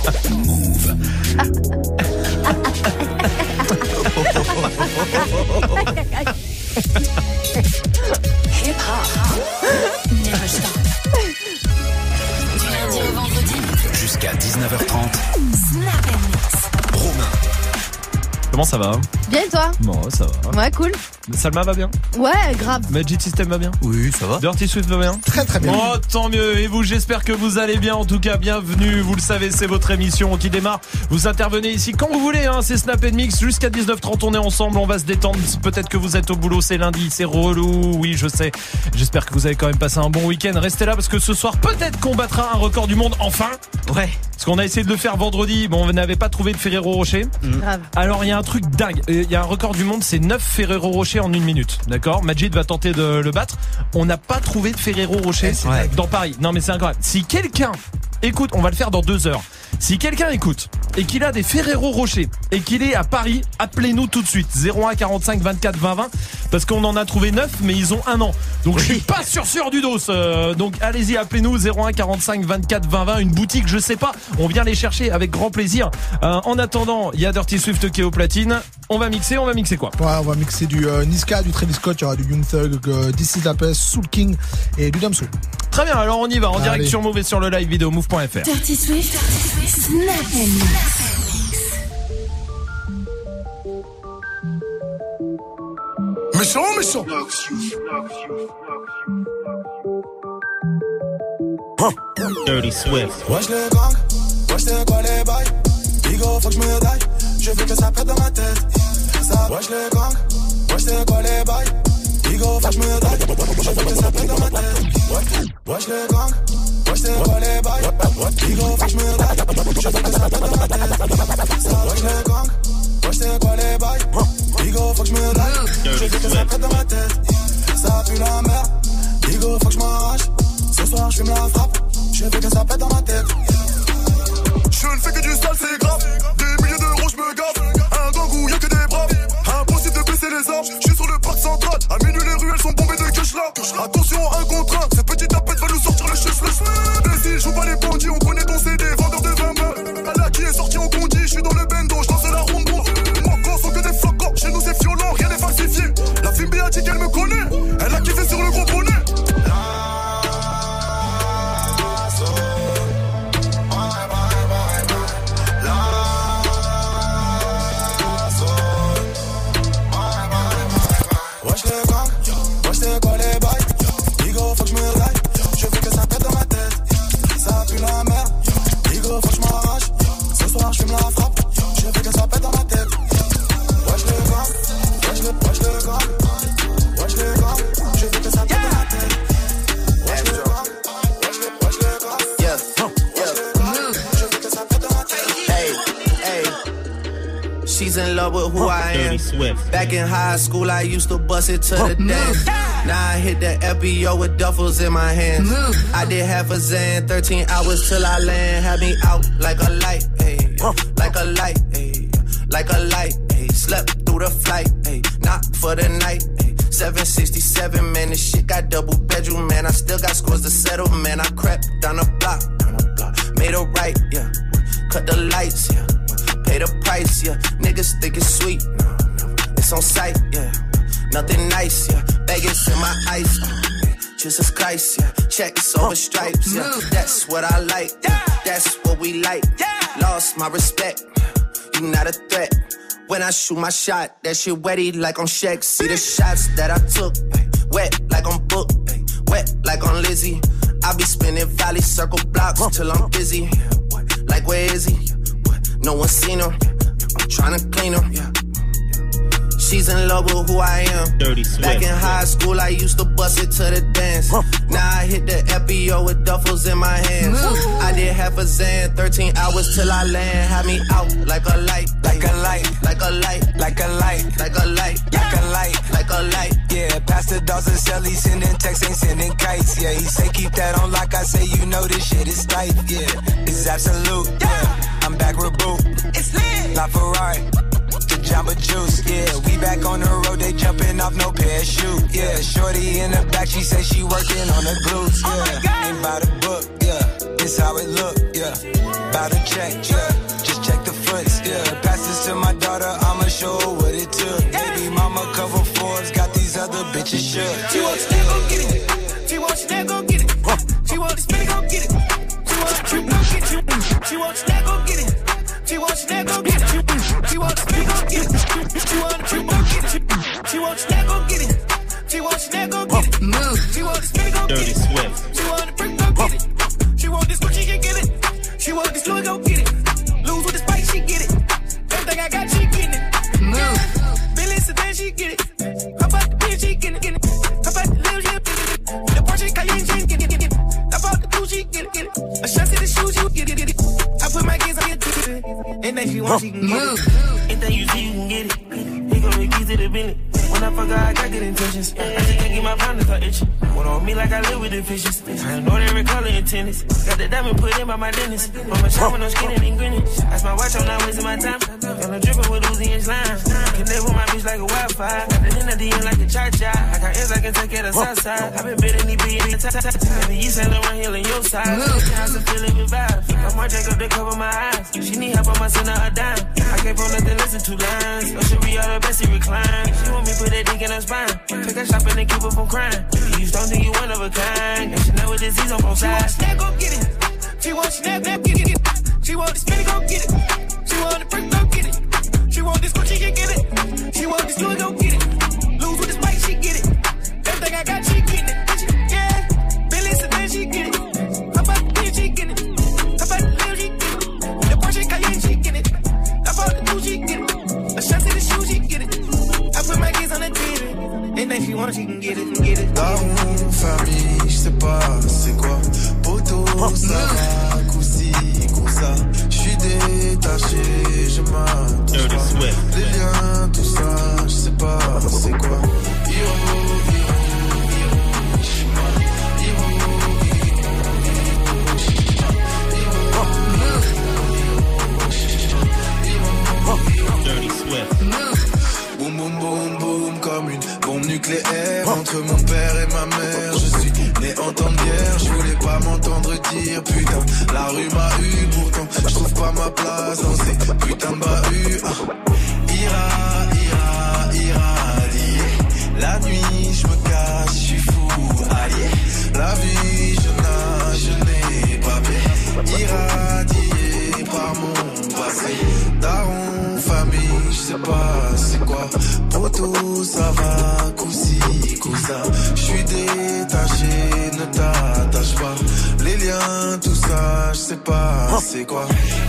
Move. Hip hop. Never stop. Du lundi au vendredi. Jusqu'à 19h30. Snap and mix. Romain. Comment ça va? Bien et toi? Bon, ça va. Ouais, cool. Salma va bien? Ouais, grave. Magic System va bien? Oui, ça va. Dirty Swift va bien? Très très bien. Oh, tant mieux. Et vous, j'espère que vous allez bien. En tout cas, bienvenue. Vous le savez, c'est votre émission qui démarre. Vous intervenez ici quand vous voulez, hein. C'est Snap & Mix. Jusqu'à 19h30, on est ensemble. On va se détendre. Peut-être que vous êtes au boulot, c'est lundi, c'est relou. Oui, je sais. J'espère que vous avez quand même passé un bon week-end. Restez là parce que ce soir, peut-être qu'on battra un record du monde. Enfin. Ouais. Parce qu'on a essayé de le faire vendredi. Bon, on n'avait pas trouvé de Ferrero Rocher. Grave. Alors, il y a un truc dingue. Il y a un record du monde, c'est 9 Ferrero Rocher en 1 minute. D'accord? Majid va tenter de le battre. On n'a pas trouvé de Ferrero Rocher dans Paris. Non, mais c'est incroyable. Si quelqu'un écoute, on va le faire dans 2 heures. Si quelqu'un écoute et qu'il a des Ferrero Rocher et qu'il est à Paris, appelez-nous tout de suite. 01 45 24 20 20. Parce qu'on en a trouvé 9, mais ils ont 1 an. Donc je suis pas sûr du dos. Donc allez-y, appelez-nous 01 45 24 20 20. Une boutique, je sais pas. On vient les chercher avec grand plaisir. En attendant, il y a Dirty Swift qui est au platine. On va mixer quoi? Ouais, on va mixer du Niska, du Travis Scott, il y aura du Young Thug, This Is La Peste, Soul King et du Damso. Très bien, alors on y va en direct sur Move et sur le live vidéo move.fr. Dirty Swift. Snap and mix. Méchant. Dirty Swift. Wesh les gangs, wesh c'est quoi les bails? Bigo, faut que je me daille, je veux que ça pète dans ma tête. Ça, wesh les gangs, wesh c'est quoi les bails? Bigo, faut que je me daille, je veux que ça pète dans ma tête. Wesh les gangs, wesh c'est quoi les bails? Bigo, faut que je me daille, je veux que ça pète dans ma tête. Ça, wesh les gangs, wesh c'est quoi les bails? Bigo, faut que je me daille, je veux que ça pète dans ma tête. Ça pue la merde, Bigo, faut que je m'arrache. Ce soir, je fume la frappe, je veux que ça pète dans ma tête. Je ne fais que du sale, c'est grave. Des milliers d'euros, je me gave. Un gang où y'a que des braves. Impossible de baisser les armes. Je suis sur le parc central. À minuit, les ruelles sont bombées de cash là. Attention, un contre un. Ce petit tapette va nous sortir le chef. Vas-y, joue pas les bandits. On connaît ton CD, vendeur de 20 mains. Allah qui est sorti en condi. Je suis dans le bendo, je lance la rumbo. Moi, quand sont que des flocons. Chez nous, c'est violent, rien n'est falsifié. La fille a dit qu'elle me connaît. Elle a kiffé sur le gros bonnet. C'est quoi les bails? Bigo, faut que je me daille. Je veux que ça pète dans ma tête. Ça pue la merde. Bigo, faut que je m'arrache. Ce soir, je fume la frappe. Je veux que ça pète dans ma tête. Wesh le gang. Wesh le gang. Wesh le gang. Je veux que ça pète dans ma tête. Wesh le gang. Wesh le gang. Yeah. Je veux que ça pète dans ma tête. Hey. She's in love with who I am. Back in high school, I used to bust it to the dance. Now I hit the FBO with duffels in my hands. I did half a Zan, 13 hours till I land. Had me out like a light, ayy, like a light, ayy, like a light, ayy. Slept through the flight, ayy, not for the night, ayy. 767, man, this shit got double bedroom, man. I still got scores to settle, man. I crept down the block, made a right, yeah. Cut the lights, yeah. Pay the price, yeah. Niggas think it's sweet, no. It's on sight, yeah. Nothing nice, yeah. Vegas in my ice, Jesus Christ, yeah. Checks over stripes, yeah. That's what I like, yeah. That's what we like, yeah. Lost my respect, you not a threat. When I shoot my shot, that shit wetty like on Shaq. See the shots that I took, wet like on Book, wet like on Lizzie. I be spinning valley circle blocks till I'm busy. Like where is he? No one seen her. I'm tryna clean her. She's in love with who I am. Back in high school, I used to bust it to the dance. Now I hit the FBO with duffels in my hands. I did half a Zan, 13 hours till I land. Had me out like a light, like a light, like a light, like a light, like a light, like a light, like a light. Yeah, Pastor Dawson Sally sending texts, ain't sending kites. Yeah, he say keep that on like I say, you know this shit is tight. Yeah, it's absolute. Yeah, I'm back with Boo. It's lit. La Ferrari. Jamba Juice, yeah, we back on the road, they jumping off no parachute, yeah, shorty in the back, she say she working on the glutes, yeah, ain't by the book, yeah, this how it look, yeah, about a check, yeah. Just check the foots, yeah. Pass this to my daughter, I'ma show her what it took. Baby mama cover Forbes, got these other bitches shook. She wants to go get it. She wants to go get it. She wants to spin it, go get it. She wants to go get it. She wants to go get it. She wants to go get it. She wants to go get it. She wants to go get it. She wants to go get it. She wants to go get it. Move. She wants to spin it, go get it. Dirty Swift. She wants to bring go get it. She wants this, but she can get it. She wants this, Louis, go get it. Lose with the spice, she get it. Everything I got, she getting it. Move. Billy Sedan, she get it. How about the bitch, she getting it. How about the little shit, the Porsche Cayenne, she get it. How about the Gucci, get it. A shot to the shoes, you get it. I put my kids on your ticket. Anything she wants, she can get it. Anything you see, you can get it. He gon' make keys to the Bentley. When I fuck her, I got good intentions. I just can't get my pound to start itching. One on me like I live with the fishes. I know every color in tennis. Got the diamond put in by my dentist. Mama shop when I'm skinning and grinning. That's my watch, I'm not wasting my time. And I'm dripping with Uzi and slime. Connect with my bitch like a Wi-Fi. Got the end of the end like a cha-cha. I got ends I can take care of the south side. I been bidding these bitches. Maybe you Saint Laurent Hill in your side. How's it feeling with vibes? I might take up to cover my eyes. She need help, I'ma send her a dime. I can't pull nothing, listen to lines. Or should be all the best, she recline. She want me put that dick in her spine. Take her shopping and keep her from crying. You don't think you one of a kind. And she know with disease on both sides. She wants to go get it. She wants to get it. She wants to spin it, go get it. She want to break, go get it. She want this, but she can get it. She want this, Louis, go get it. Lose with the spice, she get it. Everything I got, she getting it. Yeah, Billy Sedan, she get it. How about the bitch, she get it. How about the little, she get it. The Porsche Cayenne, she get it. How about the Gucci, she get it. A shot to the shoes, she get it. I put my kids on the TV. Anything she wants, she can get it, get it. Daron, famille, j'sais pas c'est quoi. Poto, ça va, coussi, coussa. J'suis détaché, je m'attache pas. Les liens, tout ça, j'sais pas c'est quoi. Dirty Swift. Boum boum boum boum comme une bombe nucléaire entre mon père et ma mère. Je suis né en temps de guerre, je voulais pas m'entendre dire putain. La rue m'a eu pourtant, je trouve pas ma place dans ces putains de bahuts. Irradié. La nuit je me cache, je suis fou, allié. La vie je n'ai pas bien. Irradié par mon passé. Daron, famille, je sais pas c'est quoi. Poto, ça va, coussi, cousin. Je suis détaché, ne t'attache pas. Les liens, tout ça, je sais pas c'est quoi.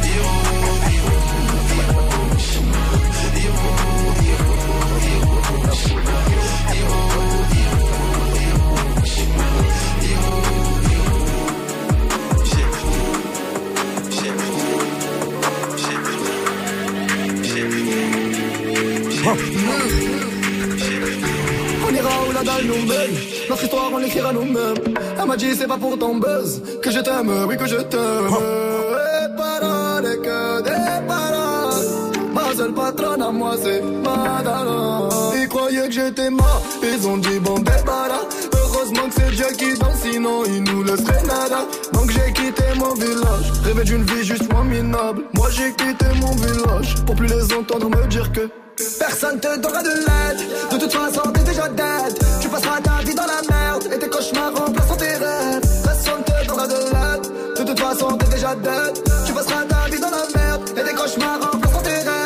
On ira où la dalle nous mène. Notre histoire on l'écrira nous-mêmes. Elle m'a dit c'est pas pour ton buzz que je t'aime, oui que je t'aime. Et paroles que des paroles. Ma seule patronne à moi c'est Madara. Ils croyaient que j'étais mort, ils ont dit bon débarras. Heureusement que c'est Dieu qui danse, sinon il nous laisserait nada. Donc j'ai quitté mon village, rêvé d'une vie juste moins minable. Moi j'ai quitté mon village, pour plus les entendre me dire que personne te donnera de l'aide. De toute façon t'es déjà dead. Tu passeras ta vie dans la merde et tes cauchemars remplaceront tes rêves. Personne te donnera de l'aide. De toute façon t'es déjà dead. Tu passeras ta vie dans la merde et tes cauchemars remplaceront tes rêves.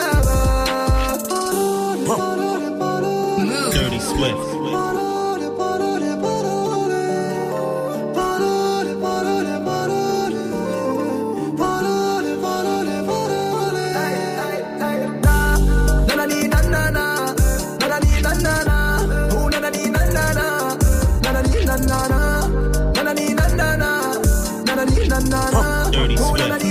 Dirty Swift. Dirty Swift.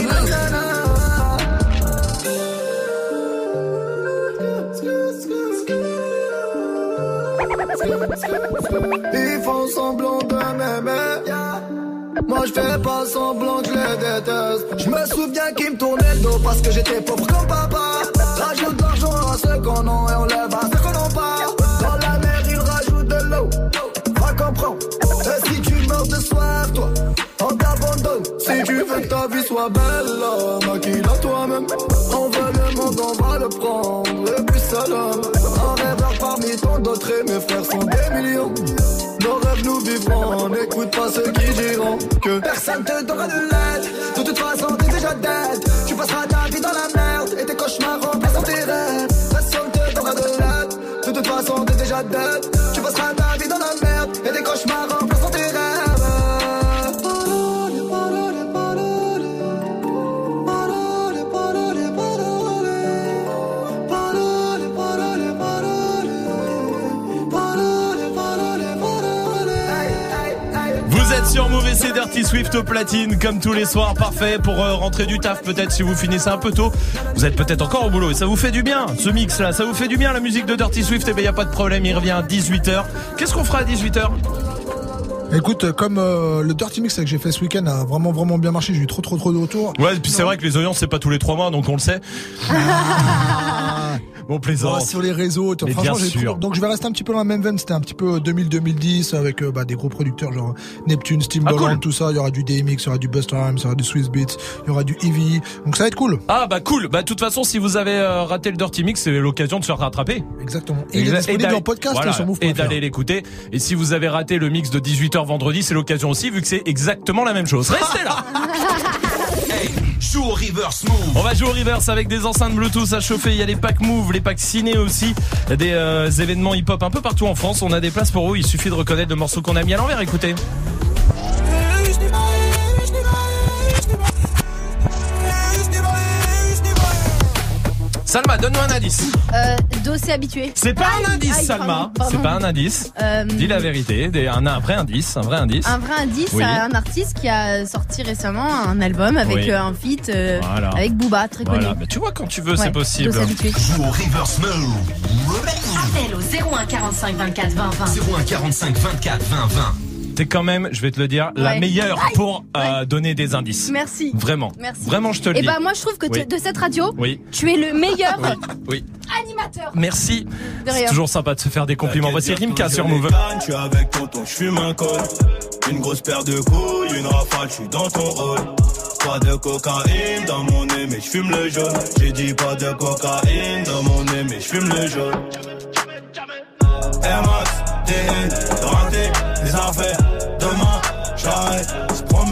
Ils font semblant de m'aimer. Moi je fais pas semblant que je les déteste. Je me souviens qu'ils me tournaient le dos parce que j'étais pauvre comme papa. Rajoute de l'argent à ceux qu'on a et on lève à ceux qu'on n'a pas. Dans la mer ils rajoutent de l'eau. Va comprendre. Et si tu meurs de soif toi, on t'abandonne. Si tu veux que ta la vie soit belle, maquille-la toi-même. On veut le monde, on va le prendre, le plus seul homme. Un rêveur parmi tant d'autres et mes frères sont des millions. Nos rêves nous vivrons, n'écoute pas ceux qui diront que personne te donnera de l'aide. De toute façon t'es déjà dead. Tu passeras ta vie dans la merde et tes cauchemars remplaceront tes rêves. Personne te donnera de l'aide. De toute façon t'es déjà dead. Tu passeras ta vie dans la merde et tes cauchemars remplaceront tes rêves. Vous êtes sur Move et c'est Dirty Swift au platine comme tous les soirs, parfait pour rentrer du taf peut-être si vous finissez un peu tôt. Vous êtes peut-être encore au boulot et ça vous fait du bien ce mix là, ça vous fait du bien la musique de Dirty Swift. Et ben y a pas de problème, il revient à 18h. Qu'est-ce qu'on fera à 18h? Écoute, comme le Dirty Mix que j'ai fait ce week-end a vraiment bien marché, j'ai eu trop de retours. Ouais, et puis c'est vrai que les audiences c'est pas tous les 3 mois donc on le sait. Bon, plaisant. Sur les réseaux, franchement, donc je vais rester un petit peu dans la même veine. C'était un petit peu 2000-2010 avec des gros producteurs genre Neptune, Steamboat, cool. Tout ça. Il y aura du DMX, il y aura du Busta Rhymes, il y aura du Swiss Beats, il y aura du Eevee. Donc ça va être cool. Ah bah cool. Bah de toute façon, si vous avez raté le Dirty Mix, c'est l'occasion de se faire rattraper. Exactement. Et il est disponible en podcast sur Move.fr. Et d'aller l'écouter. Et si vous avez raté le mix de 18h vendredi, c'est l'occasion aussi vu que c'est exactement la même chose. Restez là. Joue au reverse Move. On va jouer au reverse avec des enceintes Bluetooth à chauffer. Il y a les packs Move, les packs ciné aussi, des événements hip-hop un peu partout en France. On a des places pour vous. Il suffit de reconnaître le morceau qu'on a mis à l'envers. Écoutez. Salma, donne-nous un indice. Dossé habitué. C'est pas un indice, Salma. Pardon. C'est pas un indice. Dis la vérité. Un vrai indice. Un vrai indice. Un vrai indice Oui. à un artiste qui a sorti récemment un album avec un feat avec Booba, très connu. Voilà. Mais tu vois, quand tu veux, c'est possible. Dossé habitué. Joue au reverse Move. Appel au 01 45 24 20 20. 01 45 24 20 20. T'es quand même, je vais te le dire, la meilleure pour donner des indices. Merci. Vraiment. Merci. Vraiment, je te le dis. Et bah moi je trouve que de cette radio, tu es le meilleur oui. animateur. Merci. De rien. C'est toujours sympa de se faire des compliments. Voici Rimka sur Move. Je suis avec tonton, je fume un col. Une grosse paire de couilles, une rafale, je suis dans ton rôle. Pas de cocaïne dans mon nez, mais je fume le jaune. J'ai dit pas de cocaïne dans mon nez, mais je fume le jaune. Air Max, TN, rentré, les affaires. Demain, j'arrête, c'est promis.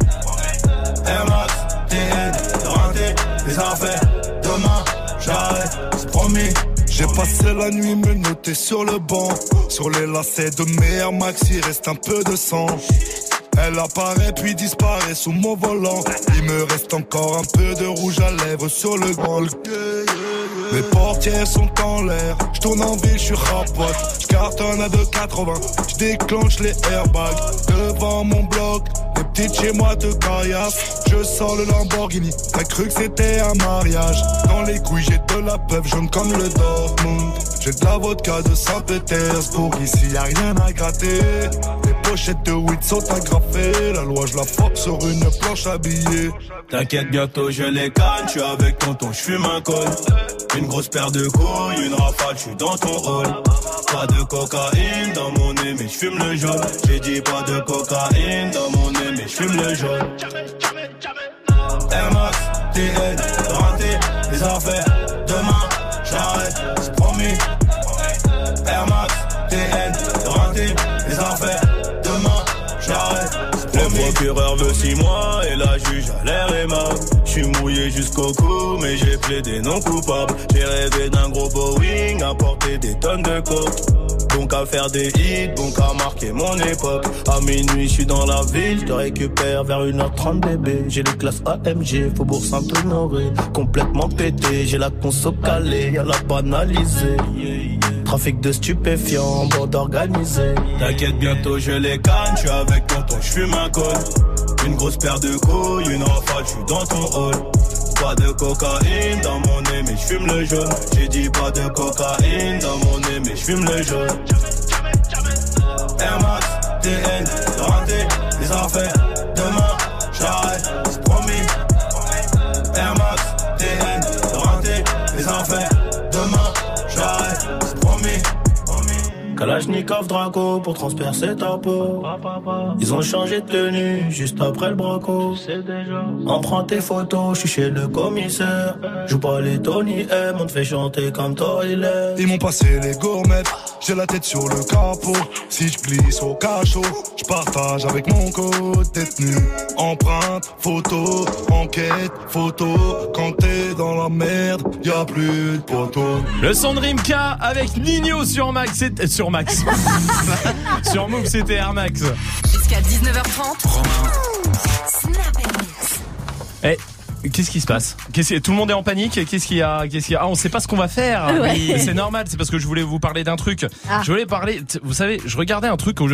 Air Max, TN, rentré, les affaires. Demain, j'arrête, c'est promis. J'ai passé la nuit me noter sur le banc. Sur les lacets de mes Air Max, il reste un peu de sang. Elle apparaît puis disparaît sous mon volant. Il me reste encore un peu de rouge à lèvres sur le grand. Mes portières sont en l'air. Je tourne en ville, je suis rapote. Je cartonne à 2,80. Je déclenche les airbags devant mon bloc. Les petites chez moi te caillassent. Je sors le Lamborghini. T'as cru que c'était un mariage. Dans les couilles j'ai de la peuple jaune comme le Dortmund. J'ai de la vodka de Saint-Pétersbourg. Ici y a rien à gratter. Les pochettes de weed sont agrafées. La loi je la force sur une planche à billets. T'inquiète, bientôt je les canne. Je suis avec tonton, je fume un col. Une grosse paire de couilles, une rafale, je suis dans ton rôle. Pas de cocaïne dans mon nez, mais je fume le jaune. J'ai dit pas de cocaïne dans mon nez, mais je fume le jaune. Air Max, TN, rentré, les affaires. Demain, j'arrête, c'est promis. Air Max, TN, rentré, les affaires. Demain, j'arrête, c'est promis. Le procureur veut 6 mois et la juge a l'air aimable. Je suis mouillé jusqu'au cou, mais j'ai plaidé non coupable. J'ai rêvé d'un gros Boeing, à porter des tonnes de coke. Donc à faire des hits, donc à marquer mon époque. À minuit, je suis dans la ville, je te récupère vers 1h30 bébé. J'ai les classes AMG, Faubourg Saint-Honoré. Complètement pété, j'ai la conso calée, y'a la banalisée. Trafic de stupéfiants, bande organisée. T'inquiète, bientôt je les canne, je suis avec tonton, je fume un col. Une grosse paire de couilles, une rafale, je suis dans ton hall. Pas de cocaïne dans mon nez, mais je fume le jaune. J'ai dit pas de cocaïne dans mon nez, mais je fume le jaune. Air Max, TN, rentré, les affaires. Demain, j'arrête, c'est promis. Air Max, TN, rentré, les affaires. Demain, j'arrête, c'est promis. Kalachnikov Draco pour transpercer ta peau. Ils ont changé de tenue juste après le braco. On prend tes photos, je suis chez le commissaire. Joue pas les Tony M, on te fait chanter comme Toilet. Ils m'ont passé les gourmettes, j'ai la tête sur le capot. Si je glisse au cachot, je partage avec mon code détenu. Empreinte, photo, enquête, photo. Quand t'es dans la merde, y'a plus de poteaux. Le son de Rimka avec Nino sur Max. Sur Max. Sur Move, c'était Air Max. Jusqu'à 19h30. Eh, qu'est-ce qui se passe? Tout le monde est en panique. Qu'est-ce qu'il y a? Ah, on sait pas ce qu'on va faire. Ouais. Mais c'est normal, c'est parce que je voulais vous parler d'un truc. Je voulais parler, vous savez, je regardais un truc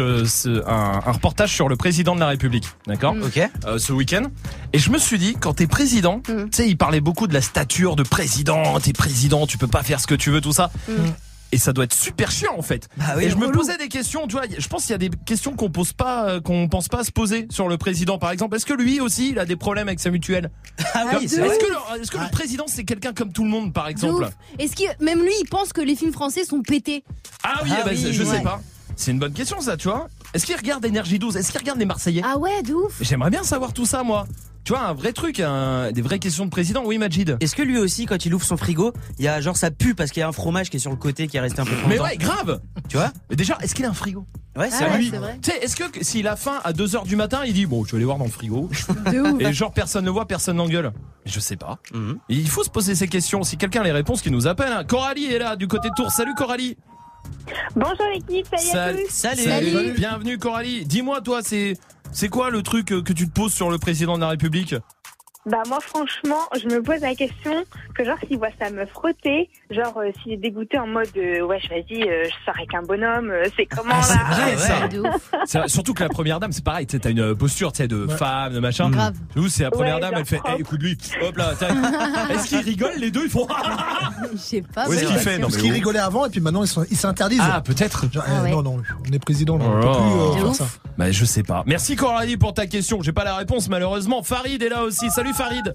un reportage sur le président de la République, d'accord? Ok. Ce week-end. Et je me suis dit, quand t'es président, tu sais, il parlait beaucoup de la stature de président. T'es président, tu peux pas faire ce que tu veux, tout ça. Et ça doit être super chiant en fait. Bah oui, et je me posais des questions, tu vois, je pense qu'il y a des questions qu'on pense pas à se poser sur le président par exemple. Est-ce que lui aussi il a des problèmes avec sa mutuelle? Ah oui, c'est vrai. Est-ce que le président c'est quelqu'un comme tout le monde par exemple? Est-ce que même lui il pense que les films français sont pétés? Ah oui, je sais pas. C'est une bonne question ça, tu vois. Est-ce qu'il regarde Énergie 12? Est-ce qu'il regarde les Marseillais? Ah ouais, de ouf. J'aimerais bien savoir tout ça moi. Tu vois, un vrai truc, des vraies questions de président. Oui, Majid. Est-ce que lui aussi, quand il ouvre son frigo, il y a genre ça pue parce qu'il y a un fromage qui est sur le côté qui est resté un peu longtemps? Mais ouais, grave. Tu vois? Mais déjà, est-ce qu'il a un frigo? Ouais, c'est vrai. Tu sais, est-ce que s'il a faim à 2h du matin, il dit bon, je vais aller voir dans le frigo. De ouf. Et genre personne ne voit, personne n'engueule. Je sais pas. Et il faut se poser ces questions. Si quelqu'un a les réponses, qui nous appelle. Hein. Coralie est là du côté de Tours. Salut Coralie. Bonjour l'équipe, salut. Salut. Bienvenue Coralie. Dis-moi toi, c'est quoi le truc que tu te poses sur le président de la République? Bah moi franchement, je me pose la question que genre s'il voit sa meuf frotter, genre s'il est dégoûté en mode wesh vas-y, je sors avec un bonhomme, c'est comment là? C'est vrai ça. C'est vrai, surtout que la première dame, c'est pareil, t'as une posture de femme, de machin. Grave. Nous c'est la première dame, elle fait écoute lui, hop là, est-ce qu'ils rigolent les deux? Ils font je sais pas. Où est-ce qu'il fait? Parce qu'ils rigolaient avant et puis maintenant ils s'interdisent. Ah peut-être. Genre, non, on est président, on peut plus faire ça. Bah je sais pas. Merci Coralie pour ta question. J'ai pas la réponse malheureusement. Farid est là aussi. Salut Farid.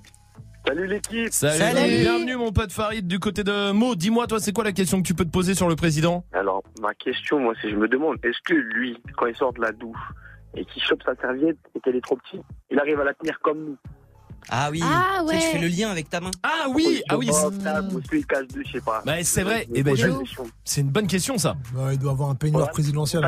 Salut l'équipe. Salut. Bienvenue mon pote Farid du côté de Mo. Dis-moi toi, c'est quoi la question que tu peux te poser sur le président? Alors ma question, moi, c'est je me demande, est-ce que lui, quand il sort de la douche et qu'il chope sa serviette et qu'elle est trop petite, il arrive à la tenir comme nous? Ah oui. Ah ouais. Tu fais le lien avec ta main. Ah oui. Il cache deux, je sais pas. Bah c'est vrai. Et ben c'est une bonne question ça. Il doit avoir un peignoir présidentiel.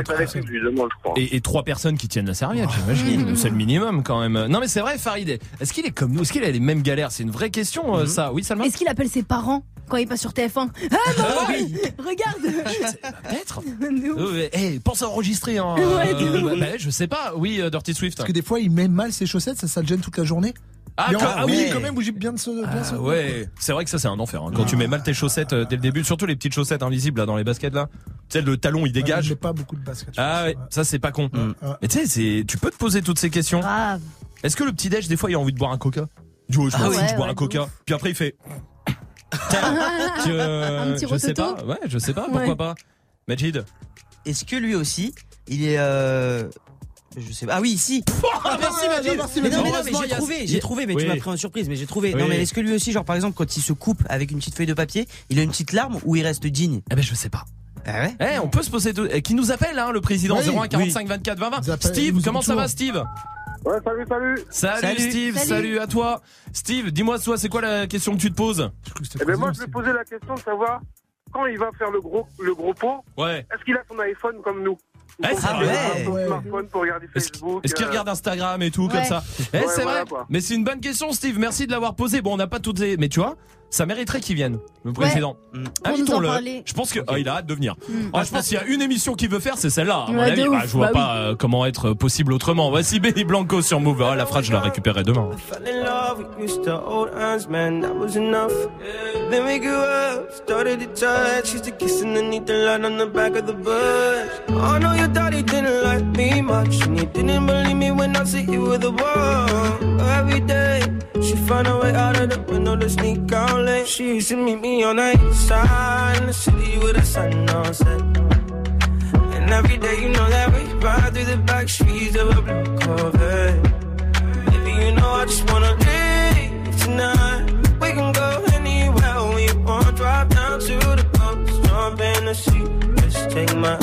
Et 3 personnes qui tiennent la serviette, j'imagine. C'est le minimum quand même. Non mais c'est vrai Farid. Est-ce qu'il est comme nous? Est-ce qu'il a les mêmes galères? C'est une vraie question ça. Oui Salma. Est-ce qu'il appelle ses parents quand il passe sur TF1? Ah maman, regarde. Peut-être. Pense à enregistrer. Hein. Je sais pas. Oui, Dirty Swift. Parce que des fois il met mal ses chaussettes, ça le gêne toute la journée. Oui, quand même, bouger bien de ce. Ouais, c'est vrai que ça c'est un enfer. Hein. Quand tu mets mal tes chaussettes dès le début, surtout les petites chaussettes invisibles là dans les baskets là. Tu sais le talon il dégage. J'ai pas beaucoup de baskets. Ah ouais, ça c'est pas con. Mais tu sais, tu peux te poser toutes ces questions. Grave. Est-ce que le petit déj des fois il a envie de boire un coca? Je bois un coca. Puis après il fait. Un petit je sais pas. Ouais, je sais pas. Pourquoi pas? Majid. Est-ce que lui aussi, il est je sais pas. Ah oui, ici. Merci Majid. Mais j'ai trouvé, mais tu m'as pris en surprise, mais j'ai trouvé. Non mais est-ce que lui aussi, genre par exemple, quand il se coupe avec une petite feuille de papier, il a une petite larme ou il reste digne? Eh ben je sais pas. Ah ouais. On peut se poser qui nous appelle le président 01 45 24 20 20. Steve, comment ça va Steve? Ouais, salut. Steve, salut à toi. Steve, dis-moi toi, c'est quoi la question que tu te poses? Moi je vais poser la question de savoir quand il va faire le gros pot. Ouais. Est-ce qu'il a son iPhone comme nous? Smartphone pour regarder Facebook. Est-ce qu'il regarde Instagram et tout comme ça? C'est vrai. Mais c'est une bonne question Steve, merci de l'avoir posée. Bon, on n'a pas toutes les... Mais tu vois, ça mériterait qu'il vienne, le président. Invitons-le. Je pense que il a hâte de venir. Je pense qu'il y a une émission qu'il veut faire, c'est celle-là. À mon avis, je vois pas comment être possible autrement. Voici Benny Blanco sur Move. La phrase, je la récupérerai demain. Your daddy didn't like me much, and he didn't believe me when I said you were the one. Every day, she found a way out of the window to sneak out late. She used to meet me on the east side in the city with the sun on set. And every day, you know that we ride through the back streets of a blue Corvette. Baby, you know I just wanna leave tonight. We can go anywhere we want, drive down to the coast, jump in the sea. Just take my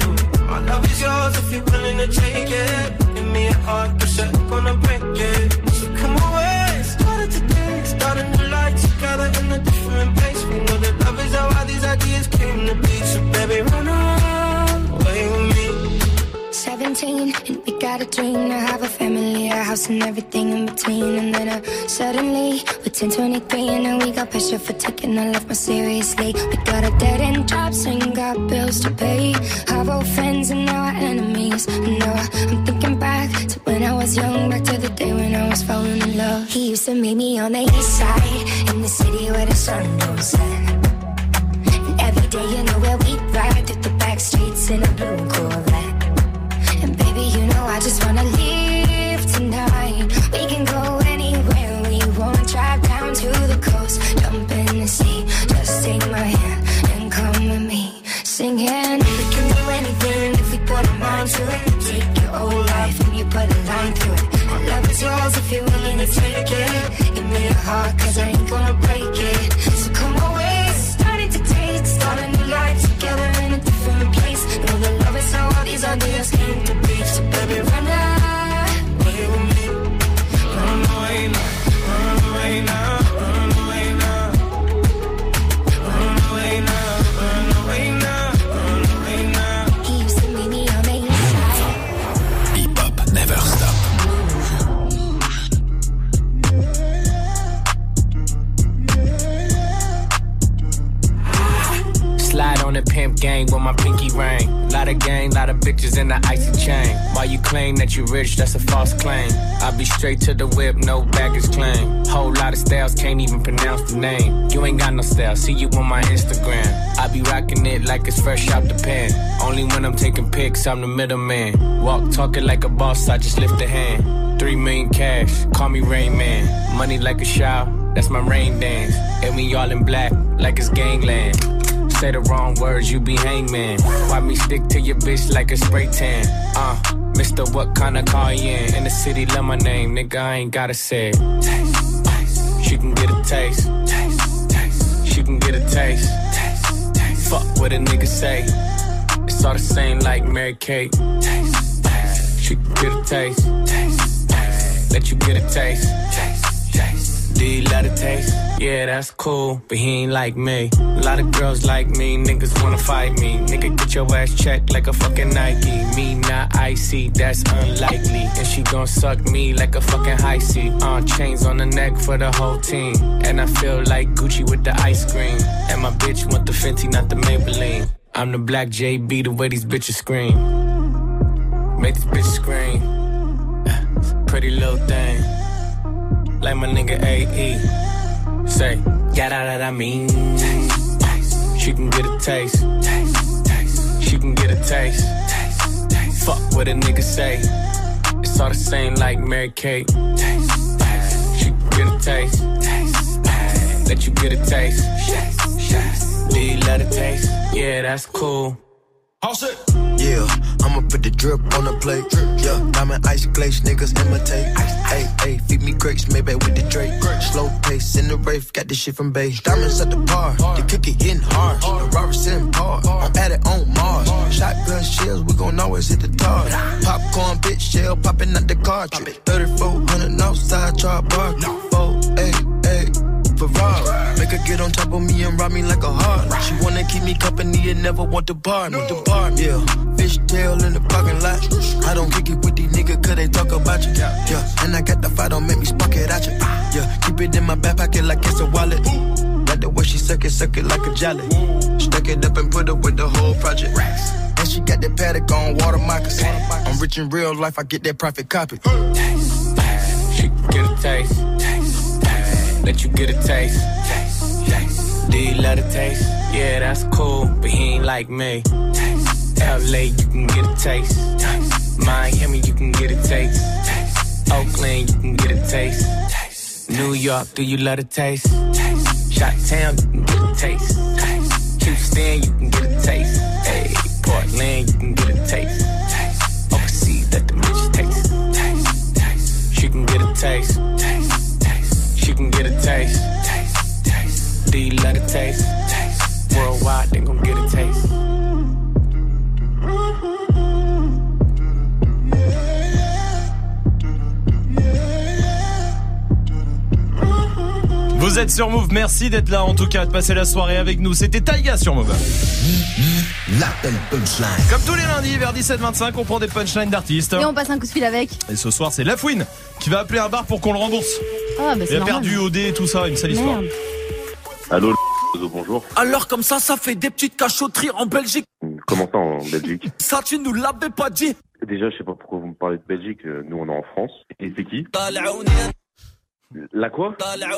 My love is yours if you're willing to take it. Give me a heart, but I'm gonna break it. So come away, started today, start a new life together in a different place. We know that love is how all these ideas came to be. So baby, run away with me. 17 and we got a dream to have a family, a house and everything in between. And then suddenly we're 10, 23 and now we got pressure for taking our life more seriously. We got a dead end jobs and got bills to pay. Our old friends and now our enemies. And now I'm thinking back to when I was young, back to the day when I was falling in love. He used to meet me on the east side, in the city where the sun goes set. And every day you know where we ride through the back streets in a blue Corvette. And baby, you know I just wanna leave tonight. We can go anywhere we want. Drive down to the coast, jump in the sea. Just take my hand and come with me, singing. We can do anything if we put our mind to it. Take your whole life and you put a line through it. My love is yours if you're willing to take it. Give me a heart, cause I ain't gonna break it. So come away, starting to taste. Start a new life together in a different place. Know the love is how all these ideas came to be. So baby, run away with me. Run away now, run away now, run away now. Run away now, run away now, run away now. He used to meet me on the east side. Hip Hop Never Stop. Slide on the pimp gang with my pinky ring. Lot of gang, lot of bitches in the icy chain. While you claim that you rich, that's a false claim. I be straight to the whip, no baggage claim. Whole lot of styles, can't even pronounce the name. You ain't got no style, see you on my Instagram. I be rocking it like it's fresh out the pen. Only when I'm taking pics, I'm the middleman. Walk talking like a boss, I just lift a hand. 3 million cash, call me Rain Man. Money like a shower, that's my rain dance. And we all in black, like it's gangland. Say the wrong words, you be hangman. Why me stick to your bitch like a spray tan? Mr. What kind of car you in the city, love my name, nigga, I ain't gotta say it. Taste, taste. She can get a taste. Taste, taste. She can get a taste. Taste, taste. Fuck what a nigga say. It's all the same like Mary Kate. Taste, taste. She can get a taste. Taste, taste. Let you get a taste. Taste, taste. Do you love the taste? Yeah, that's cool, but he ain't like me. A lot of girls like me, niggas wanna fight me. Nigga, get your ass checked like a fucking Nike. Me not icy, that's unlikely. And she gon' suck me like a fucking high C. Chains on the neck for the whole team. And I feel like Gucci with the ice cream. And my bitch want the Fenty, not the Maybelline. I'm the black JB, the way these bitches scream. Make this bitch scream. Pretty little thing. Like my nigga AE. Say, got out that I mean. Taste, taste. She can get a taste. Taste, taste. She can get a taste. Taste, taste. Fuck what a nigga say. It's all the same like Mary Kate. Taste, taste. She can get a taste. Taste, taste. Let you get a taste. Taste, taste. Do you love the taste? Yeah, that's cool. All set. Yeah, I'ma put the drip on the plate. Yeah, diamond ice glaze, niggas imitate. Hey, hey, feed me grapes, maybe with the Drake. Slow pace in the rave, got this shit from Bay. Diamonds at the bar, the cookie hitting hard. The Robert sitting hard, I'm at it on Mars. Shotgun shells, we gon' always hit the target. Popcorn, bitch, shell popping out the cartridge. 3400 outside, char bar. 488. Ferrari. Make her get on top of me and rob me like a heart. She wanna keep me company and never want to bar me. Yeah, fishtail in the parking lot. I don't kick it with these niggas cause they talk about you. Yeah, and I got the fight, don't make me spark it at you. Yeah, keep it in my back pocket like it's a wallet. Like the way she suck it like a jelly. Stuck it up and put it with the whole project. And she got that paddock on water moccasins. I'm rich in real life, I get that profit copy. Taste, taste. She can get a taste. Taste, taste. Let you get a taste. Taste, taste. Do you love the taste? Yeah, that's cool, but he ain't like me. Taste, LA, you can get a taste. Taste. Miami, you can get a taste. Taste. Oakland, you can get a taste. Taste. New York, do you love the taste? Taste. Chi-Town, you can get a taste. Taste. Houston, you can get a taste. Hey, Portland, you can get a taste. Taste. Overseas, let the bitch taste. Taste. Taste. She can get a taste. Taste. Taste. She can get a taste. Taste. Taste. Do you love the taste? Taste. Worldwide, they gon' get a taste. Vous êtes sur Move, merci d'être là en tout cas, de passer la soirée avec nous. C'était Taiga sur Move. L'appel punchline. Comme tous les lundis vers 17h25, on prend des punchlines d'artistes. Et on passe un coup de fil avec. Et ce soir, c'est Lafouine qui va appeler un bar pour qu'on le rembourse. Ah, bah c'est Il a normal. perdu OD et tout ça, une sale histoire. Allô, bonjour. Alors comme ça fait des petites cachotteries en Belgique. Comment ça en Belgique? Ça, tu nous l'avais pas dit. Déjà, je sais pas pourquoi vous me parlez de Belgique. Nous, on est en France. Et c'est qui? La quoi?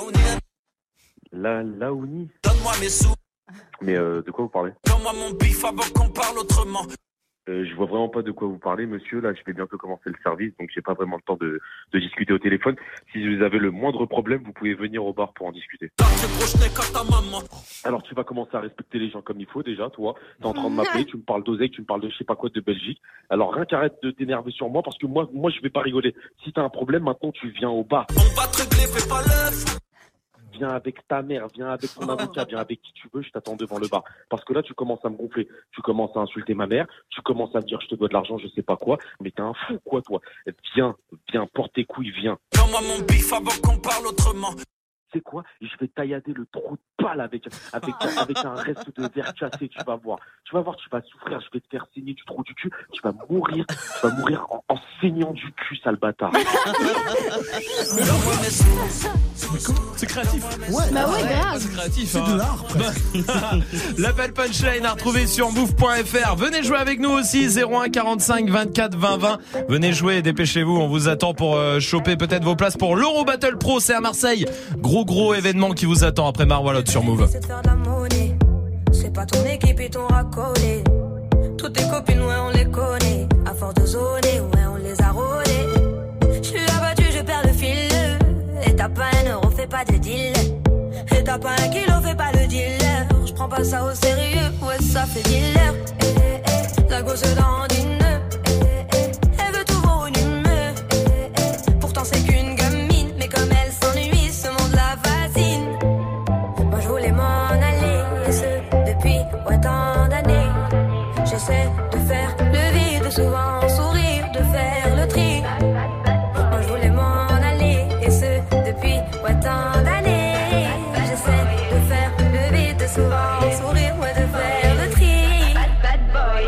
La Laouni. Donne-moi mes sous. Mais de quoi vous parlez? Donne-moi mon bif avant qu'on parle autrement. Je vois vraiment pas de quoi vous parlez, monsieur. Là, je vais bientôt commencer le service, donc j'ai pas vraiment le temps de discuter au téléphone. Si vous avez le moindre problème, vous pouvez venir au bar pour en discuter. Alors, tu vas commencer à respecter les gens comme il faut déjà, toi. T'es en train de m'appeler, tu me parles d'oseille, tu me parles de je sais pas quoi de Belgique. Alors, rien qu'arrête de t'énerver sur moi, parce que moi, je vais pas rigoler. Si t'as un problème, maintenant, tu viens au bar. On va te régler, fais pas l'œuf. Viens avec ta mère, viens avec ton avocat, viens avec qui tu veux, je t'attends devant le bar. Parce que là, tu commences à me gonfler. Tu commences à insulter ma mère, tu commences à me dire je te dois de l'argent, je sais pas quoi. Mais t'es un fou, quoi, toi. Viens, porte tes couilles, viens. Donne-moi mon bif avant qu'on parle autrement. C'est quoi? Je vais taillader le trou de balle avec un reste de verre cassé, tu vas voir. Tu vas souffrir, je vais te faire saigner du trou du cul, tu vas mourir en saignant du cul, sale bâtard. C'est créatif. Ouais, bah ouais, grave. C'est créatif. C'est de l'art, L'appel punchline à retrouver sur move.fr. Venez jouer avec nous aussi, 01 45 24 20 20. Venez jouer, dépêchez-vous, on vous attend pour choper peut-être vos places pour l'Euro Battle Pro, c'est à Marseille. Gros événement qui vous attend après Marwalot sur Move. C'est de faire de la monnaie. C'est pas ton équipe et ton racolé. Toutes tes copines, ouais, on les connaît. À force de zoner, ouais, on les a rôlées. Je suis abattu, je perds le fil. Et t'as pas un euro, fais pas de deal. Et t'as pas un kilo, fais pas le dealer. Je prends pas ça au sérieux, ouais, ça fait dealer. La gosse dans une. Elle veut tout voir une humeur. Pourtant, c'est qu'une gamine. Mais comme elle s'ennuie, ce monde la fascine. Moi, je voulais m'en aller. Et ce, depuis tant d'années. J'essaie de faire le vide, souvent sourire, de faire le tri. Moi, je voulais m'en aller. Et ce, depuis tant d'années. J'essaie de faire le vide, souvent sourire, ouais, de faire le tri. Bad boy.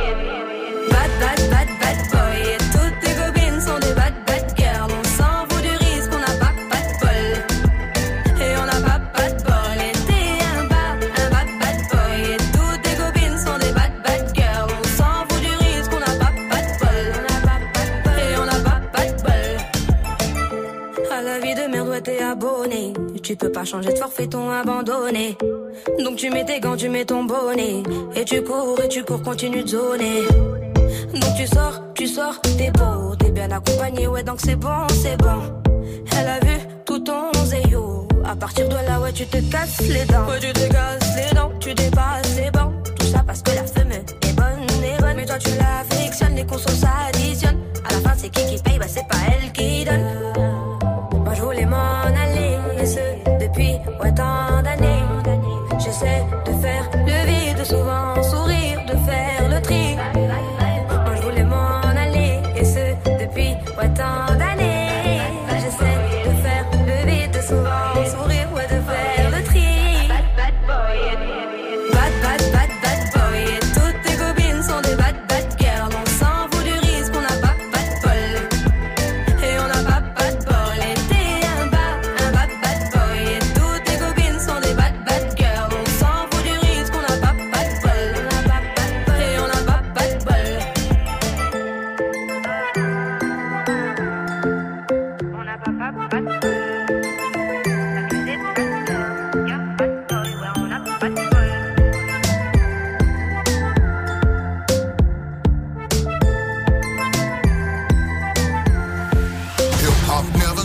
Bad boy. Et toutes tes copines sont des bad girls. On s'en fout du risque, on n'a pas de bol. Et on n'a pas de bol. Et t'es un bad boy. Et toutes tes copines sont des bad girls. On s'en fout du risque, on n'a pas de bol. Et on n'a pas de bol. À la vie de merde, ouais, t'es abonné. Tu peux pas changer de forfait, ton abandonné. Donc tu mets tes gants, tu mets ton bonnet. Et tu cours, continue de zoner. Donc tu sors, t'es beau, t'es bien accompagné, ouais, donc c'est bon. Elle a vu tout ton zéyo. À partir de là, ouais, tu te casses les dents. Ouais, tu te casses les dents, tu dépasses les bancs. Tout ça parce que la femme est bonne. Mais toi, tu l'affectionnes, les consos s'additionnent. À la fin, c'est qui paye, bah c'est pas elle qui donne. Moi, je voulais m'en aller, et ce, depuis tant d'années. J'essaie de faire le vide, souvent sourire, de faire le tri. Moi, je voulais m'en aller, et ce, depuis tant d'années. J'essaie de faire le vide, souvent sourire, ouais, de faire le tri. Bad boy. Et toutes tes copines sont des bad girls. On s'en fout du risque, on n'a pas de bol. Et on n'a pas de bol. Et t'es un bad boy. Et toutes tes copines sont des bad girls. On s'en fout du risque, on n'a pas de bol. Et on n'a pas de bol. On n'a pas de bol. Hip-hop never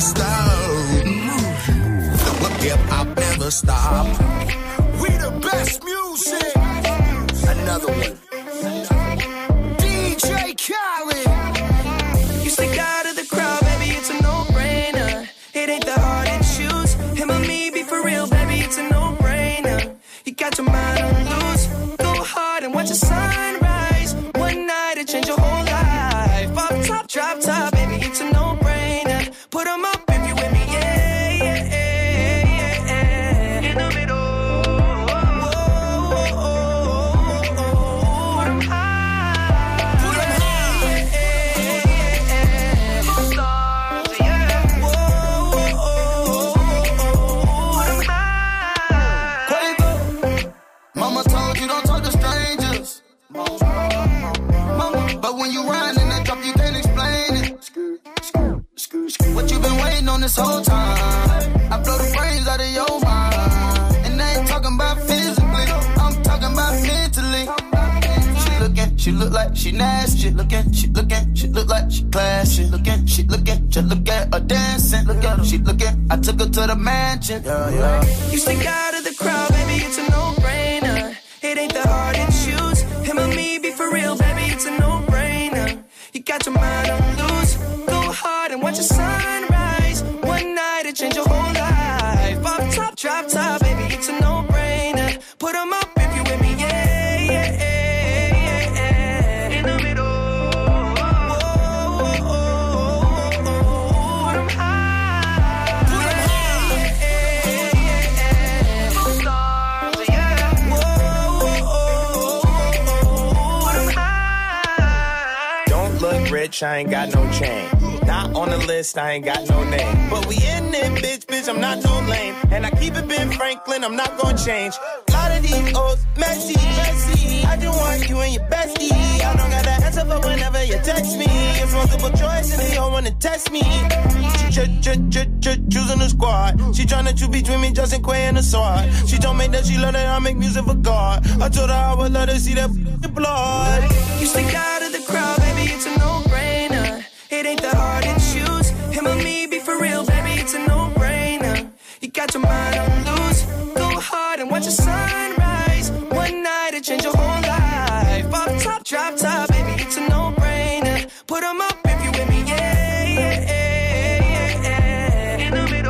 stop. We the best music. Another one. DJ Khaled. You stick out of the crowd, baby, it's a no-brainer. It ain't that hard to choose. Him or me, be for real, baby, it's a no-brainer. You got your mind on loose. Go hard and watch the sunrise. One night it change your whole life. Off top, drop top, baby, it's a no-brainer. Put 'em up if you with me, yeah. this whole time. I blow the brains out of your mind. And I ain't talking about physically, I'm talking about mentally. She look like she nasty. She look like she classy. Just look at her dancing. Look at her, she looking. I took her to the mansion. Yeah. You stick out of the crowd, baby, it's a no-brainer. It ain't that hard to choose. Him or me, be for real, baby, it's a no-brainer. You got your mind on loose. Go hard and watch the sunrise. One night it change your whole life. Off top, drop top, baby, it's a no-brainer. Put 'em up if you with me, yeah. I ain't got no chain. Not on the list, I ain't got no name. But we in it, bitch, I'm not no lame. And I keep it Ben Franklin, I'm not gonna change. A lot of these O's messy. I just want you and your bestie. I don't got the answer for whenever you text me. It's multiple choice and they don't wanna test me. She choosing the squad. She tryna choose between me, Justin Quay and the sword. She told me that she love that I make music for God. I told her I would let her see that blood. You stick out of the crowd, baby, it's a no-brainer. It ain't that hard to choose. Him or me, be for real, baby, it's a no-brainer. You got your mind on loose. Go hard and watch the sunrise. One night it change your whole life. Off top, drop top, baby, it's a no-brainer. Put 'em up if you with me, yeah. In the middle.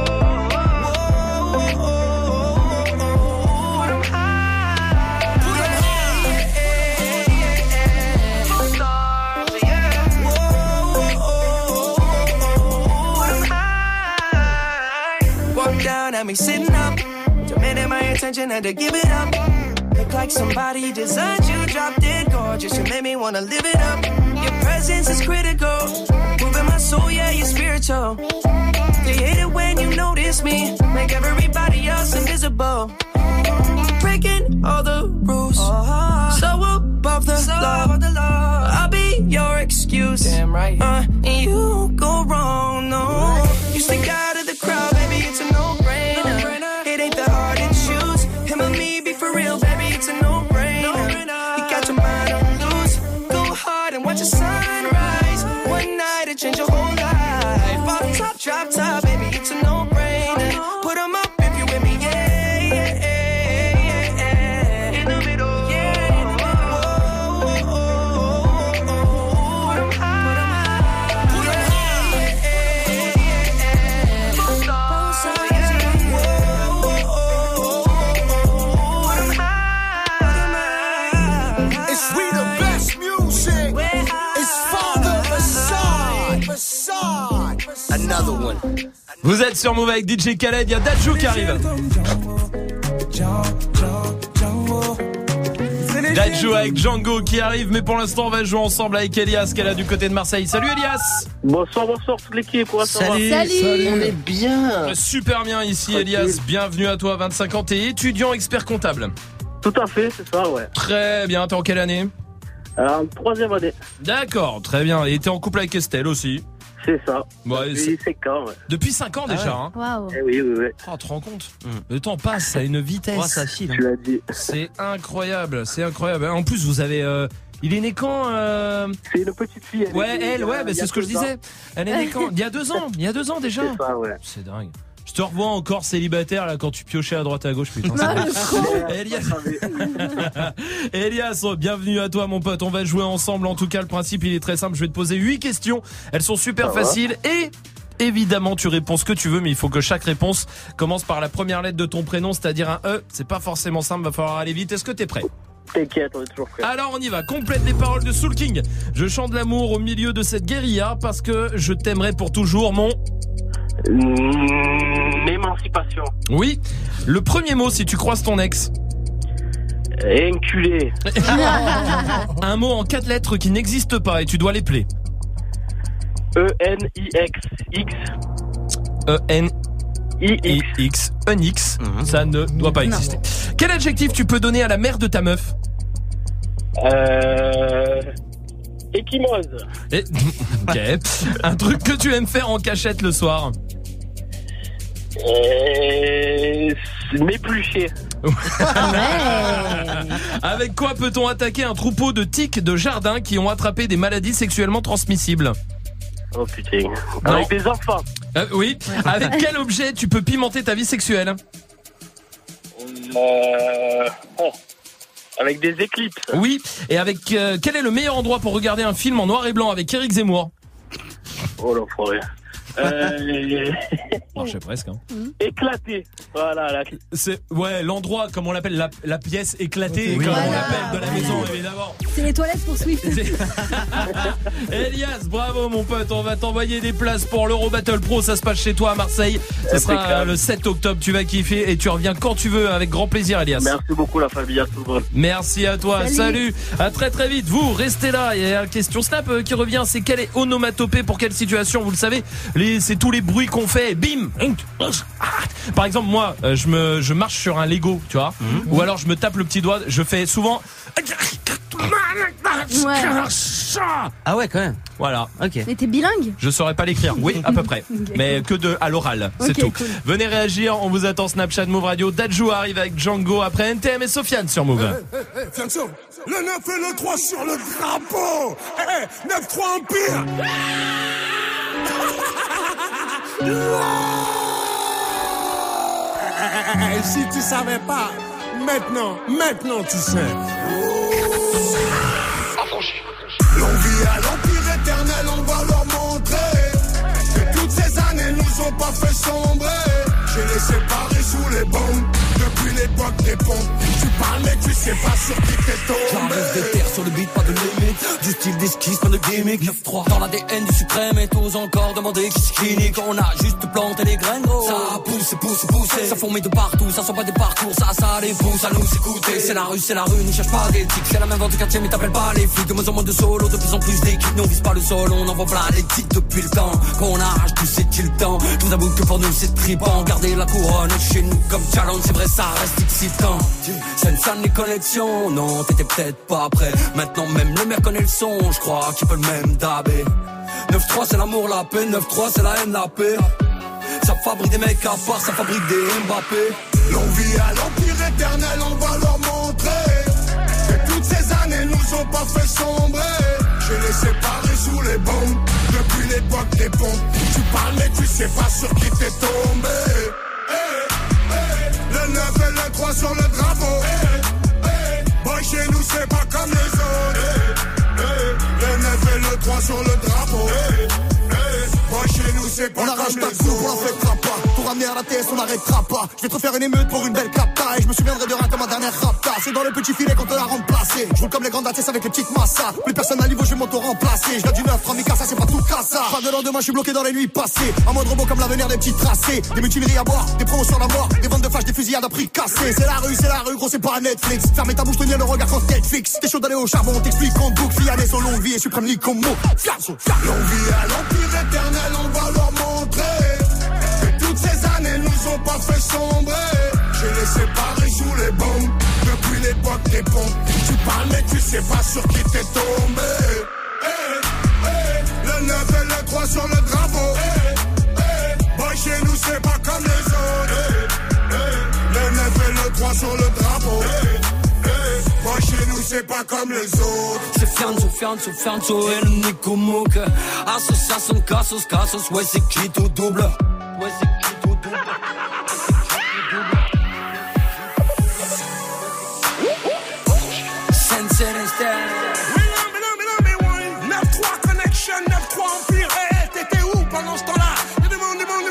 At me sitting up, demanding my attention, had to give it up. Look like somebody designed you, drop dead gorgeous. You made me wanna live it up. Your presence is critical, moving my soul, yeah, you're spiritual. They hate it when you notice me, make everybody else invisible. Breaking all the rules, so above the law. I'll be your excuse, damn right. And you go wrong, no. You stick out of the crowd, baby, it's a no-brainer. It ain't that hard to choose. Him or me, be for real, baby, it's a no-brainer. You got your mind on loose. Go hard and watch the sunrise. One night it change your whole life. Off top, drop top, baby, it's a no-brainer. Put 'em up if you with me, yeah. In the middle, yeah. In the middle. Put 'em high. Put 'em It's we the best music. It's Father Assad. Another one. Vous êtes sur Move avec DJ Khaled, il y a Dadju qui arrive. Dadju avec Django qui arrive, mais pour l'instant on va jouer ensemble avec Elias qui est là du côté de Marseille. Salut Elias. Bonsoir toute l'équipe. Salut. On est bien. Super bien ici Elias, bienvenue à toi, 25 ans, t'es étudiant expert comptable. Tout à fait, c'est ça, ouais. Très bien, t'es en quelle année? Troisième année. D'accord, très bien, et t'es en couple avec Estelle aussi? C'est ça. Ouais, depuis 5 ans, ouais. Depuis 5 ans déjà, hein. Waouh. Oui. Oh, tu te rends compte? Le temps passe à une vitesse. Oh, ça file. Tu l'as dit. C'est incroyable, c'est incroyable. En plus, vous avez... il est né quand C'est une petite fille. C'est ce que je disais. Elle est née quand? Il y a 2 ans. Il y a 2 ans déjà. C'est ça, ouais. C'est dingue. Je te revois encore célibataire là quand tu piochais à droite à gauche, putain. Elias, bienvenue à toi mon pote. On va jouer ensemble. En tout cas, le principe il est très simple. Je vais te poser 8 questions. Elles sont super faciles et évidemment tu réponds ce que tu veux, mais il faut que chaque réponse commence par la première lettre de ton prénom, c'est-à-dire un E. C'est pas forcément simple, va falloir aller vite. Est-ce que t'es prêt? T'inquiète, on est toujours prêt. Alors on y va, complète les paroles de Soul King. Je chante l'amour au milieu de cette guérilla parce que je t'aimerai pour toujours mon... Émancipation. Oui. Le premier mot si tu croises ton ex. Enculé. Un mot en 4 lettres qui n'existe pas et tu dois l'épeler. E-N-I-X. X. E-N-I-X. Un X. Ça ne doit pas exister. Quel adjectif tu peux donner à la mère de ta meuf? Équimose. Ok. Un truc que tu aimes faire en cachette le soir. M'éplucher. Avec quoi peut-on attaquer un troupeau de tiques de jardin qui ont attrapé des maladies sexuellement transmissibles? Oh putain. Avec des enfants. Oui. Avec quel objet tu peux pimenter ta vie sexuelle? Avec des éclipses. Oui. Et avec quel est le meilleur endroit pour regarder un film en noir et blanc avec Éric Zemmour? Oh l'enfoiré. Marchait presque. Hein. Éclaté. Voilà. C'est l'endroit, comme on l'appelle, la pièce éclatée, comme on l'appelle de la maison, évidemment. C'est les toilettes pour Swift. Elias, bravo mon pote. On va t'envoyer des places pour l'Euro Battle Pro. Ça se passe chez toi à Marseille. Ce sera le 7 octobre. Tu vas kiffer et tu reviens quand tu veux avec grand plaisir, Elias. Merci beaucoup la famille. À tout le monde. Merci à toi. Salut. À très très vite. Vous restez là. Il y a une question Snap qui revient. C'est quelle est onomatopée pour quelle situation? Vous le savez. C'est tous les bruits qu'on fait. Bim. Par exemple, moi, je marche sur un Lego, tu vois, ou alors je me tape le petit doigt. Je fais souvent. Ah ouais, quand même. Voilà. Ok. Mais t'es bilingue? Je saurais pas l'écrire. Oui, à peu près. Okay. Mais que à l'oral. C'est tout. Cool. Venez réagir. On vous attend. Snapchat Move Radio. Dadju arrive avec Django après NTM et Sofiane sur Move. Fianso, le 9 et le 3 sur le drapeau. 9-3 Empire. Si tu savais pas, maintenant tu sais. L'envie à l'empire éternel, on va leur montrer que toutes ces années nous ont pas fait sombrer. J'ai les séparés sous les bombes depuis l'époque des pompes. Tu parles mais tu sais pas sur qui t'es tombé. J'enlève des terres sur le beat, pas de limite. Du style d'esquisse, pas de gimmick. 9-3 dans l'ADN du suprême et tous encore demander qui c'est clinique. On a juste planté les graines, gros. Ça a poussé. Ça fourmille de partout, ça sent pas des parcours. Ça les pousse à nous écouter. C'est la rue, ne cherche pas d'éthique. C'est la même vente du quartier mais t'appelles pas les flics. De moins en moins de solo, de plus en plus d'équipes. Nous on vise pas le sol, on envoie plein les titres depuis le temps. Qu'on arrache tout c'est-il le temps. Je vous avoue que pour nous c'est trippant. Garder la couronne chez nous comme challenge, c'est vrai ça reste excitant. Senza les connexions, non t'étais peut-être pas prêt. Maintenant même le maire connaît le son, je crois qu'il peut le même dabé. 9-3 c'est l'amour, la paix, 9-3 c'est la haine, la paix. Ça fabrique des mecs à part, ça fabrique des Mbappé. L'envie à l'empire éternel, on va leur montrer que toutes ces années nous ont pas fait sombrer. Je les séparés sous les bombes depuis l'époque des pompes. Tu parles mais tu sais pas sur qui t'es tombé. Le 9 et le 3 sur le drapeau. Boy chez nous c'est pas comme les autres. Le 9 et le 3 sur le drapeau. Boy chez nous c'est pas comme les autres. On la fêtera pas. Pour ramener à la TS on n'arrêtera pas. Je vais te refaire une émeute pour une belle capta. Et je me souviendrai de rien comme ma dernière rapta. C'est dans le petit filet qu'on te l'a remplacé. Je roule comme les grandes ATS avec les petites massas. Plus personne à niveau je vais m'auto-remplacer. Je viens du 9, Ramika ça c'est pas tout cassa. Pas de lendemain je suis bloqué dans les nuits passées. En mode robot comme l'avenir des petits tracés. Des mutineries à boire, des promos sur la mort. Des ventes de flash, des fusillades à prix cassés. C'est la rue gros c'est pas Netflix. Fermez ta bouche, tenir le regard quand Netflix. T'es chaud d'aller au charbon, t'explique en boucle. Fiané son longue vie et suprême lit comme mot. L'envie à l'empire éternel, on va leur montrer que toutes ces années nous ont pas fait sombrer. Je les séparés sous les bombes depuis l'époque des pompes. Tu parles mais tu sais pas sur qui t'es tombé. Le 9 et le 3 sur le drapeau. Boy chez nous c'est pas comme les autres. Le 9 et le 3 sur le drapeau. Boy chez nous c'est pas comme les autres. C'est Fianso et le Nico Mouk. Association casos, ouais c'est qui tout double. Sensei Style. 9-3 connection, 9-3 empire. T'étais où pendant ce temps-là? Demande.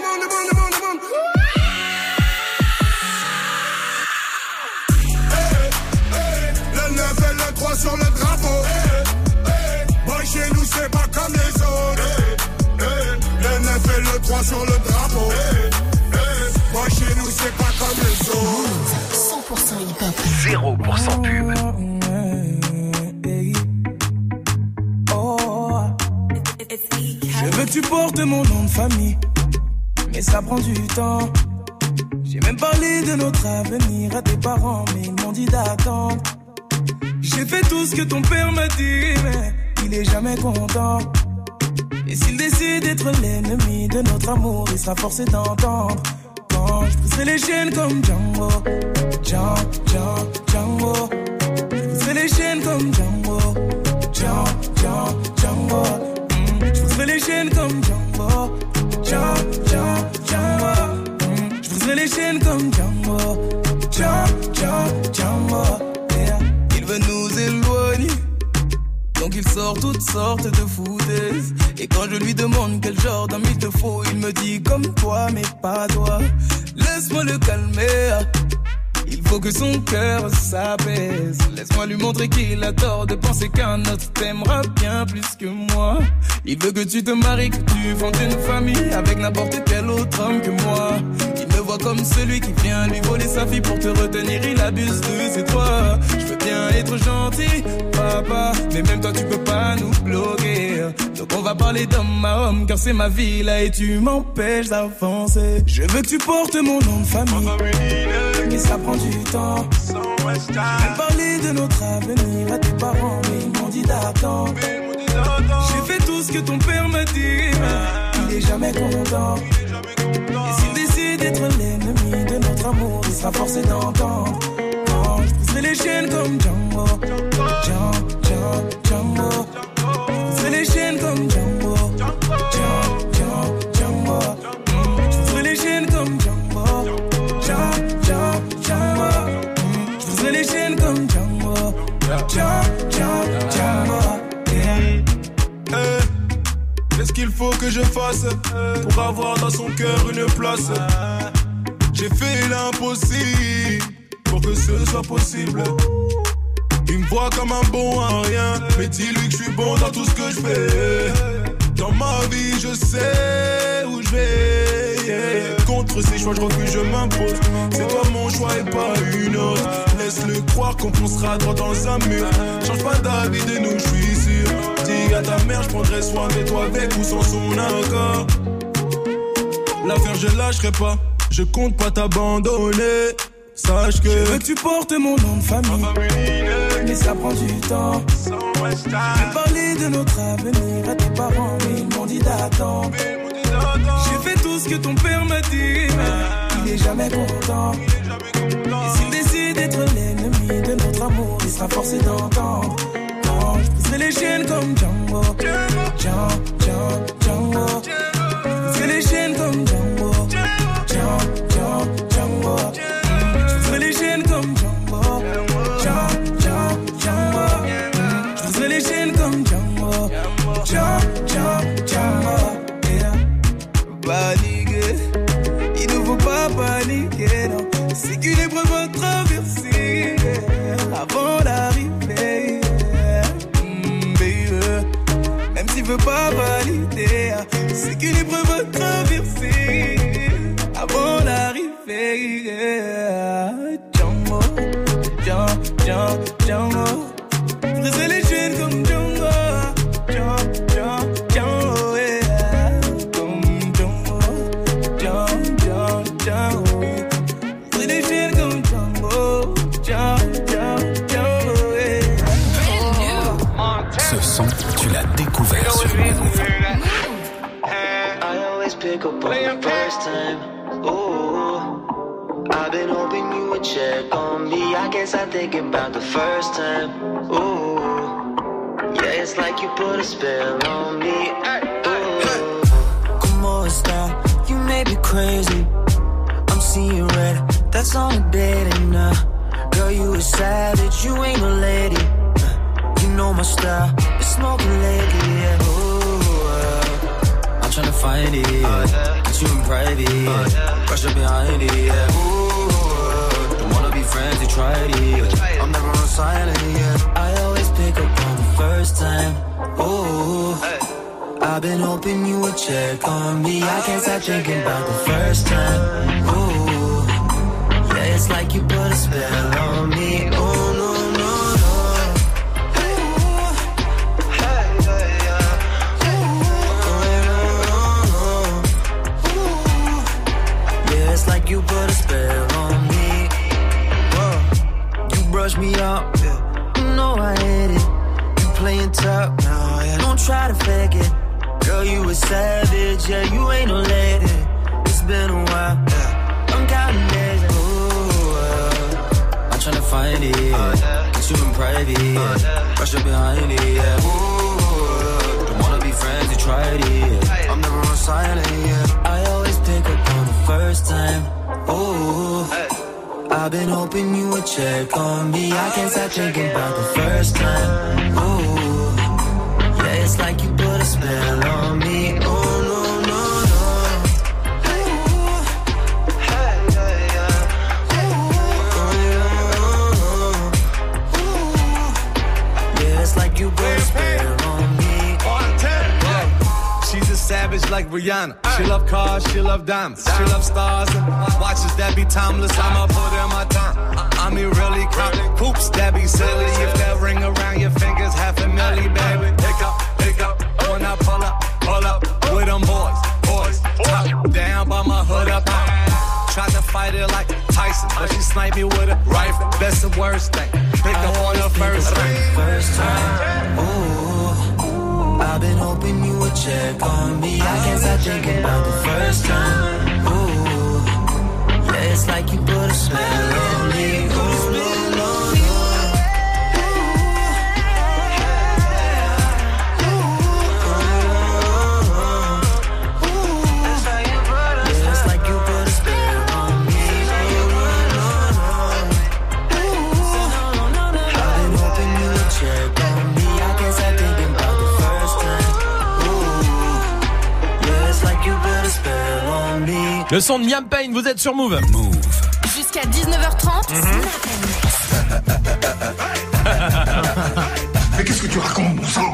Le 9 et le 3 sur le drapeau. Boy chez nous c'est pas comme les autres. Le 9 et le 3 sur le drapeau. Boy chez nous c'est pas comme les autres. 100% hip-hop. 0% pub. Je veux que tu portes mon nom de famille, mais ça prend du temps. J'ai même parlé de notre avenir à tes parents, mais ils m'ont dit d'attendre. J'ai fait tout ce que ton père m'a dit, mais il est jamais content. Et s'il décide d'être l'ennemi de notre amour, il sera forcé d'entendre. Je briserai les chaînes comme Django. Django. Je briserai les chaînes comme Django. Django. Je briserai les chaînes comme Django. Django. Je briserai les chaînes comme Django. Django. Yeah. Il veut nous éloigner, donc il sort toutes sortes de foutaises. Et quand je lui demande quel genre d'homme il te faut, il me dit comme toi mais pas toi. Laisse-moi le calmer, il faut que son cœur s'apaise. Laisse-moi lui montrer qu'il a tort de penser qu'un autre t'aimera bien plus que moi. Il veut que tu te maries, que tu fondes une famille avec n'importe quel autre homme que moi. Il me voit comme celui qui vient lui voler sa fille pour te retenir, il abuse de ses droits. Je veux bien être gentil, papa, mais même toi tu peux pas nous bloquer. Donc on va parler d'homme à homme, car c'est ma vie là et tu m'empêches d'avancer. Je veux que tu portes mon nom de famille, mais ça prend du temps. J'ai parlé de notre avenir à tes parents, mais ils m'ont dit d'attendre. J'ai fait tout ce que ton père m'a dit, il est jamais content. Et s'il décide d'être l'ennemi de notre amour, il sera forcé d'entendre. Je briserai les chaînes comme Django. Django. Je briserai les chaînes comme Django. Django. Je briserai les chaînes comme Django. Django. Je briserai les chaînes comme Django. Django. Qu'est-ce qu'il faut que je fasse pour avoir dans son cœur une place? J'ai fait l'impossible pour que ce soit possible. Il me voit comme un bon à rien, mais dis-lui que je suis bon dans tout ce que je fais. Dans ma vie je sais où je vais, yeah. Contre ces choix je refuse, je m'impose. C'est toi mon choix et pas une autre. Laisse-le croire qu'on foncera droit dans un mur. Change pas d'avis de nous, je suis sûr. Dis à ta mère, je prendrai soin de toi avec ou sans son accord. L'affaire je lâcherai pas, je compte pas t'abandonner. Sache que je veux que tu portes mon nom de famille, mais ça prend du temps. J'ai parlé de notre avenir à tes parents, mais ils m'ont dit d'attendre. J'ai fait tout ce que ton père m'a dit, mais il est jamais content. Et s'il décide d'être l'ennemi de notre amour, il sera forcé d'entendre. Je briserai les chaînes comme Django. Django. Je briserai les chaînes comme Django. Django. Je briserai les chaînes comme Django. Django. Je briserai les chaînes comme Django. Django. Paniquer, il ne faut pas paniquer, non. C'est qu'une épreuve à traverser avant d'arriver. Même s'il veut pas valider, c'est qu'une épreuve à traverser avant d'arriver. Django. Briser les chaînes comme Django. Django, yeah. Comme Django. Briser les chaînes comme Django. Django, yeah. Ce son, tu l'as découvert sur Move. I always pick up on the first time. Ooh, I've been hoping you would check on me. I guess I think about the first time. Ooh, yeah, it's like you put a spell on me. Ooh, Como está? You may be crazy. I'm seeing red. That's on a date and girl, you a savage. You ain't no lady. You know my style. Been smoking lately, yeah. Ooh, I'm tryna find it, yeah. Get you in private, yeah. Brush up behind it, yeah. Ooh, don't wanna be friends, you tried it, yeah. I'm never on silent, yeah. I always pick up on the first time. Ooh, I've been hoping you would check on me. I can't stop thinking about the first time. Ooh, yeah, it's like you put a spell on me. Oh, no. It's like you put a spell on me. Whoa. You brush me up, yeah. You know I hate it. You playing tough, no, yeah. Don't try to fake it. Girl, you a savage, yeah. You ain't no lady. It's been a while, yeah. I'm counting days. I'm tryna find it, get you in private, rush up behind it, yeah. Don't wanna be friends, you tried it. I'm never on silent, yeah. I always pick up on the first time. Ooh, I've been hoping you would check on me. I can't stop thinking about the first time. Ooh, yeah, it's like you put a spell on me. Oh no, no, no. Yeah, it's like you put a spell on me. She's a savage like Rihanna. She love cars, she love diamonds. She love stars and watches that be timeless. I'ma put in my time. I mean really count coops that be silly. If that ring around your fingers, $500,000, baby. Pick up, when I pull up with them boys. Top down by my hood up. Tried to fight it like Tyson, but she sniped me with a rifle. That's the worst thing. Pick up on the first time. Ooh, I've been hoping you would check on me. I can't stop thinking about the first time. Ooh, yeah, it's like you put a spell on me. Ooh, no, no, Le son de Liam Payne, vous êtes sur Move. Jusqu'à 19h30. Mais qu'est-ce que tu racontes, bon sang?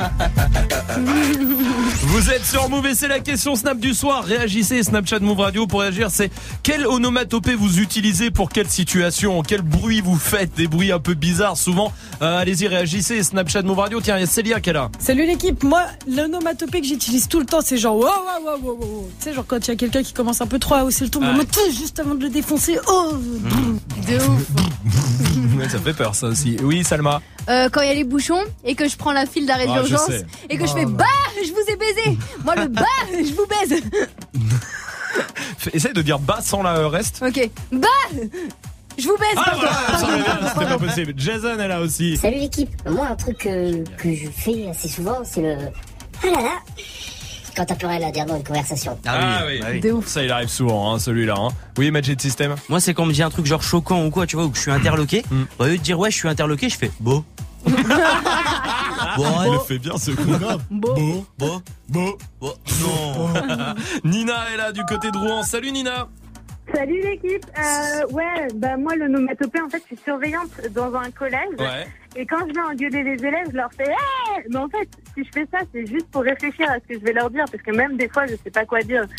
Vous êtes sur Move et c'est la question Snap du soir. Réagissez, Snapchat Move Radio pour réagir. C'est quelle onomatopée vous utilisez pour quelle situation? Quel bruit vous faites? Des bruits un peu bizarres souvent. Allez-y, réagissez, Snapchat Move Radio. Tiens, il y a Célia qui est là. Salut l'équipe. Moi, l'onomatopée que j'utilise tout le temps, c'est genre wow, wow, wow, wow, wow. Tu sais, genre quand il y a quelqu'un qui commence un peu trop à hausser le ton, juste avant de le défoncer. Oh, de ouf. Ça fait peur ça aussi. Oui, Salma. Quand il y a les bouchons et que je prends la file d'arrêt d'urgence et que je fais bah, je vous ai baisé. Moi le bah, je vous baise. Essaye de dire bah sans la reste. Ok. Bah, je vous baise. C'était pas possible. Jason est là aussi. Salut l'équipe. Moi un truc que je fais assez souvent, c'est le ah là là. Quand t'as plus rien à dire dans une conversation. Ah oui. De ouf. Ça il arrive souvent celui-là. Oui, Magic System. Moi c'est quand on me dit un truc genre choquant ou quoi, tu vois, ou que je suis interloqué. Au lieu de dire ouais je suis interloqué, je fais beau. Bon, il le fait bien ce coup. Beau. Non. Nina est là du côté de Rouen. Salut Nina. Salut l'équipe. Moi l'onomatopée en fait je suis surveillante dans un collège. Ouais. Et quand je vais engueuler les élèves, je leur fais hey! Mais en fait, si je fais ça, c'est juste pour réfléchir à ce que je vais leur dire parce que même des fois, je sais pas quoi dire.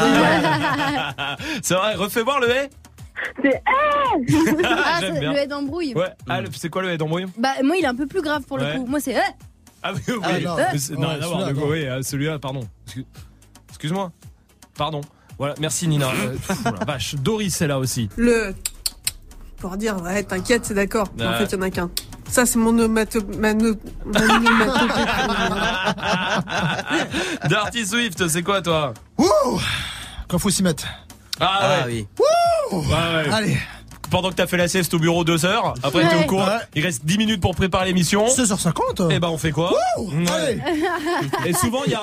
C'est vrai, refais voir le hé. C'est J'aime bien. Le hé d'embrouille. Ouais. C'est quoi le hé d'embrouille? Bah moi il est un peu plus grave pour le coup. Moi c'est Ah oui. Celui-là, pardon. Excuse-moi. Pardon. Voilà, merci Nina. La vache, Doris est là aussi. Le pour dire ouais, t'inquiète, c'est d'accord. En fait, il y en a qu'un. Ça c'est mon onomatopée. Dirty Swift, c'est quoi toi? Quand faut s'y mettre. Ah oui. Ouais. Allez. Pendant que t'as fait la sieste au bureau 2 heures, après t'es au cours, il reste 10 minutes pour préparer l'émission. 16h50. Et ben on fait quoi? Allez. Et souvent il y a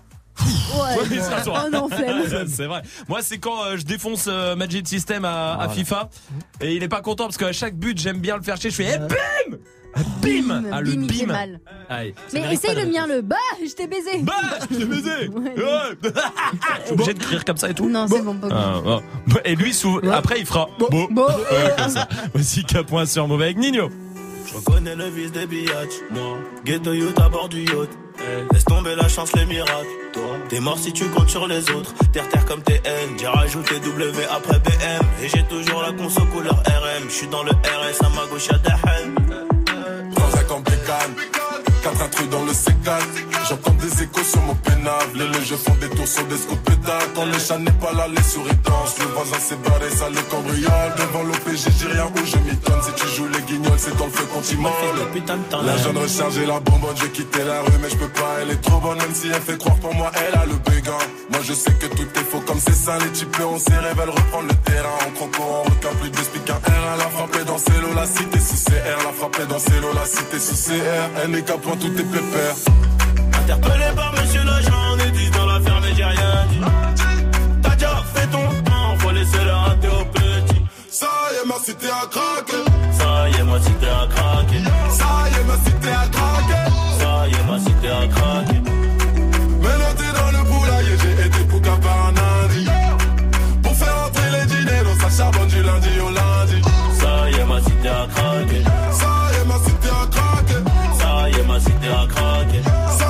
oh non, flemme. C'est vrai. Moi, c'est quand je défonce Magic System à FIFA et il est pas content parce qu'à chaque but, j'aime bien le faire chier. Je fais bim! Bim! Le bim, il fait mal. Allez, mais essaye le mien, le bah, je t'ai baisé. Bah, je t'ai baisé. Je suis obligé de crier comme ça et tout. Non, c'est bon, pas Et lui, après, il fera beau. Comme ça. Voici K. sur Move avec Nino. Je reconnais le vice des biatchs, moi. Ghetto youth à bord du yacht. Laisse tomber la chance, les miracles. T'es mort si tu comptes sur les autres. Terre comme TN, j'ai rajouté W après BM. Et j'ai toujours la conso couleur RM. J'suis dans le RS, à ma gauche y'a des haines. Dans un camp bécane, 4 intrus dans le C4. J'entends des échos sur mon pénable. Les jeux font des tours sur des scouts pétards. Quand le chat n'est pas là, les souris dansent. Le voisin s'est barré, ça le cambriole. Devant l'OPG, j'ai rien où je m'étonne. Si tu joues les guignols, c'est dans le feu qu'on t'y molle. La jeune recharge et la bonbonne, j'ai quitté la rue, mais je peux pas. Elle est trop bonne, même si elle fait croire pour moi, elle a le béguin. Moi je sais que tout est faux comme c'est ça. Les types on s'y révèle, reprendre le terrain. En croco, en requin, plus d'esprit qu'un R. Elle a frappé dans ses lots, la cité sous CR. La frappé dans ses lots, la cité sous CR. Elle n'est qu'à point, tout est pépère. Interpellé par monsieur l'agent, on est 10 dans l'affaire, mais j'ai rien dit. T'as déjà fait ton temps, faut laisser le rater au petit. Ça y est, ma cité a craqué. Ça y est, ma cité a craqué. Ça y est, ma cité a craqué. Ça y est, ma cité a craqué. Maintenant t'es dans le poulailler, j'ai été pouka par un lundi. Pour faire entrer les dîners, dans sa charbonne du lundi au lundi. Ça y est, ma cité a craqué. Ça y est, ma cité a craqué. Ça y est, ma cité a craqué.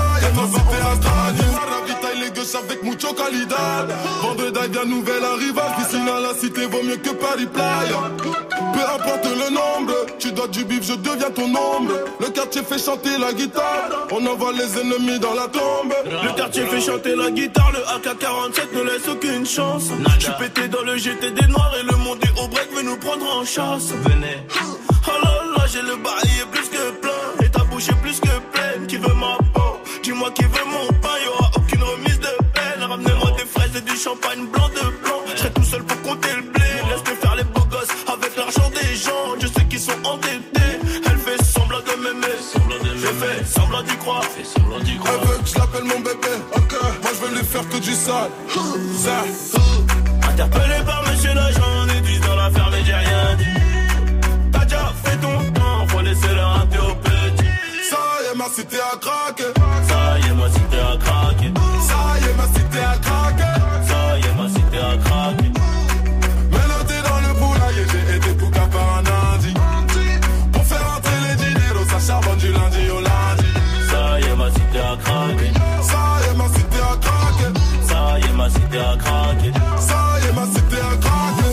Avec mucho calidad. Vendredi bien nouvelle arrivage. D'ici à la cité vaut mieux que Paris Playa. Peu importe le nombre, tu dois du bif, je deviens ton ombre. Le quartier fait chanter la guitare, on envoie les ennemis dans la tombe. Le quartier fait chanter la guitare, le AK-47 ne laisse aucune chance. Je suis pété dans le GT des noirs et le monde est au break veut nous prendre en chasse. Venez. Oh là là, j'ai le bail est plus que plein et ta bouche est plus que pleine. Qui veut ma peau? Dis-moi qui veut mon pain, y'aura aucune remise de peine. Ramenez-moi des fraises et du champagne blanc de blanc. Je serai tout seul pour compter le blé. Laisse-moi faire les beaux gosses avec l'argent des gens. Je sais qu'ils sont endettés. Elle fait semblant de m'aimer. Je fais semblant d'y croire. Elle veut que je l'appelle mon bébé. Ok, moi je veux lui faire que du sale. Interpellé par monsieur l'agent, on est 10 dans l'affaire, mais j'ai rien dit. T'as déjà fait ton temps, faut laisser le rater au petit. Ça y est, ma cité a craqué. Ça y est, ma cité a craqué. Ça y est, ma cité a craqué. Ça y est, ma cité a craqué. Maintenant t'es dans le poulailler, j'ai été pouka par un lundi. Pour faire entrer les dîners, ça charbonne du lundi au lundi. Ça y est, ma cité a craqué. Ça y est, ma cité a craqué. Ça y est, ma cité a craqué. Ça y est, ma cité a craqué.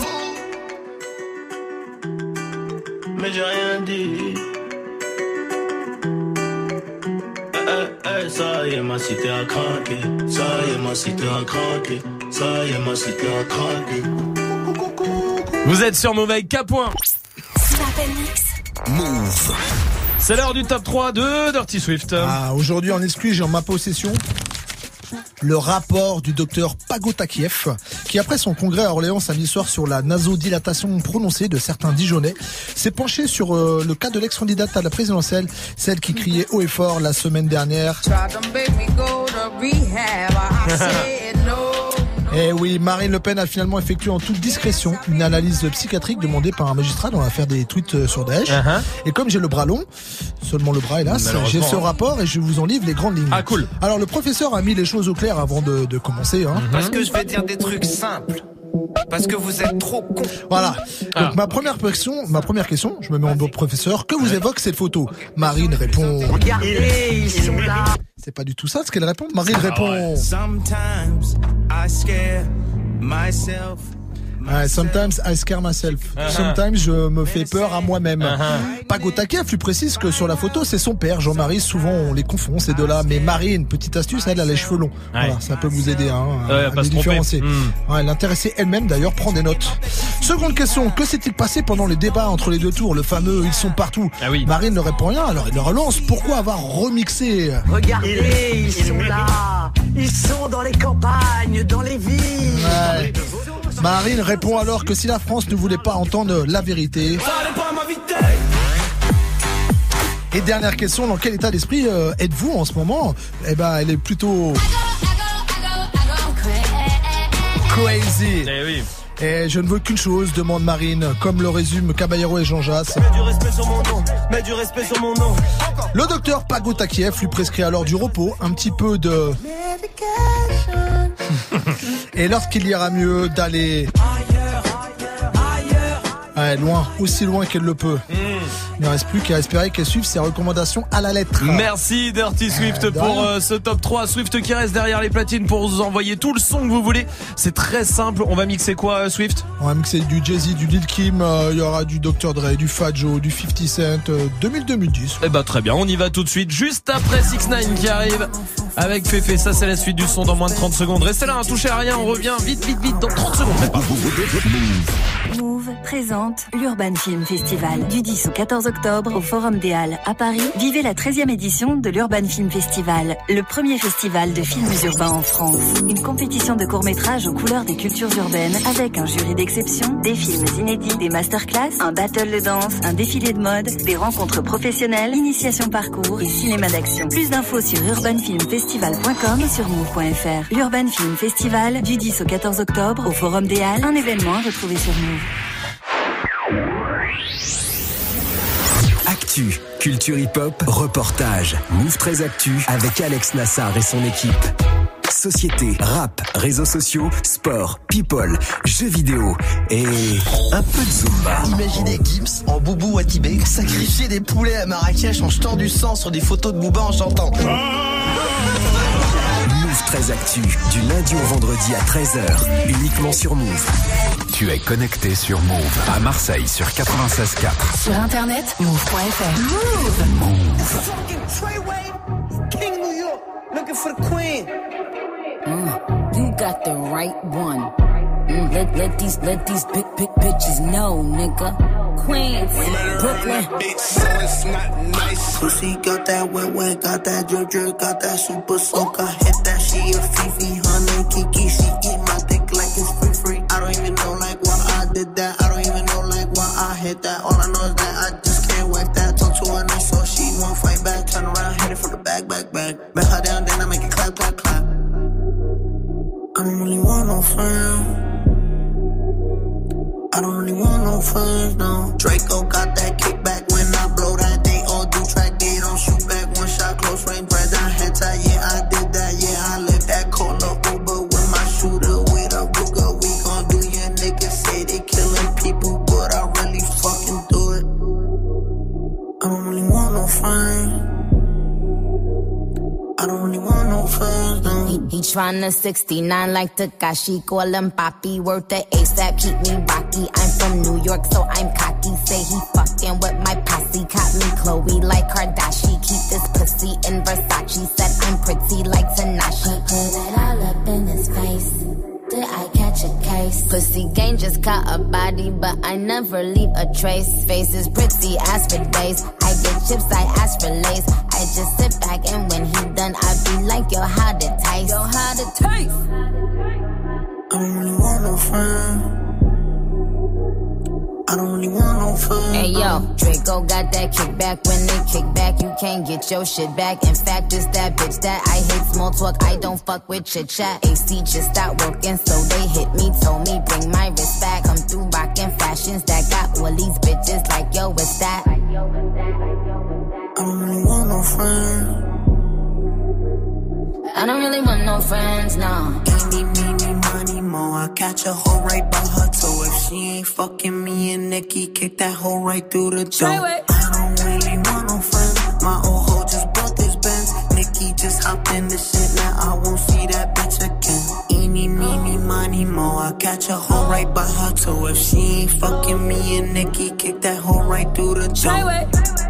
Mais j'ai rien dit. Ça y est, ma cité a craqué. Ça y est, ma cité a craqué. Ça y est, ma cité a craqué. Vous êtes sur Move avec K. Move. C'est l'heure du top 3 de Dirty Swift. Aujourd'hui en exclu, j'ai en ma possession le rapport du docteur Pagotakiev, qui après son congrès à Orléans samedi soir sur la nasodilatation prononcée de certains Dijonnais, s'est penché sur le cas de l'ex-candidate à la présidentielle, celle qui criait haut et fort la semaine dernière. Eh oui, Marine Le Pen a finalement effectué en toute discrétion une analyse psychiatrique demandée par un magistrat dans l'affaire des tweets sur Daesh. Et comme j'ai le bras long, seulement le bras hélas, j'ai ce rapport et je vous en livre les grandes lignes. Ah cool. Alors le professeur a mis les choses au clair avant de commencer. Parce que je vais dire des trucs simples. Parce que vous êtes trop con. Voilà. Donc ma première question, je me mets en mode professeur. Que vous évoque cette photo? Marine répond. Regardez, ils sont là. C'est pas du tout ça ce qu'elle répond. Marine répond. Sometimes I scare myself. Sometimes I scare myself. Sometimes je me fais peur à moi-même. Pagotakiev lui précise que sur la photo c'est son père Jean-Marie. Souvent on les confond ces deux-là. Mais Marine, petite astuce, elle a les cheveux longs. Voilà, ça peut vous aider à les différencier. L'intéressée elle-même d'ailleurs prend des notes. Seconde question, que s'est-il passé pendant les débats entre les deux tours? Le fameux ils sont partout. Marine ne répond rien, alors il le relance. Pourquoi avoir remixé? Regardez, ils sont là. Ils sont dans les campagnes, dans les villes. Marine répond alors que si la France ne voulait pas entendre la vérité. Et dernière question, dans quel état d'esprit êtes-vous en ce moment? Eh ben, elle est plutôt crazy. Eh oui. Et je ne veux qu'une chose, demande Marine, comme le résume Caballero et Jean Jass. Mets du respect sur mon nom, mets du respect sur mon nom. Le docteur Pagotakiev lui prescrit alors du repos, un petit peu de... Et lorsqu'il ira mieux d'aller... loin, aussi loin qu'elle le peut. Il ne reste plus qu'à espérer qu'elle suive ses recommandations à la lettre. Merci Dirty Swift pour ce top 3. Swift qui reste derrière les platines pour vous envoyer tout le son que vous voulez. C'est très simple. On va mixer quoi, Swift? On va mixer du Jay-Z, du Lil Kim, il y aura du Dr. Dre, du Fat Joe, du 50 Cent, 2010. Eh bah très bien, on y va tout de suite, juste après 6ix9ine qui arrive. avec Féfé. Ça, c'est la suite du son dans moins de 30 secondes. Restez là, touchez à rien, on revient vite dans 30 secondes. Move présente l'Urban Film Festival du 10 au 14 octobre au Forum des Halles à Paris. Vivez la 13e édition de l'Urban Film Festival, le premier festival de films urbains en France. Une compétition de courts-métrages aux couleurs des cultures urbaines avec un jury d'exception, des films inédits, des masterclass, un battle de danse, un défilé de mode, des rencontres professionnelles, initiation parcours et cinéma d'action. Plus d'infos sur urbanfilmfestival.com et sur move.fr. L'Urban Film Festival du 10 au 14 octobre au Forum des Halles, un événement à retrouver sur Move. Actu, culture hip-hop, reportage. Move 13 Actu avec Alex Nassar et son équipe. Société, rap, réseaux sociaux, sport, people, jeux vidéo et un peu de Zumba. Imaginez Gims en Boubou à Tibet sacrifier des poulets à Marrakech en jetant du sang sur des photos de Booba en chantant. Move 13 Actu, du lundi au vendredi à 13h, uniquement sur Move. Tu es connecté sur Move, à Marseille sur 96.4. Sur internet, move.fr. Move. King New York, looking for the queen. You got the right one. Let these big bitches know, nigga. Queens, Brooklyn. Bitch, so it's not nice. Pussy got that wet, got that drip, got that super soak. I hit that, she a Fifi, honey, Kiki. She eat my dick like it's free. I don't even know like why I did that. I don't even know like why I hit that. All I know is that I just can't wipe that. Talk to her nice so she won't fight back. Turn around, hit it for the back. Bet her down, then I make it clap. I don't really want no friends. I don't really want no friends, no. Draco got that kickback when I blow that. They all do track, they don't shoot back. One shot, close range, bread down, head tie. Yeah, I did that, yeah, I lived that. Call up Uber with my shooter, with a Ruger. We gon' do your niggas say they killing people, but I really fucking do it. I don't really want no friends. I don't really want no friends, no. He tryna 69 like Takashi, call him Papi, worth the ASAP, keep me rocky. I'm from New York, so I'm cocky. Say he fucking with my posse, caught me Chloe like Kardashian. Keep this pussy in Versace, said I'm pretty like Tanashi. Put it all up in his face. Did I catch a case? Pussy gang just caught a body, but I never leave a trace. Face is pretty, ask for days. I get chips, I ask for lace. I just sit back and when he done, I be like, yo, how'd it taste? Yo, how'd it taste? I don't really want no friends. I don't really want no fun. Hey yo, Draco got that kickback. When they kick back, you can't get your shit back. In fact, it's that bitch that I hate small talk. I don't fuck with chit chat. AC just stopped working, so they hit me, told me bring my wrist back. Come through rockin' fashions that got all these bitches like yo, what's that? I don't really want no friends. I don't really want no friends, no. Eeny, money, more. I catch a hoe right by her toe. If she ain't fucking me and Nikki, kick that hoe right through the door. I don't really want no friends. My old hoe just bought this Benz. Nikki just hopped in the shit, now I won't see that bitch again. Eeny, money, more. I catch a hoe right by her toe. If she ain't fucking me and Nikki, kick that hoe right through the door.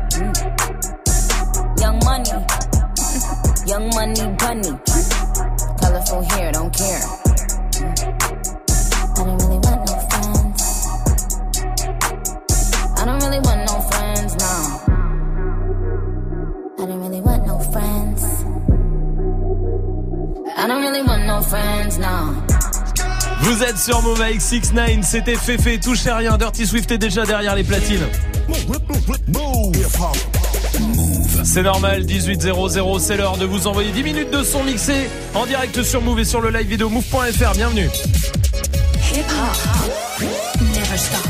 Young money. Young money bunny. Colorful hair, don't care. I don't really want no friends. I don't really want no friends, no. I don't really want no friends. I don't really want no friends, no. Vous êtes sur Move avec 6ix9ine, c'était Féfé, touchez rien, Dirty Swift est déjà derrière les platines. C'est normal, 18h00, c'est l'heure de vous envoyer 10 minutes de son mixé en direct sur Move et sur le live vidéo move.fr, bienvenue. Hip hop, never stop.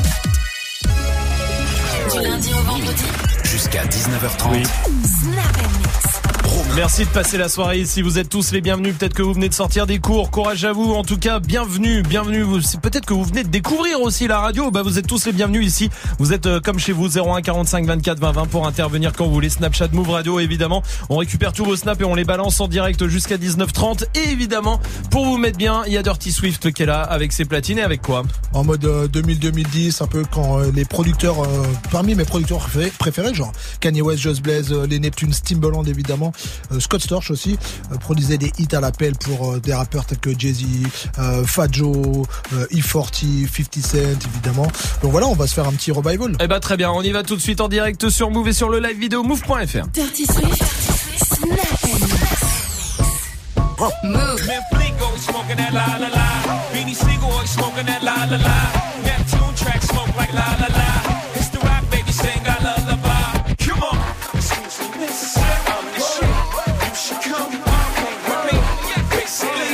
Du lundi au vendredi. Jusqu'à 19h30. Oui. Snap and mix. Merci de passer la soirée ici, vous êtes tous les bienvenus, peut-être que vous venez de sortir des cours, courage à vous, en tout cas bienvenue, peut-être que vous venez de découvrir aussi la radio, bah vous êtes tous les bienvenus ici, vous êtes comme chez vous, 01 45 24 20 20 pour intervenir quand vous voulez, Snapchat Move Radio évidemment, on récupère tous vos snaps et on les balance en direct jusqu'à 19h30 et évidemment, pour vous mettre bien, il y a Dirty Swift qui est là avec ses platines et avec quoi ? En mode 2000-2010, un peu quand les producteurs, parmi mes producteurs préférés, genre Kanye West, Just Blaze, les Neptunes, Timbaland évidemment, Scott Storch aussi produisait des hits à l'appel pour des rappeurs tels que Jay-Z, Fat Joe, E40, 50 Cent évidemment. Donc voilà, on va se faire un petit revival. Eh ben très bien, on y va tout de suite en direct sur Move et sur le live vidéo move.fr. Dirty Swift, Snap and Mix. Move. Man, Fleeko smoking that la la la. Beanie Siegel smoking that la la la. Neptune track smoke like la la la. It's the rock baby sing I lullaby. Come on, excuse me, miss. I'm the shit. You should come hang with me. Basically,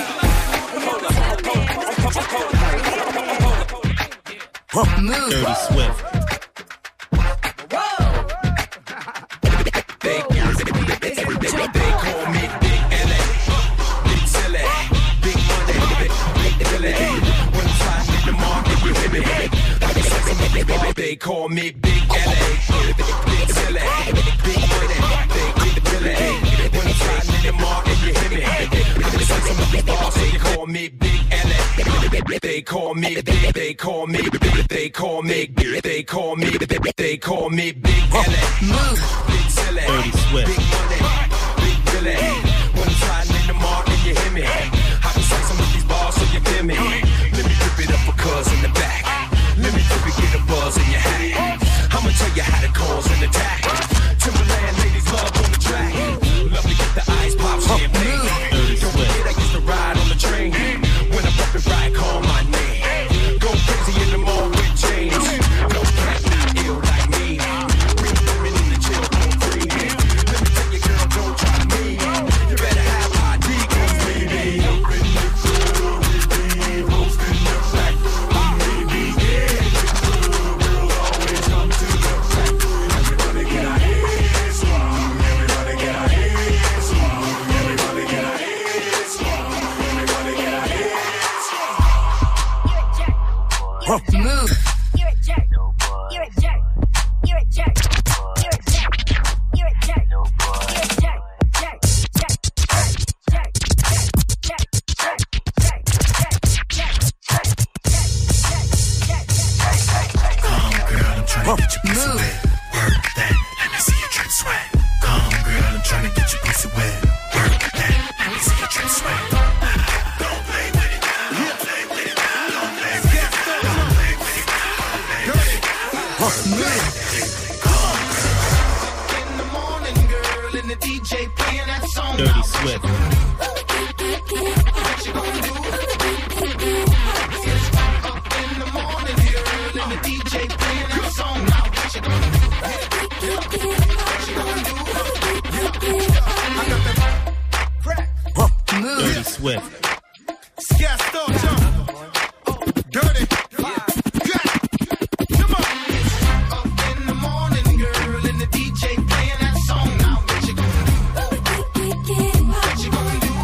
hold up. Move. Dirty Swift. They call me Big LA, Big Silly, Big Money, Big Billy. When I'm riding in the market, you hear me. They call me Big LA. They call me Big. They call me Big. They call me Big. They call me Big. They call me Big LA. Move, Big Silly, Big Money, Big Billy. When I'm riding in the market, you hear me. I can say some of these bars so you hear me. Let me rip it up for cuz in the back. Let me flip it, get a buzz in your hat. I'ma tell you how to cause an attack. Timberland ladies love on the track. Love to get the ice pop champagne. Don't forget I used to ride on the train. When I bump it right, call my name. Go crazy in the mall with James. No cat not ill like me. Bring women in the chill on free. Let me tell you girl, don't try me. You better have ID, cause we be up in the club. We be hosting the back. Move. You're a jerk. You're a jerk. You're a jerk. You're a jerk. You're a jerk. You're a jerk. Jerk. Jerk. Jerk. Jerk. Come on, girl, I'm trying to get your pussy wet. Work that. Let me see your drip sweat. Come on, girl, I'm trying to get your pussy wet. Work that. Let me see your drip sweat. Don't play with it. Don't play with it. Don't play with it. Don't play with it. Don't play with it. In the morning, girl, and the DJ playing that song. Dirty Swift. What you gonna do? Up in the morning, girl, and the DJ playing that song. Now what you gonna do? What you gonna do? I got that crack. Dirty Swift. Scared up, jump. Dirty. Come on. Up in the morning, girl, and the DJ playing that song. Now what you gonna do? What you gonna do?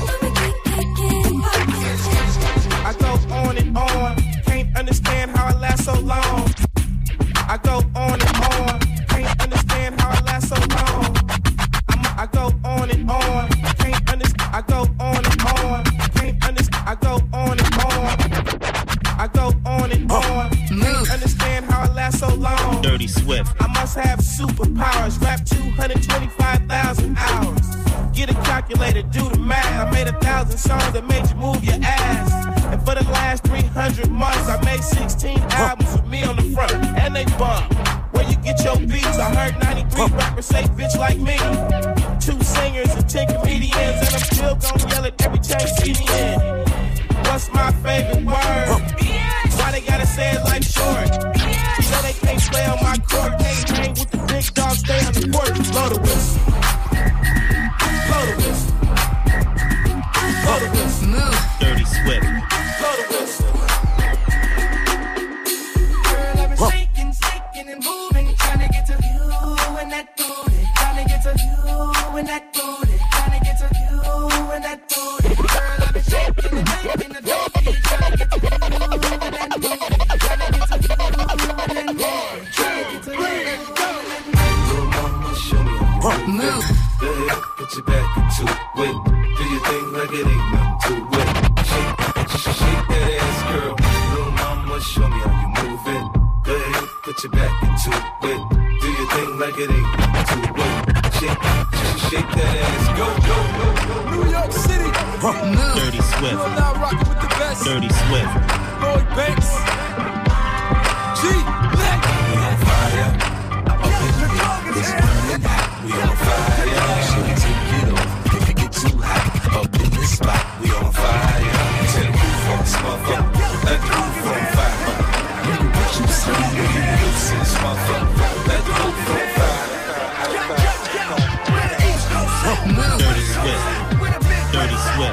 I go on and on. Can't understand how I last so long. I go on and on. Can't understand how I last so long. I go on and on. Can't understand. I go on and on. Can't understand. I go on and on. I go on and on. Can't understand how I last so long. Dirty Swift. I must have superpowers. Rap 225,000 hours. Get a calculator, do the math. I made 1,000 songs that made you move your ass. And for the last 300 months, I made 16 albums with me on the front, and they bump. Where you get your beats? I heard 93 rappers say bitch like me. 2 singers and 10 comedians, and I'm still gonna yell it every time you see me in. What's my favorite word? Why they gotta say it like short? You know they can't play on my court. Can't hang with the big dogs, stay on the court. Blow the whistle. Blow the whistle. Blow the whistle. Move. Dirty Swift. Blow the whistle. Girl, I've been shaking, shaking and moving, trying to get to you and that booty. Trying to get to you and that booty. Trying to get to you and that booty. Girl, I've been shaking and making the booty. Trying to get to you and that booty. Trying to get to you and that booty. Trying to get to you and that booty. Move. Go ahead, put your back into it. Do your thing like it ain't nothing to it. Dirty Swift. You are now rocking with the best. Dirty Swift. Lloyd Banks. G. Black. We on fire. Up in the beat. It's burning hot. We on fire. Shit, take it off. If you get too hot. Up in this spot. We on fire. Set the roof on this motherfucker. Let the roof on fire. Look at what you see. Look at this motherfucker. Let the roof on fire. Dirty Swift. Dirty Swift.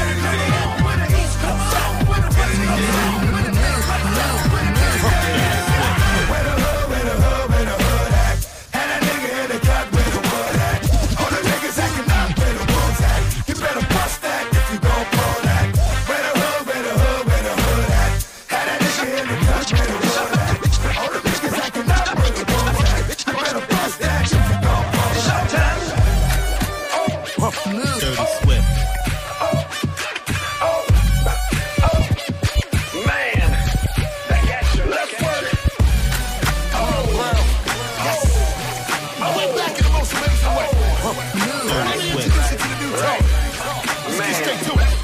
Dirty Swift. Man, that action, let's work. Oh, well. I went back in the most amazing way. Dirty Swift. Listen to the new tone. Let's get straight to it.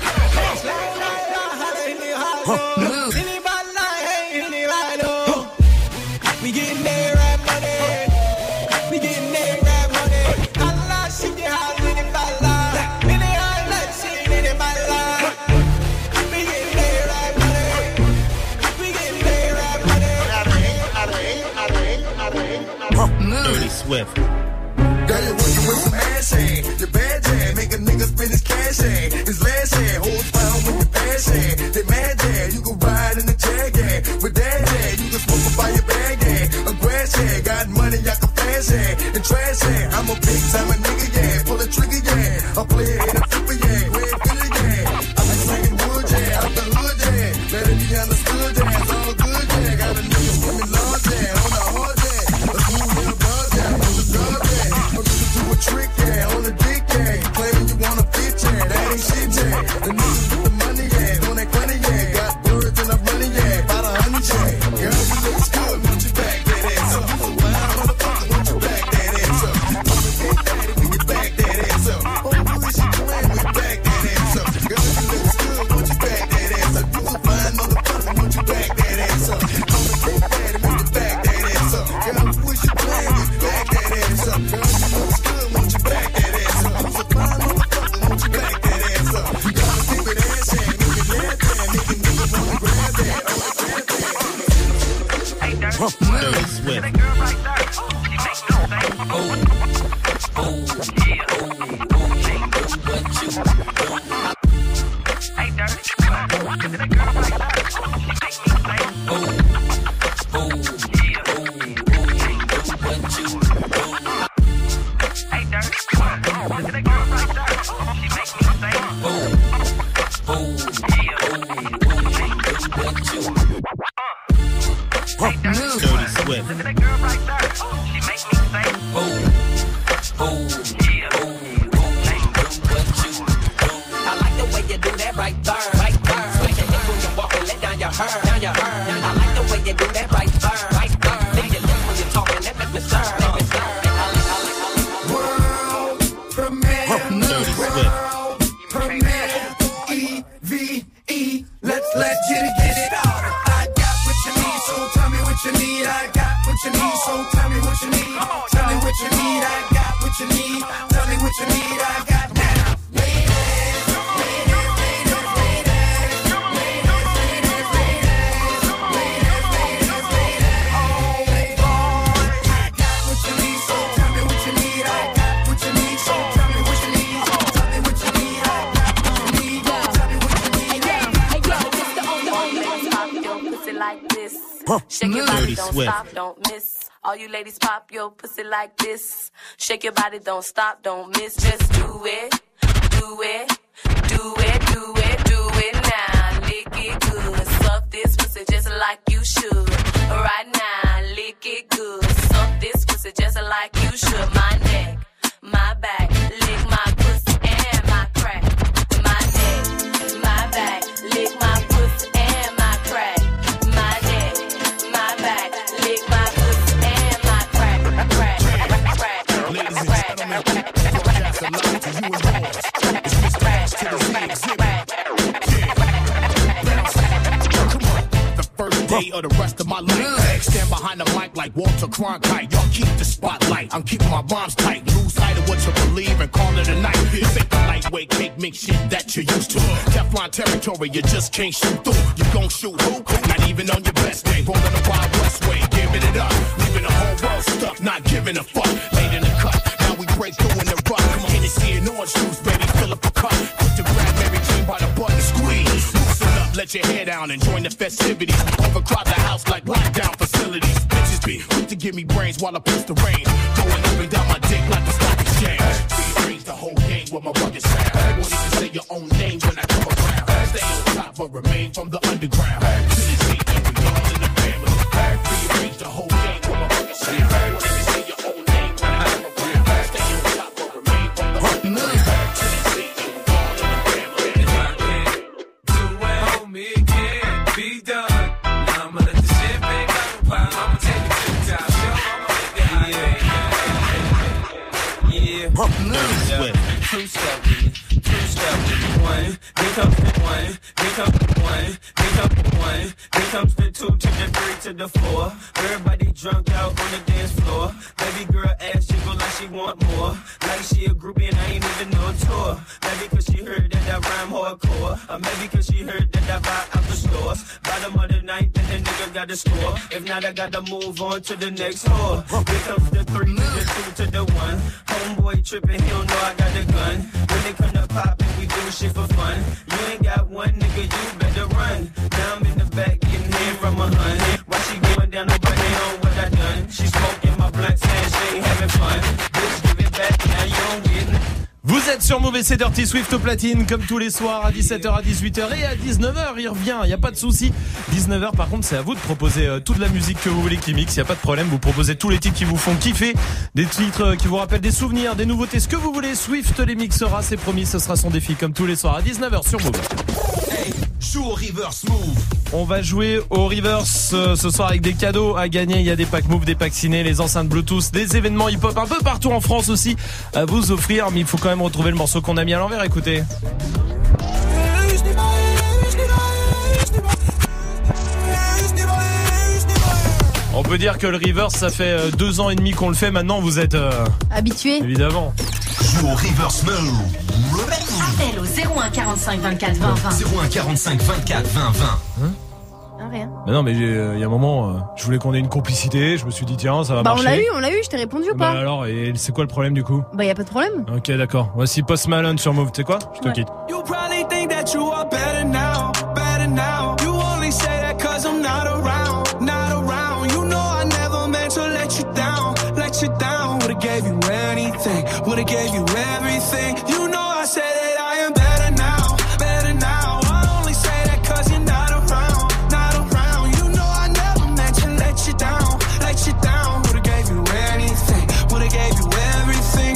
We getting there, right money. We getting there, right money. Allah, she get hot in the bala. In the eye, like she in the bala. We getting there, right money. We getting there, right money. Dirty Swift. Girl, you're working with some ass hand. Your bad jam, make a nigga spend his cash hand. His last hand, holds found with your fast hand. They mad jam, you can ride in the jag hand. With that hand, you can smoke up by your bag hand. A grass hand, got money, I can flash hand. And trash hand, I'm a big time nigga, yeah. Pull a trigger, yeah. I play it in a flipper, yeah. Red filler, yeah. I like slanging wood, yeah. Out the hood, yeah. Let it be understood, yeah. It's all good, yeah. Got a nigga swimming large, yeah. On the hard, yeah. A cool little buzz, yeah. On the dub, yeah. Do a trick, yeah, on the dick, yeah. Claiming you wanna fit, yeah, that ain't shit, yeah. The niggas with the money, yeah, on that money, yeah. Got birds and I'm running, yeah, about 100, yeah. Girl, you look good, won't you back that ass up? So wild, motherfucker, won't you back that ass up? I'ma get daddy when you back that ass up. Oh, who is you playing with? Back that ass up. Girl, you look good, won't you back that ass up? You a fine motherfucker, won't you back that ass up? I'ma get daddy when you back that ass up. Girl, who is you playing with? Back that ass up. Girl, you look good, won't you back that ass up? You a fine motherfucker, won't you back that ass up? You gotta keep it ass hand, make it laugh that, make it nigga wanna grab that. Dirty Swift. Dirty Swift. I like the way you do that right there, right there. Switch your hips when you walk and let down your hair, down your hair. I like the way you do that right there, right there. Lick your lips when you're talking, that make me stir, make me stir. World premiere, Dirty Swift. premiere, EVE. Let's get it started. I got what you need, so tell me what you need. I got what you need, so tell me what you need. Tell me what you need. I got what you need. Tell me what you need. I got now. Shake your body, Dirty don't Swift. stop, don't miss. All you ladies pop your pussy like this. Shake your body, don't stop, don't miss. Just do it, do it, do it, do it, do it now. Lick it good, suck this pussy just like you should. Right now, lick it good, suck this pussy just like you should. My neck, my back, lick my pussy and my crack. My neck, my back, lick my pussy and my crack. Ladies and gentlemen, broadcast alive to you and yours. It's Mr. Ash to the Z. day or the rest of my life. Stand behind the mic like Walter Cronkite. Y'all keep the spotlight. I'm keeping my bombs tight. Lose sight of what you believe and call it a night. This ain't the lightweight cake mix shit that you're used to. Teflon territory, you just can't shoot through. You gon' shoot who? Not even on your best day. Rolling the Wild West way, giving it up. Leaving the whole world stuck, not giving a fuck. Late in the cut, now we break through in the rock. Come on, Hennessy and orange juice, baby, fill up a cup. Quick to grab Mary Jane by the button, squeeze. Loosen up, let your hair down and join the festivities. Overcrowd the house like lockdown facilities. Bitches be quick to give me brains while I push the rain. Going up and down my dick like the stock exchange. Rearrange the whole game with my rugged sound. Won't even say your own name when I come around. Stay on top but remain from the underground. To the sea, and we all in the family. Rearrange the whole game with my rugged sound. Won't even say your own name when I come around. Stay on top but remain from the underground. To the sea, and we all in the family. If I can't do it, homie, it can't be done. Now I'ma let the champagne pop. I'ma take it to the top. Yeah. Two-step with me. One, here comes the one, here comes the one, here comes the one, here comes the two to the three to the four. Everybody drunk out on the dance floor. Baby girl ass jiggle like she want more. Like she a groupie and I ain't even no tour. Maybe cause she heard that I rhyme hardcore. Or maybe cause she heard that I buy out the stores. Bottom of the night, then the nigga got to score. If not, I gotta move on to the next whore. Here comes the three to the two to the one. Homeboy tripping, he don't know I got the gun. When they come to pop and we do shit for fun. You ain't got one nigga, you better run. Now I'm in the back getting head from a hun. While she going down, nobody know what I done. She smoking my blunt, saying she ain't having fun. Bitch, give it back, now you don't get it. Vous êtes sur Move et c'est Dirty Swift au platine comme tous les soirs à 17h, à 18h et à 19h il revient, il n'y a pas de souci. 19h par contre c'est à vous de proposer toute la musique que vous voulez qui mixe, il n'y a pas de problème, vous proposez tous les titres qui vous font kiffer, des titres qui vous rappellent des souvenirs, des nouveautés, ce que vous voulez. Swift les mixera, c'est promis, ce sera son défi comme tous les soirs à 19h sur Move. Hey, joue au reverse Move. On va jouer au reverse ce soir avec des cadeaux à gagner. Il y a des packs Move, des packs ciné, les enceintes Bluetooth, des événements hip-hop un peu partout en France aussi à vous offrir. Mais il faut quand même retrouver le morceau qu'on a mis à l'envers. Écoutez. On peut dire que le reverse, ça fait 2 ans et demi qu'on le fait. Maintenant, vous êtes habitués. Évidemment. Joue au reverse Move. Appel au 01 45 24 20 20. 01 45 24 20 20. Rien. Mais non, mais il y a un moment, je voulais qu'on ait une complicité. Je me suis dit tiens, ça va marcher. On l'a eu. Je t'ai répondu ou pas? Bah alors, et c'est quoi le problème du coup? Bah y a pas de problème. Ok, d'accord. Voici Post Malone sur Move. Tu sais quoi? Je te quitte. You probably think that you are better now, better now. You only say that 'cause I'm not around, not around. You know I never meant to let you down, let you down. Would've gave you anything, would've gave you everything. You know I said that I am better now, better now. I only say that 'cause you're not around, not around. You know I never meant to let you down, let you down. Would've gave you anything, would've gave you everything.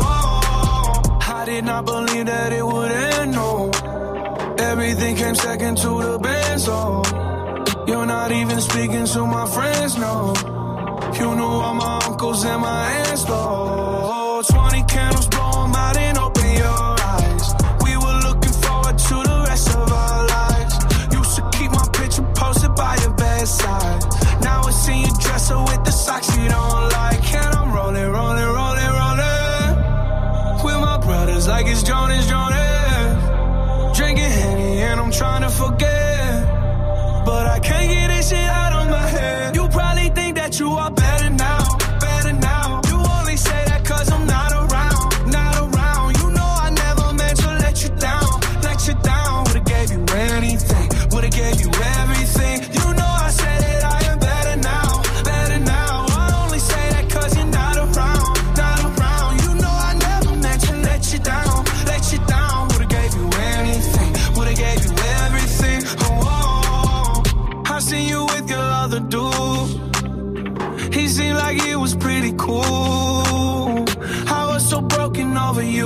Oh, I did not believe that it would end, no. Everything came second to the best, oh. You're not even speaking to my friends, no. You knew all my uncles and my aunts, though. 20 candles, blow 'em out and open your eyes. We were looking forward to the rest of our lives. Used to keep my picture posted by your bedside. Now I see you dresser with the socks you don't like. And I'm rolling, rolling, rolling, rolling with my brothers like it's Jonas, Jonas. Drinking Henny and I'm trying to forget, but I can't get this shit out of my head. You probably think that you are better now, better now. You only say that 'cause I'm not around, not around. You know I never meant to let you down, let you down. Would've gave you anything, would've gave you everything. You know I said that I am better now, better now. I only say that 'cause you're not around, not around. You know I never meant to let you down, let you down. Would've gave you anything, would've gave you everything. Oh, I seen you with your other dude. He seemed like he was pretty cool. I was so broken over you.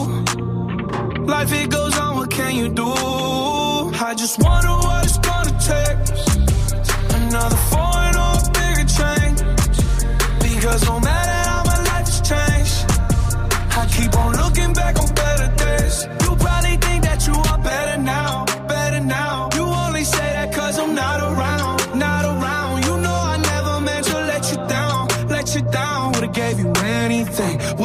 Life it goes on, what can you do? I just wonder what it's gonna take. Another foreign or a bigger change. Because no matter how my life has changed, I keep on looking back on better days. You probably think that you are better now, better now. You only say that 'cause I'm not around, not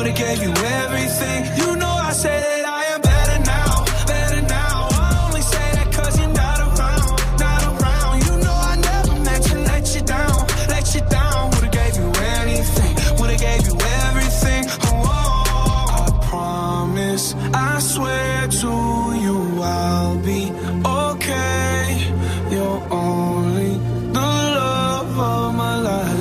would've gave you everything. You know I say that I am better now, better now. I only say that cause you're not around, not around. You know I never meant to let you down, let you down. Would've gave you anything, would've gave you everything. Oh, I promise, I swear to you I'll be okay. You're only the love of my life.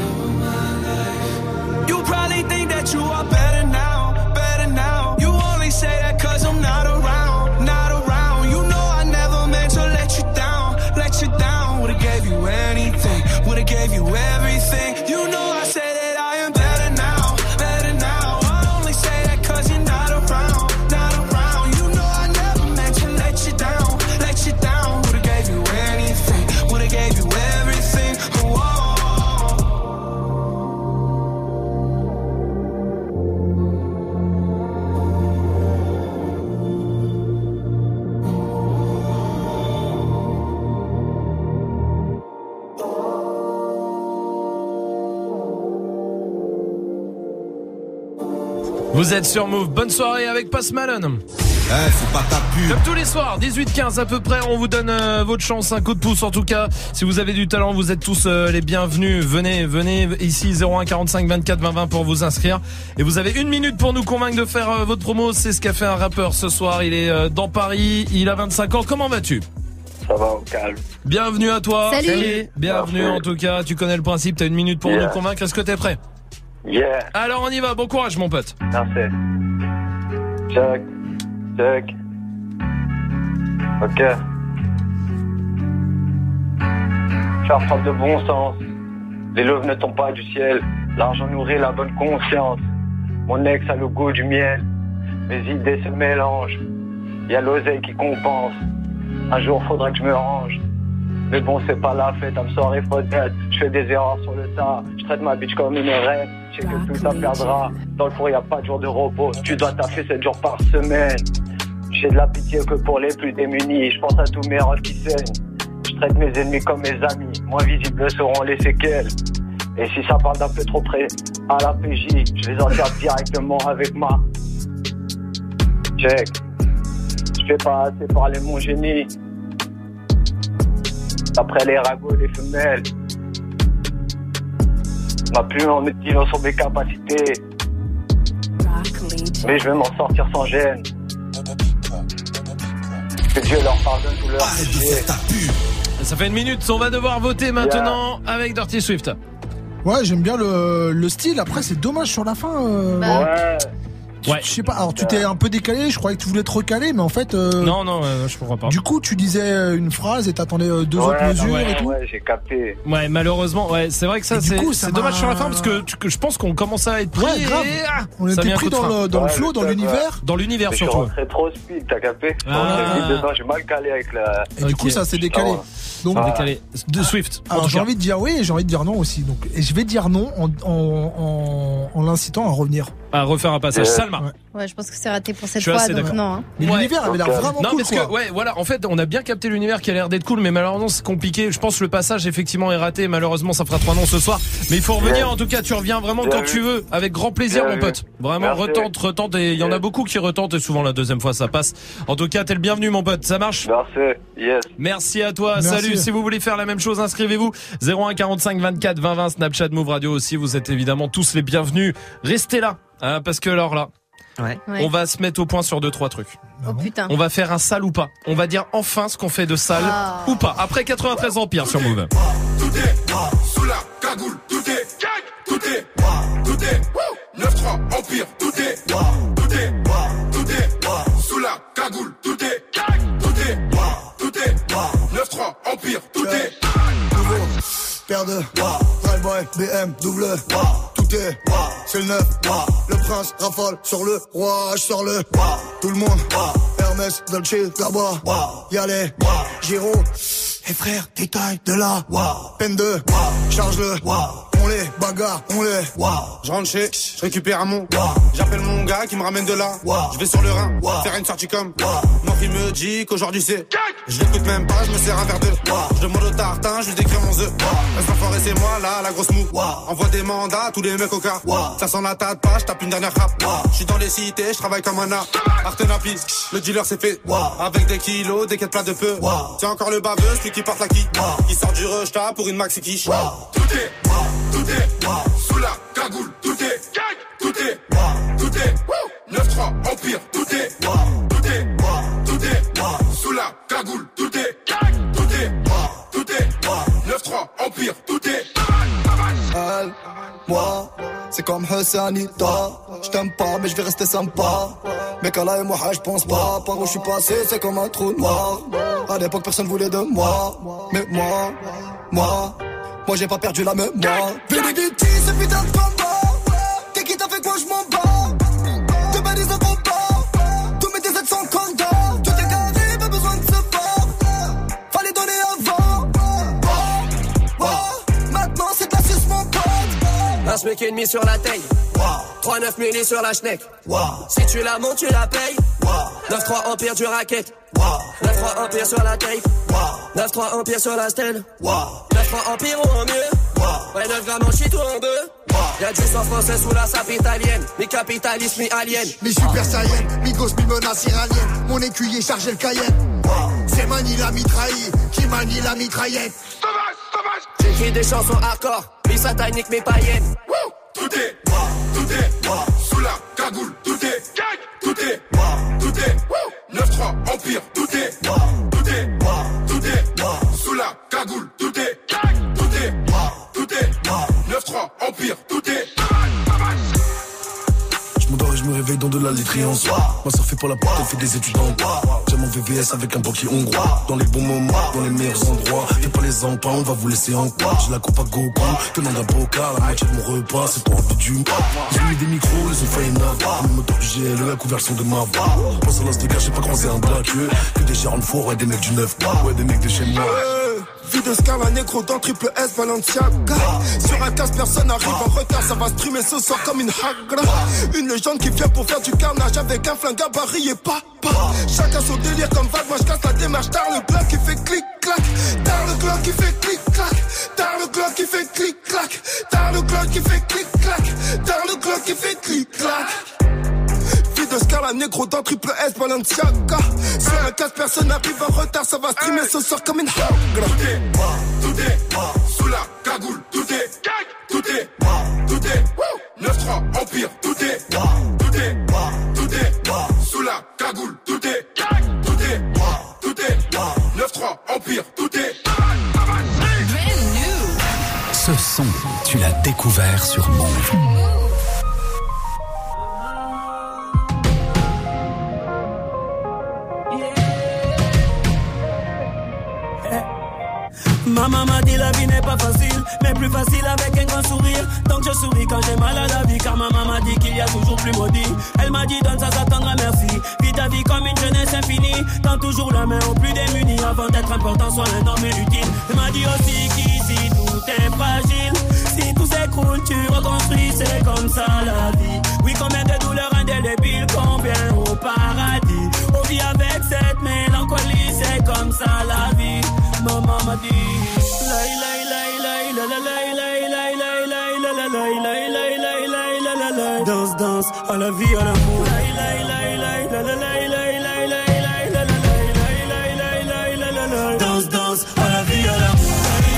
You probably think that you are better now, better now. You only say that cause I'm not around, not around. You know I never meant to let you down, let you down. Would've gave you anything, would've gave you everything. You know I say that I am better now, better now. I only say that cause you're not around, not around. You know I never meant to let you down, let you down. Would've gave you anything, would've gave you everything. Whoa. Vous êtes sur Move, bonne soirée avec Post Malone. C'est pas ta pub. Comme tous les soirs, 18-15 à peu près, on vous donne votre chance, un coup de pouce en tout cas. Si vous avez du talent, vous êtes tous les bienvenus. Venez ici 01 45 24 20 20 pour vous inscrire. Et vous avez 1 minute pour nous convaincre de faire votre promo. C'est ce qu'a fait un rappeur ce soir. Il est dans Paris, il a 25 ans. Comment vas-tu ? Ça va, au calme. Bienvenue à toi. Salut. Bienvenue en tout cas, tu connais le principe, t'as 1 minute pour nous convaincre. Est-ce que t'es prêt ? Yeah. Alors on y va, bon courage mon pote. Merci. Check. Ok. Faire preuve de bon sens. Les loaves ne tombent pas du ciel. L'argent nourrit la bonne conscience. Mon ex a le goût du miel. Mes idées se mélangent. Y a l'oseille qui compense. Un jour faudrait que je me range. Mais bon, c'est pas la fête, I'm sorry for that. Je fais des erreurs sur le tas. Je traite ma bitch comme une reine. Je sais que tout ça perdra. Dans le four, y a pas de jour de repos. Tu dois taffer 7 jours par semaine. J'ai de la pitié que pour les plus démunis. Je pense à tous mes rêves qui saignent. Je traite mes ennemis comme mes amis. Moins visibles seront les séquelles. Et si ça parle d'un peu trop près à la PJ, je les enterre directement avec ma check. Je fais pas assez parler mon génie. Après les ragots, les femelles. Ma plume en médisant sur mes capacités. Mais je vais m'en sortir sans gêne. Que Dieu leur pardonne tout leur péché. Ça fait 1 minute, on va devoir voter maintenant avec Dirty Swift. Ouais, j'aime bien le style. Après, c'est dommage sur la fin. Ouais. Ouais. Je sais pas, alors tu t'es un peu décalé, je croyais que tu voulais te recaler, mais en fait... Non, je comprends pas. Du coup, tu disais une phrase et t'attendais 2 autres mesures et tout. Ouais, j'ai capté. Ouais, malheureusement, ouais, c'est vrai que ça, c'est dommage sur la fin parce que je pense qu'on commence à être pris. Ouais, grave. On était pris dans le flow, dans l'univers. Dans l'univers surtout. Je suis trop speed, t'as capté. J'ai mal calé avec la... Et du coup, ça s'est décalé. Donc, décalé. De Swift. Alors, j'ai envie de dire oui et j'ai envie de dire non aussi. Donc, et je vais dire non en l'incitant à revenir. À refaire un passage. Salma. Ouais, je pense que c'est raté pour cette fois, donc non. Hein. Mais l'univers avait l'air vraiment non, cool. Parce que, ouais, voilà, en fait, on a bien capté l'univers qui a l'air d'être cool, mais malheureusement, c'est compliqué. Je pense que le passage, effectivement, est raté. Malheureusement, ça fera 3 noms ce soir. Mais il faut revenir, en tout cas, tu reviens vraiment quand tu veux. Avec grand plaisir, mon pote. Vraiment, retente. Et il y en a beaucoup qui retentent, et souvent, la deuxième fois, ça passe. En tout cas, t'es le bienvenu, mon pote. Ça marche? Merci. Yes. Merci à toi. Salut. Si vous voulez faire la même chose, inscrivez-vous. 01 45 24 20 20, Snapchat, Move Radio aussi. Vous êtes évidemment tous les bienvenus. Restez là. Parce que alors là, on va se mettre au point sur 2-3 trucs. Oh putain. On va faire un sale ou pas. On va dire enfin ce qu'on fait de sale ou pas. Après 93 Empire sur Move. Tout est sous la cagoule, tout est 9-3 Empire, tout est sous la cagoule, tout est 9-3 Empire, tout est Paire de Drive-by, BM, double tout est, c'est le 9 le prince rafale sur le roi, je sors le tout le monde, Hermès, Dolce, là-bas, y'a les Giro, et frère, détail de la peine de, charge le, on on les bagarre, on les. Je rentre chez, je récupère un mon. J'appelle mon gars qui me ramène de là. Je vais sur le Rhin, faire une sortie comme. Mon fils me dit qu'aujourd'hui c'est. Je l'écoute même pas, je me sers un verre de. Je demande au tartin, je lui décris mon œuf. Reste enfoiré, c'est moi là, la grosse mou. Envoie des mandats à tous les mecs au cas. Ça sent la tête pas, je tape une dernière rap. Je suis dans les cités, je travaille comme un art. Artenapi, le dealer c'est fait. Avec des kilos, des quêtes plats de peu. C'est encore le baveux, celui qui porte la qui. Qui sort du rejeta pour une maxi quiche. Tout est sous la cagoule, tout est 9-3 Empire, tout est sous la cagoule, tout est 9-3 Empire, tout est. Elle, moi, c'est comme Hassanita. Je t'aime pas, mais je vais rester sympa. Mais Kala et moi, je pense pas. Par où je suis passé, c'est comme un trou noir. À l'époque, personne voulait de moi. Mais moi, j'ai pas perdu la mémoire. Vénéditi, ce putain de combat. T'es qui t'a fait quoi, je m'en bats. De balises de combat. Tous mes DZ sont condamnés. Tout est carré, pas besoin de se battre. Fallait donner avant. Maintenant, c'est de la suce, mon pote. Un SMIC et demi sur la taille. 3-9 milli sur la schneck. Si tu la montes, tu la payes. 9-3 Empire du racket. 9-3 Empire sur la tape. 9-3 Empire sur la stèle. 9-3 Empire ou en mieux. Ouais, 9 grammes en shit ou en deux. Y'a du sang français sous la sape italienne. Mi-capitaliste, mi-alien. Mi-super saiyan, mi-gosse, mi-menace iranienne. Mon écuyer chargé le Cayenne. C'est Mani la mitraille qui manie la mitraillette. J'écris des chansons hardcore, mi-satanique, mi-païenne. Tout est sous la cagoule, tout est 9-3 Empire, tout est sous la cagoule, tout est 9-3 Empire, tout est. Je m'endors et je me réveille dans de la laiterie en soi. Ma soeur fait pas la porte, elle fait des études en droit. J'aime mon VVS avec un banquier hongrois. Dans les bons moments, dans les meilleurs endroits. Fais pas les empans, on va vous laisser en quoi. J'ai la coupe à Goku, demande un bocal. La moitié de mon repas, c'est pour envie du. J'ai mis des micros, ils ont failli navoir. Le moteur du GLE, la couverture de ma voix. Pense à l'as de gars, j'ai pas croisé un blagueux. Que des gérants de four, ouais, des mecs du 9. Ouais, des mecs de chez moi. Vie de Scala négro dans triple S Balenciaga. Sur un casse, personne arrive en retard. Ça va streamer ce soir comme une hagra. Une légende qui vient pour faire du carnage avec un flingue gabarit et papa. Chacun son délire comme vague. Moi je casse la démarche. Tard le bloc qui fait clic-clac. Tard le glock qui fait clic-clac. Tard le glock qui fait clic-clac. Tard le glock qui fait clic-clac. Tard le glock qui fait clic-clac. De Scala négro dans triple S Balenciaga. Sur un casse, personne arrive en retard. Ça va streamer ce soir comme une hagra. Tout est sous la cagoule. Tout est 9-3 Empire. Tout est sous la cagoule. Tout est 9-3 Empire. Tout est. Ce son, tu l'as découvert sur Move. Maman m'a dit la vie n'est pas facile, mais plus facile avec un grand sourire. Donc je souris quand j'ai mal à la vie, car maman m'a dit qu'il y a toujours plus maudit. Elle m'a dit donne ça, ça t'endra merci. Vis ta vie comme une jeunesse infinie. Tends toujours la main aux plus démunis. Avant d'être important, sois un homme utile. Elle m'a dit aussi qu'ici tout est fragile. Si tout s'écroule, tu reconstruis, c'est comme ça la vie. Oui, combien de douleurs indélébiles, combien au paradis. On vit avec cette mélancolie, c'est comme ça la vie. Maman m'a dit danse, danse, à la vie, à l'amour. Danse, danse, à la vie, à l'amour.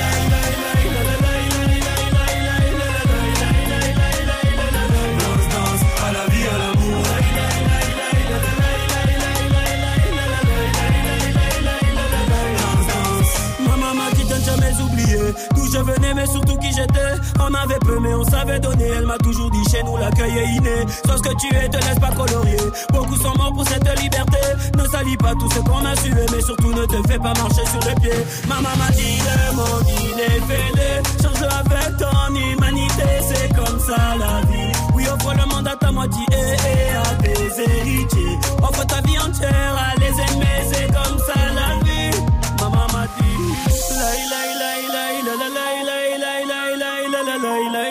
D'où je venais mais surtout qui j'étais. On avait peu mais on savait donner. Elle m'a toujours dit chez nous l'accueil est inné. Sois ce que tu es, te laisse pas colorier. Beaucoup sont morts pour cette liberté. Ne salis pas tout ce qu'on a sué, mais surtout ne te fais pas marcher sur les pieds. Maman m'a dit le monde il est fêlé. Change avec ton humanité, c'est comme ça la vie. Oui, offre le monde à ta moitié et à tes héritiers. Offre ta vie entière à les aimer, c'est comme ça la vie. Maman m'a dit la la la la la la la la la la la la la la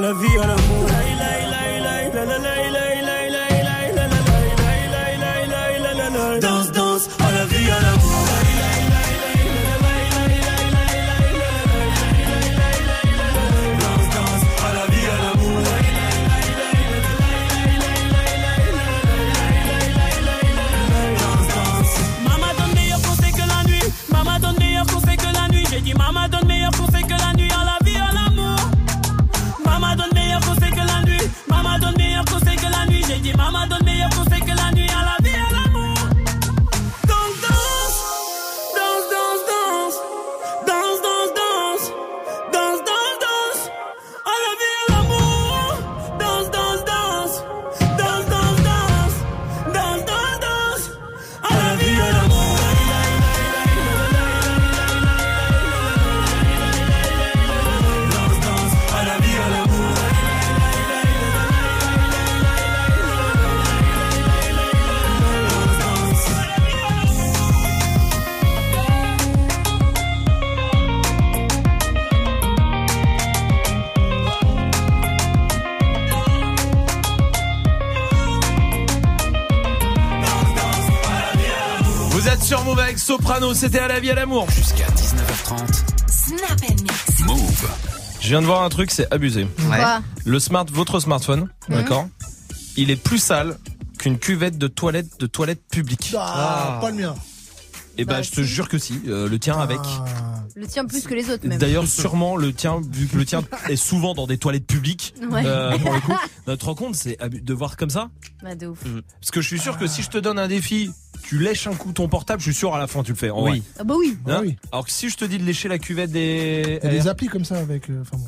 la vie, à l'amour. Danse, danse, à la vie, à l'amour. J'ai dit maman donne meilleur conseil que la nuit, à la vie, à l'amour. Maman donne meilleur conseil que la nuit. Maman donne meilleur conseil que la nuit. J'ai dit maman donne meilleur conseil que la nuit, à la vie, à l'amour. Danse, danse, danse, danse, danse, danse, danse, danse, danse, danse, danse, à la vie, à l'amour. Danse, danse, danse, danse, danse, danse, danse, danse, danse, à la vie, à l'amour. Vous êtes sur Move avec Soprano, c'était à la vie à l'amour. Jusqu'à 19h30. Snap and Mix. Move. Je viens de voir un truc, c'est abusé. Ouais. Votre smartphone, d'accord, il est plus sale qu'une cuvette de toilette publique. Pas le mien. Et bah je te jure que si, le tien avec. Le tien plus que les autres même. D'ailleurs sûrement le tien, vu que le tien est souvent dans des toilettes publiques. Ouais. Pour le coup, tu te rends compte, c'est de voir comme ça. Bah de ouf. Parce que je suis sûr que si je te donne un défi, tu lèches un coup ton portable, je suis sûr à la fin tu le fais. En vrai. Ah bah oui. Hein, oui. Alors que si je te dis de lécher la cuvette des... Il y a des applis comme ça avec...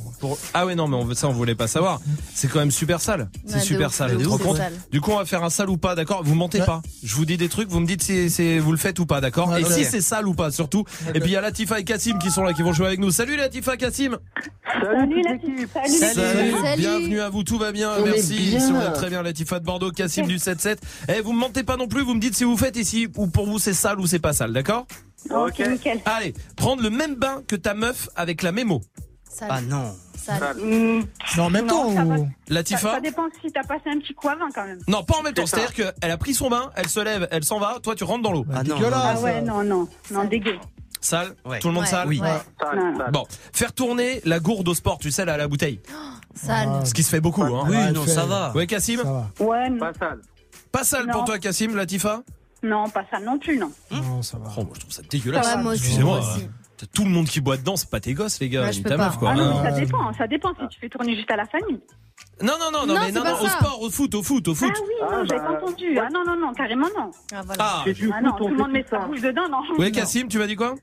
Ah ouais non mais on voulait pas savoir. C'est quand même super sale. C'est Ouais, super sale. Tu te rends compte ? Du coup on va faire un sale ou pas, d'accord ? Vous mentez pas. Je vous dis des trucs, vous me dites si vous le faites ou pas, d'accord ? Ouais, et okay. si c'est sale ou pas surtout. Okay. Et puis il y a Latifa et Kassim qui sont là, qui vont jouer avec nous. Salut Latifa, Kassim. Salut l'équipe. Salut. Bienvenue à vous, tout va bien, merci. Ici on est très bien, Latifa de Bordeaux, Kassim du 7-7. Eh vous me mentez pas non plus, vous me dites si vous faites ici ou pour vous c'est sale ou c'est pas sale, d'accord ? Ok, nickel. Allez, prendre le même bain que ta meuf avec la mémo. Sale. Ah non. Sale. Non, en même temps ou... Latifa ? Ça dépend si t'as passé un petit coup avant quand même. Non, pas en même temps. C'est-à-dire qu'elle a pris son bain, elle se lève, elle s'en va, toi tu rentres dans l'eau. Ah non. Ah ouais, non, dégueu. Sale, ouais. Tout le monde sale. Oui. Ouais. Bon, faire tourner la gourde au sport, tu sais là, à la bouteille. Sale. Ce qui se fait beaucoup, hein. Oui, non, ça va. Ouais, Kassim ? Ouais, non. Pas sale. Pas sale pour toi, Kassim, Latifa ? Non, pas ça non plus, non. Non, ça va. Oh, moi je trouve ça dégueulasse. Ouais, moi aussi, excusez-moi. moi aussi. T'as tout le monde qui boit dedans, c'est pas tes gosses, les gars, Ouais, ni je peux ta pas. meuf, quoi. Ah non, mais ça dépend si tu fais tourner juste à la famille. Non, Non, mais c'est pas au ça. sport, au foot. Ah oui, non, j'avais pas entendu. Ah non, carrément non. Ah voilà. Ah, Ah non, tout le monde met sa bouche dedans, non. ouais, Kassim, tu m'as dit quoi ?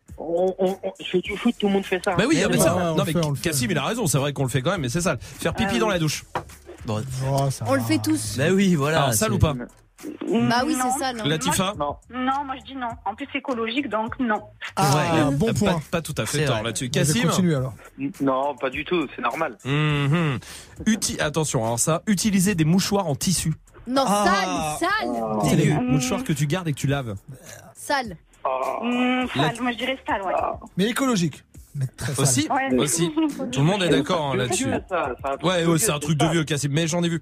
Je fais du foot, tout le monde fait ça. Bah oui, mais ça. ouais, Non, on mais le fait. Kassim, il a raison, c'est vrai qu'on le fait quand même, mais c'est sale. Faire pipi dans la douche. Bon. Oh, ça On va. le fait tous. Bah oui, voilà. Alors, sale ou pas ? Bah oui, Non. c'est sale. Latifa ? Non, moi je dis non. En plus, c'est écologique, donc non. Ah, Ouais, bon pas- point. Pas tout à fait C'est tort vrai. là-dessus. Je vais Kassim ? continuer alors. Non, pas du tout, c'est normal. Attention, alors ça, utiliser des mouchoirs en tissu. Non, Ah. sale. C'est des mouchoirs que tu gardes et que tu laves. Sale. Sale, moi je dirais sale, ouais. Mais écologique. Mais très sale. Aussi, Ouais. aussi. Tout le monde est d'accord hein, là-dessus. Ouais, c'est un truc de vieux, Kassim. Mais j'en ai vu.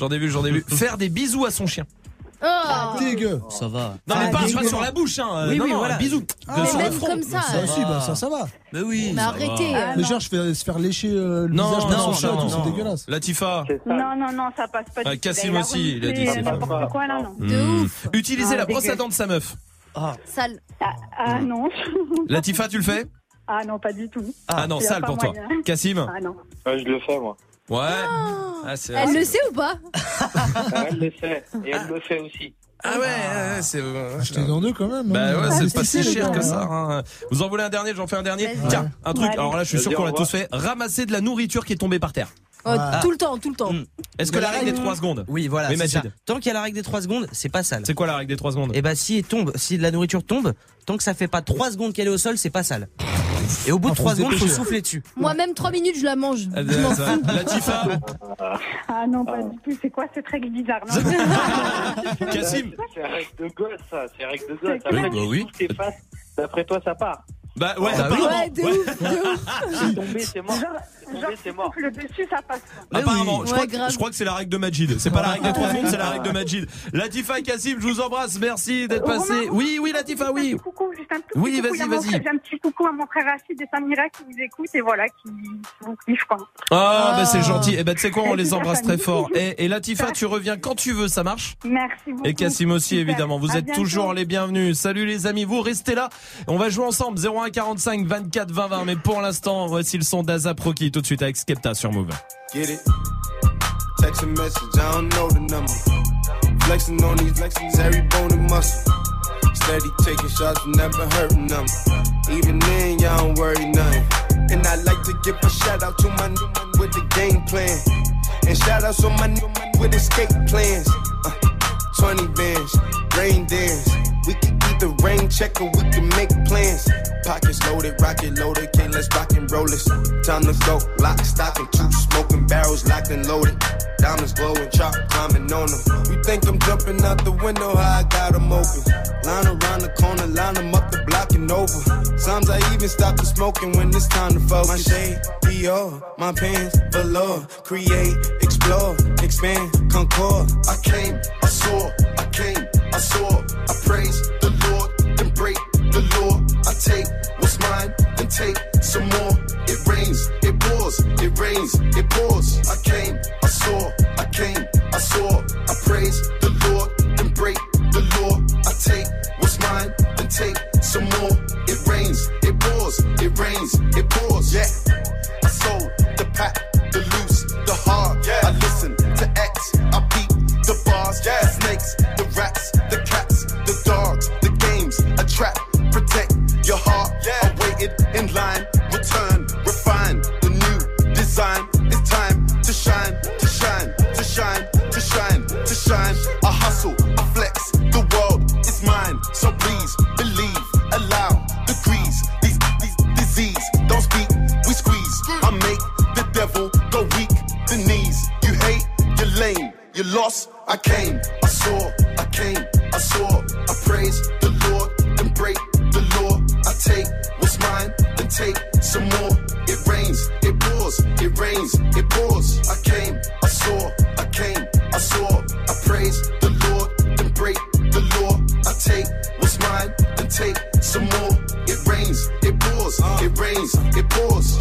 Faire des bisous à son chien. Oh. Dégueu. Ça va. Non, mais Ah, pas dégueu. sur la bouche, hein. Oui, non, oui, non, voilà. un bisou. Ah, Sur mais le même front. comme ça. Ça aussi, bah, ça va. Mais oui. Mais ça arrêtez. va. Mais genre, se faire lécher le Non, visage par non, son chat, non, tout, c'est non. dégueulasse. Latifa. Non, ça passe pas du tout. Kassim Il a aussi, il a dit reniflé c'est n'importe quoi là, non. De ouf. Utiliser Ah, la brosse à dégueu. dents de sa meuf. Sale. Ah non. Latifa, tu le fais ? Ah non, pas du tout. Ah non, Il y a sale pas pour toi. moyen. Kassim ? Ah non. Ouais, je le fais, moi. Ouais. Ah, c'est Elle le sait ou pas? Elle le fait. Et elle le fait aussi. Ah ouais, c'est. Achetez dans deux quand même. Bah ouais, c'est pas si les cher gars, que ça. hein. Hein. Vous en voulez un dernier? J'en fais un dernier. Vas-y. Tiens, un truc. Ouais. Alors là, je suis sûr Vas-y, qu'on au l'a revoir. tous fait. Ramasser de la nourriture qui est tombée par terre. Oh, tout le temps, tout le temps. Est-ce que la règle des 3 secondes? Oui, voilà. Oui, c'est ça. Majid. Tant qu'il y a la règle des 3 secondes, c'est pas sale. C'est quoi la règle des 3 secondes? Et bah si de la nourriture tombe, tant que ça fait pas 3 secondes qu'elle est au sol, c'est pas sale. Et au bout de 3 secondes, faut souffler dessus. Moi, même 3 minutes, je la mange. La Tifa. Ah non, pas du tout. C'est quoi cette règle bizarre, non? Kassim. C'est règle de gosse, ça. C'est règle de gosse. Oui, Après, bah tu oui. souffles tes faces. D'après toi, ça part. Bah ouais, Ouais, de ouf. Tomber, c'est mort. Genre, c'est mort. Le dessus, ça passe. Apparemment, oui. je crois que c'est la règle de Majid. C'est pas la règle des 3 secondes, c'est la règle de Majid. Latifa et Cassim, je vous embrasse. Merci d'être passé. Oui, Latifa, oui. Coucou, juste un tout petit Oui, coucou. vas-y. J'ai un petit coucou à mon frère Rachid et Samira qui vous écoutent et voilà, qui vous kiffent, quoi. Bah c'est gentil. Et tu sais quoi, on les embrasse très fort. Et Latifa, tu reviens quand tu veux, ça marche? Merci beaucoup. Et Cassim aussi, Super. évidemment. Vous À êtes bientôt. toujours les bienvenus. Salut les amis, vous restez là. On va jouer ensemble. 01 45 24 20 20. Mais pour l'instant, voici le son d'Azap Rocky tout de suite avec Skepta sur Move. Get it? Text a message, I don't know the number. Flexing on these flexes, every bone and muscle. Steady taking shots, never hurting them. Even then, y'all don't worry nothing. And I like to give a shout out to my new man with the game plan. And shout outs on my new man with escape plans. 20 bands, rain dance. We can either rain check or we can make plans. Pockets loaded, rocket loaded, can't let's rock and roll this. Time to go, lock, stock, and 2 smoking barrels locked and loaded. Diamonds glowing, chop climbing on them. You think I'm jumping out the window, how I got them open. Line around the corner, line them up the block and over. Sometimes I even stop the smoking when it's time to focus. My shade, Dior, my pants, velour. Create, explore, expand, concord. I came, I saw, I came, I saw. I praise the Lord, then break the law. I take what's mine, then take some more. It rains, it pours, it rains, it pours. I came, I saw, I came, I saw. I praise the Lord, then break the law. I take what's mine, then take some more. It rains, it pours, it rains, it pours. Yeah, I sold the pack, the loose, the hard. Yeah, I listen to X, I beat the bars. Yeah, the snakes, the rats, the cats, the dogs, the games, a trap. Protect your heart. Yeah, I waited in line. Return, refine the new design. It's time to shine, to shine, to shine, to shine, to shine. I hustle, I flex. The world is mine, so please believe. Allow degrees. These disease don't speak. We squeeze. I make the devil go weak. The knees. You hate, you're lame, you lost. I came, I saw, I came, I saw. I praise the Lord, then break the law. I take what's mine, then take some more. It rains, it pours, it rains, it pours. I came, I saw, I came, I saw. I praise the Lord, then break the law. I take what's mine, then take some more. It rains, it pours, it rains, it pours.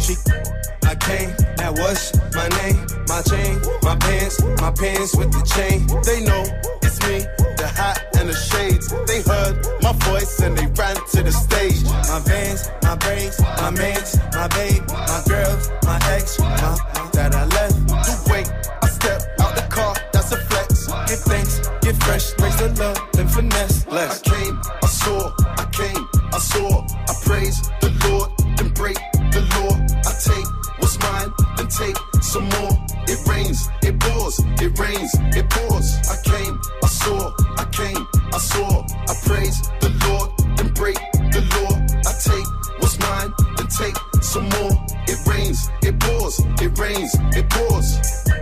I came, that was my name, my chain, my pants with the chain. They know it's me, the hat and the shades. They heard my voice and they ran to the stage. My vans, my braids, my mans, my babe, my girls, my ex, that I left. To wait, I step out the car, that's a flex. Give thanks, give fresh, praise the love, then finesse. Less. I came, I saw, I came, I saw. I praise the Lord, then break the law. I take what's mine, then take some more. It rains, it pours, it rains, it pours. I came, I saw, I came, I saw. I praise the Lord, then break the law. I take what's mine, then take some more. It rains, it pours, it rains, it pours.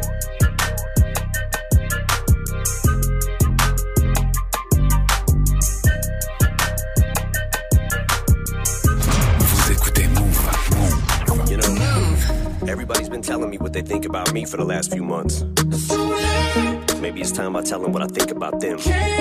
Vous écoutez Move. You know, everybody's been telling me what they think about me for the last few months. Maybe it's time I tell them what I think about them.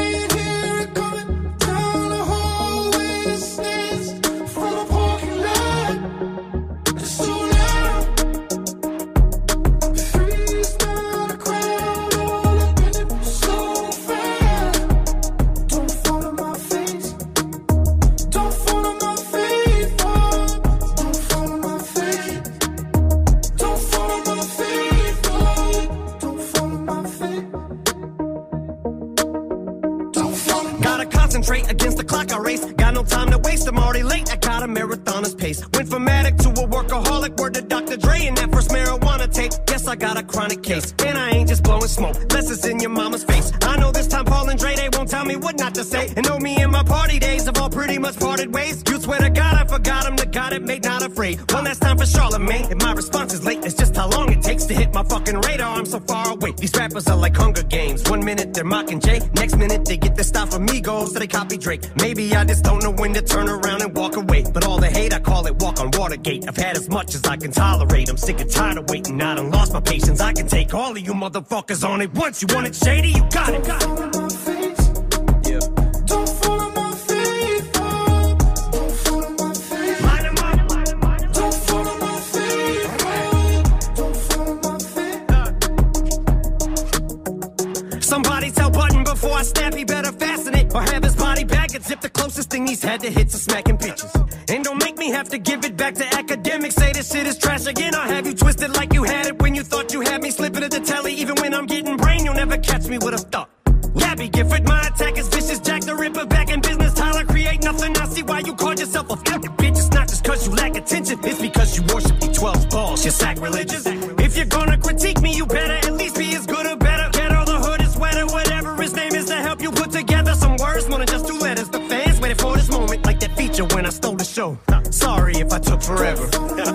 Against the clock I race, got no time to waste, I'm already late, I got a marathoner's pace. Went from addict to a workaholic, word to Dr. Dre and that first marijuana tape. Guess I got a chronic case, and I ain't just blowing smoke, less it's in your mama's face. I know this time Paul and Dre, they won't tell me what not to say. And know me in my party days have all pretty much much parted ways. You swear to God I forgot him, the God that made not afraid. One last time for Charlemagne. If my response is late, it's just how long it takes to hit my fucking radar. I'm so far away. These rappers are like Hunger Games. 1 minute they're mocking Jay, next minute they get their style from Migos, so they copy Drake. Maybe I just don't know when to turn around and walk away. But all the hate, I call it walk on Watergate. I've had as much as I can tolerate. I'm sick and tired of waiting. I done lost my patience. I can take all of you motherfuckers on it once. You want it shady, you got it. Somebody tell Button before I snap, he better fasten it. Or have his body bag and zip the closest thing he's had to hits are smacking bitches. And don't make me have to give it back to academics. Say this shit is trash again, I'll have you twisted like you had it when you thought you had me slipping at the telly. Even when I'm getting brain, you'll never catch me with a thought. Labby Gifford, my attack is vicious. Jack the Ripper back in business. Tyler create nothing. I see why you called yourself a fucking bitch. It's not just cause you lack attention. It's because you worship the 12 balls. You're sacrilegious. If you're gonna critique me, you better at least be as good or better. Get all the hood is wetter. Whatever his name is to help you put together some words. More than just 2 letters. The fans waited for this moment. Like that feature when I stole the show. Sorry if I took forever.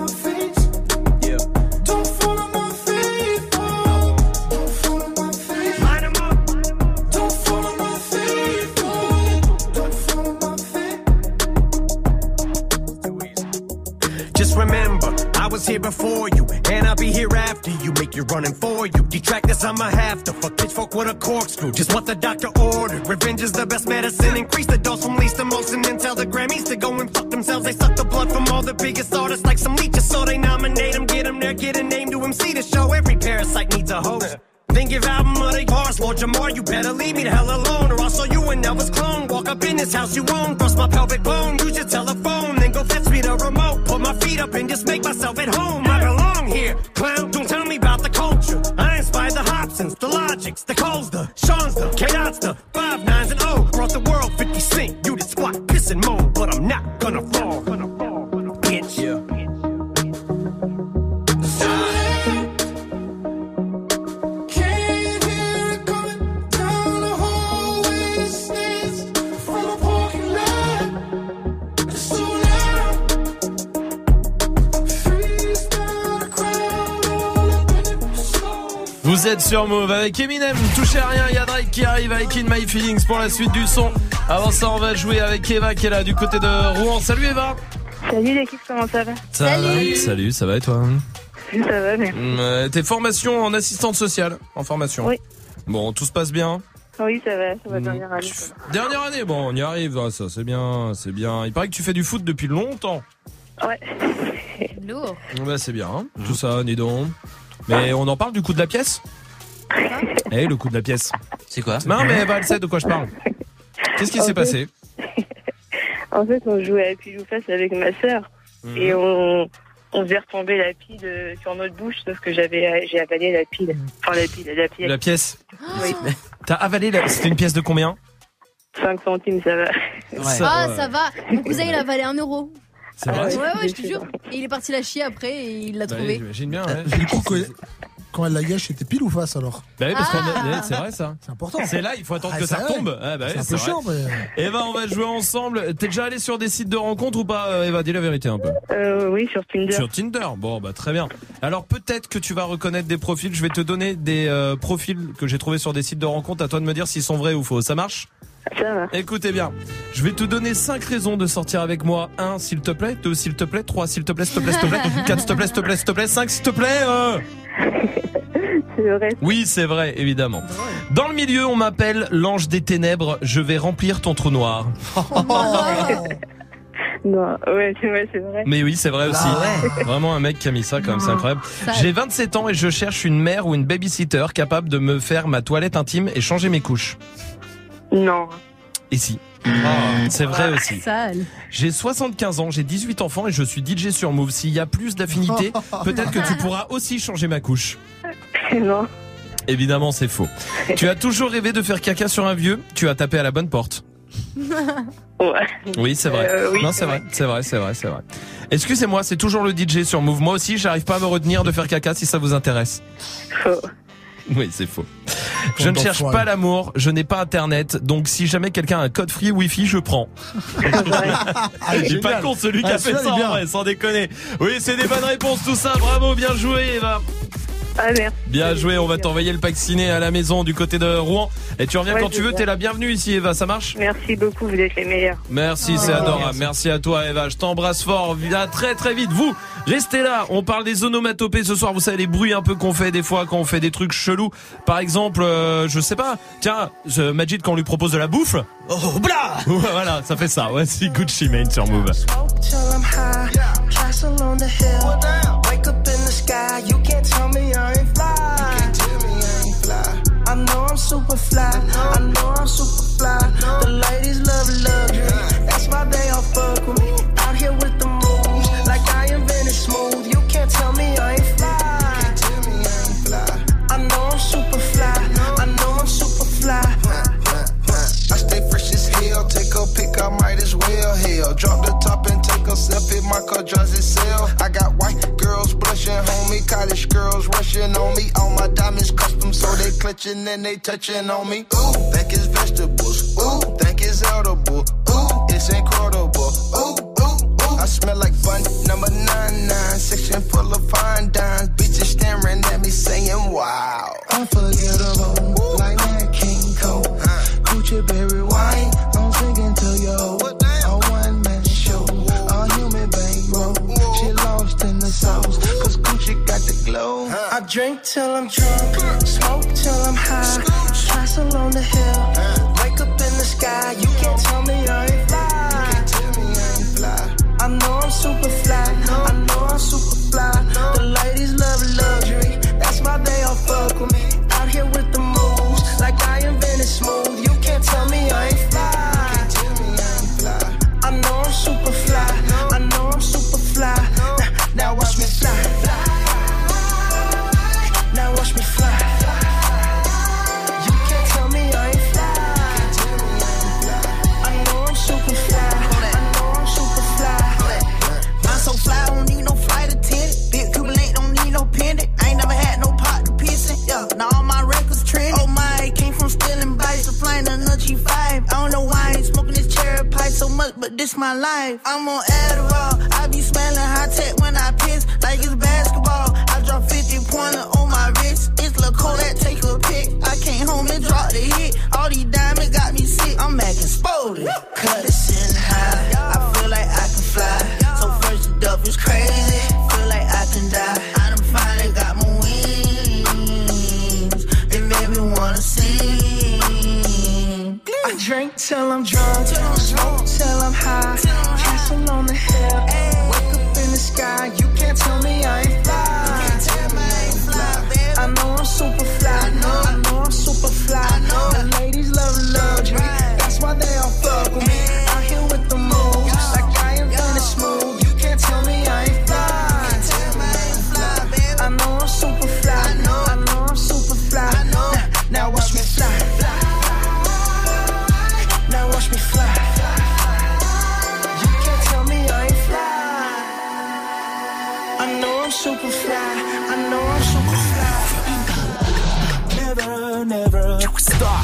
Remember, I was here before you, and I'll be here after you. Make you running for you. Detractors, I'ma have to fuck pitchfork with a corkscrew. Just what the doctor ordered. Revenge is the best medicine. Increase the dose from least to most, and then tell the Grammys to go and fuck themselves. They suck the blood from all the biggest artists like some leeches, so they nominate them, get them there, get a name to MC to show. Every parasite needs a host. Then give album of the bars, Lord Jamar, you better leave me the hell alone, or I'll show you an Elvis clone. Walk up in this house you own, bust my pelvic bone, use your telephone, then go fetch me the remote. Put my feet up and just make myself at home. I belong here, clown, don't tell me about the culture. I inspired the Hobsons, the Logics, the Coles, the Sean's, the K-Dots, the 5 9s and O. Brought the world 50 Cent, you did squat, piss and moan, but I'm not gonna fall, bitch. Yeah. Vous êtes sur Move avec Eminem, touchez à rien, il y a Drake qui arrive avec In My Feelings pour la suite du son. Avant ça, on va jouer avec Eva qui est là du côté de Rouen. Salut Eva. Salut l'équipe, comment ça va? Salut, ça va et toi? Ça va, merci. T'es formation en assistante sociale, en formation? Oui. Bon, tout se passe bien? Oui, ça va, dernière année. Dernière année, bon, on y arrive, ça c'est bien. Il paraît que tu fais du foot depuis longtemps. Ouais. Lourd. Bah c'est bien, hein, tout ça, dis donc. Mais on en parle du coup de la pièce? Eh, le coup de la pièce. C'est quoi? Non, mais Eva, elle sait de quoi je parle. Qu'est-ce qui s'est passé? En fait, on jouait à pile ou face avec ma sœur. Et on faisait retomber la pile sur notre bouche, sauf que j'ai avalé la pile. Enfin, la pièce. La pièce? Oui. T'as avalé C'était une pièce de combien? 5 centimes, ça va. Ouais. Ça va. Mon cousin, il a avalé 1 euro. C'est vrai? Ouais, je te jure. Et il est parti la chier après et il l'a trouvé. J'imagine bien, ouais. Du coup, quand elle la gâche, c'était pile ou face alors? Bah oui, parce c'est vrai ça. C'est important. C'est là, il faut attendre que ça retombe. Ah bah c'est un peu chiant, mais... Eva, on va jouer ensemble. T'es déjà allé sur des sites de rencontres ou pas, Eva? Dis la vérité un peu. Oui, sur Tinder. Sur Tinder. Bon, bah très bien. Alors peut-être que tu vas reconnaître des profils. Je vais te donner des profils que j'ai trouvés sur des sites de rencontres. À toi de me dire s'ils sont vrais ou faux. Ça marche? Ça va. Écoutez bien, je vais te donner 5 raisons de sortir avec moi. 1, s'il te plaît. 2, s'il te plaît. 3, s'il te plaît, s'il te plaît, s'il te plaît. 4, s'il te plaît, s'il te plaît, s'il te plaît. 5, s'il te plaît. C'est vrai. Oui, c'est vrai, évidemment. Dans le milieu, on m'appelle l'ange des ténèbres. Je vais remplir ton trou noir. Non, ouais, c'est vrai. Mais oui, c'est vrai aussi. Ouais. Vraiment un mec qui a mis ça quand même, c'est incroyable. J'ai 27 ans et je cherche une mère ou une babysitter capable de me faire ma toilette intime et changer mes couches. Non. Et si. C'est vrai aussi. Sale. J'ai 75 ans, j'ai 18 enfants et je suis DJ sur Move. S'il y a plus d'affinité, peut-être que tu pourras aussi changer ma couche. Non. Évidemment, c'est faux. Tu as toujours rêvé de faire caca sur un vieux, tu as tapé à la bonne porte. Ouais. Oui, c'est vrai. Oui, non, c'est vrai. Excusez-moi, c'est toujours le DJ sur Move. Moi aussi, j'arrive pas à me retenir de faire caca si ça vous intéresse. Faux. Oui, c'est faux. Je ne cherche pas l'amour, je n'ai pas internet, donc si jamais quelqu'un a un code free Wi-Fi, je prends. Il est pas con celui qui a fait ça en vrai, sans déconner. Oui, c'est des bonnes réponses tout ça, bravo, bien joué Eva. Ah, merci. Bien joué, on va t'envoyer le pack ciné à la maison du côté de Rouen. Et tu reviens quand tu veux, t'es la bienvenue ici Eva, ça marche ? Merci beaucoup, vous êtes les meilleurs. Merci, c'est adorable. Merci à toi Eva, je t'embrasse fort. Viens très très vite. Vous, restez là, on parle des onomatopées ce soir. Vous savez les bruits un peu qu'on fait des fois quand on fait des trucs chelous. Par exemple, je sais pas, tiens, Majid quand on lui propose de la bouffe. Oh blah. Voilà, ça fait ça. Voici Gucci Mane sur Move. I know I'm super fly. I know I'm super fly. The ladies love luxury. That's why they all fuck with me. Out here with the moves, like I invented smooth. You can't tell me I ain't fly. I know I'm super fly. I know I'm super fly. I stay fresh as hell. Take a pic, I might as well. Hell, drop the top and take a selfie. My car drives itself. I got white girls blushing, homie. College girls rushing on me. All my diamonds custom, so they clutching and they touching on me. Ooh, think it's vegetables. Ooh, think it's edible. Ooh, it's incredible. Ooh, ooh, ooh. I smell like fun. Number 99, section full of fine dimes. Bitches staring at me saying, wow. Unforgettable, like that King Cole. Gucci berry wine, I'm singing to you. A one-man show, a human bankroll. She lost in the sauce, cause Gucci got the glow. I drink till I'm drunk, smoke till I'm high. Castle on the hill, wake up in the sky. You can't tell me I ain't fly. I know I'm super fly, I know I'm super fly. The ladies love luxury, that's why they all fuck with me. Out here with the moves, like I invented smooth. You can't tell me I ain't fly. I know I'm super fly, I know I'm super fly. Now watch me fly. Now watch me fly. You can't tell me I ain't fly. I know I'm super fly, I know I'm super fly. I'm so fly, I don't need no flight attendant. Big Cuban link, don't need no pendant. I ain't never had no pot to piss in. Yeah, now all my records trending. Oh my, came from stealing bikes to flying a G5. I don't know why I ain't smoking this cherry pipe so much, but this my life. I'm on Adderall, I be smelling high tech when I piss, like it's basketball. I drop 50-pointer on my wrist. It's Lil' Kodak, take a pic. I came home and dropped the hit. All these diamonds got me sick. I'm acting spotted. Cut it sitting high. I feel like I can fly. So first the duff is crazy. Feel like I can die. I done finally got my wings. It made me wanna sing. I drink till I'm drunk, smoke till I'm high. Castle on the hill, wake up in the sky. You can't tell me I ain't fly. I know I'm super fly. I know I'm super fly. The ladies love luxury. That's why they all fuck with me. Out here with the moves, like I invented smooth. You can't tell me I ain't fly. I know I'm super fly. I know I'm super fly. Now watch me fly. Now watch me fly. You can't tell me I ain't fly. I know I'm super fly. I know I'm super fly. Never stop.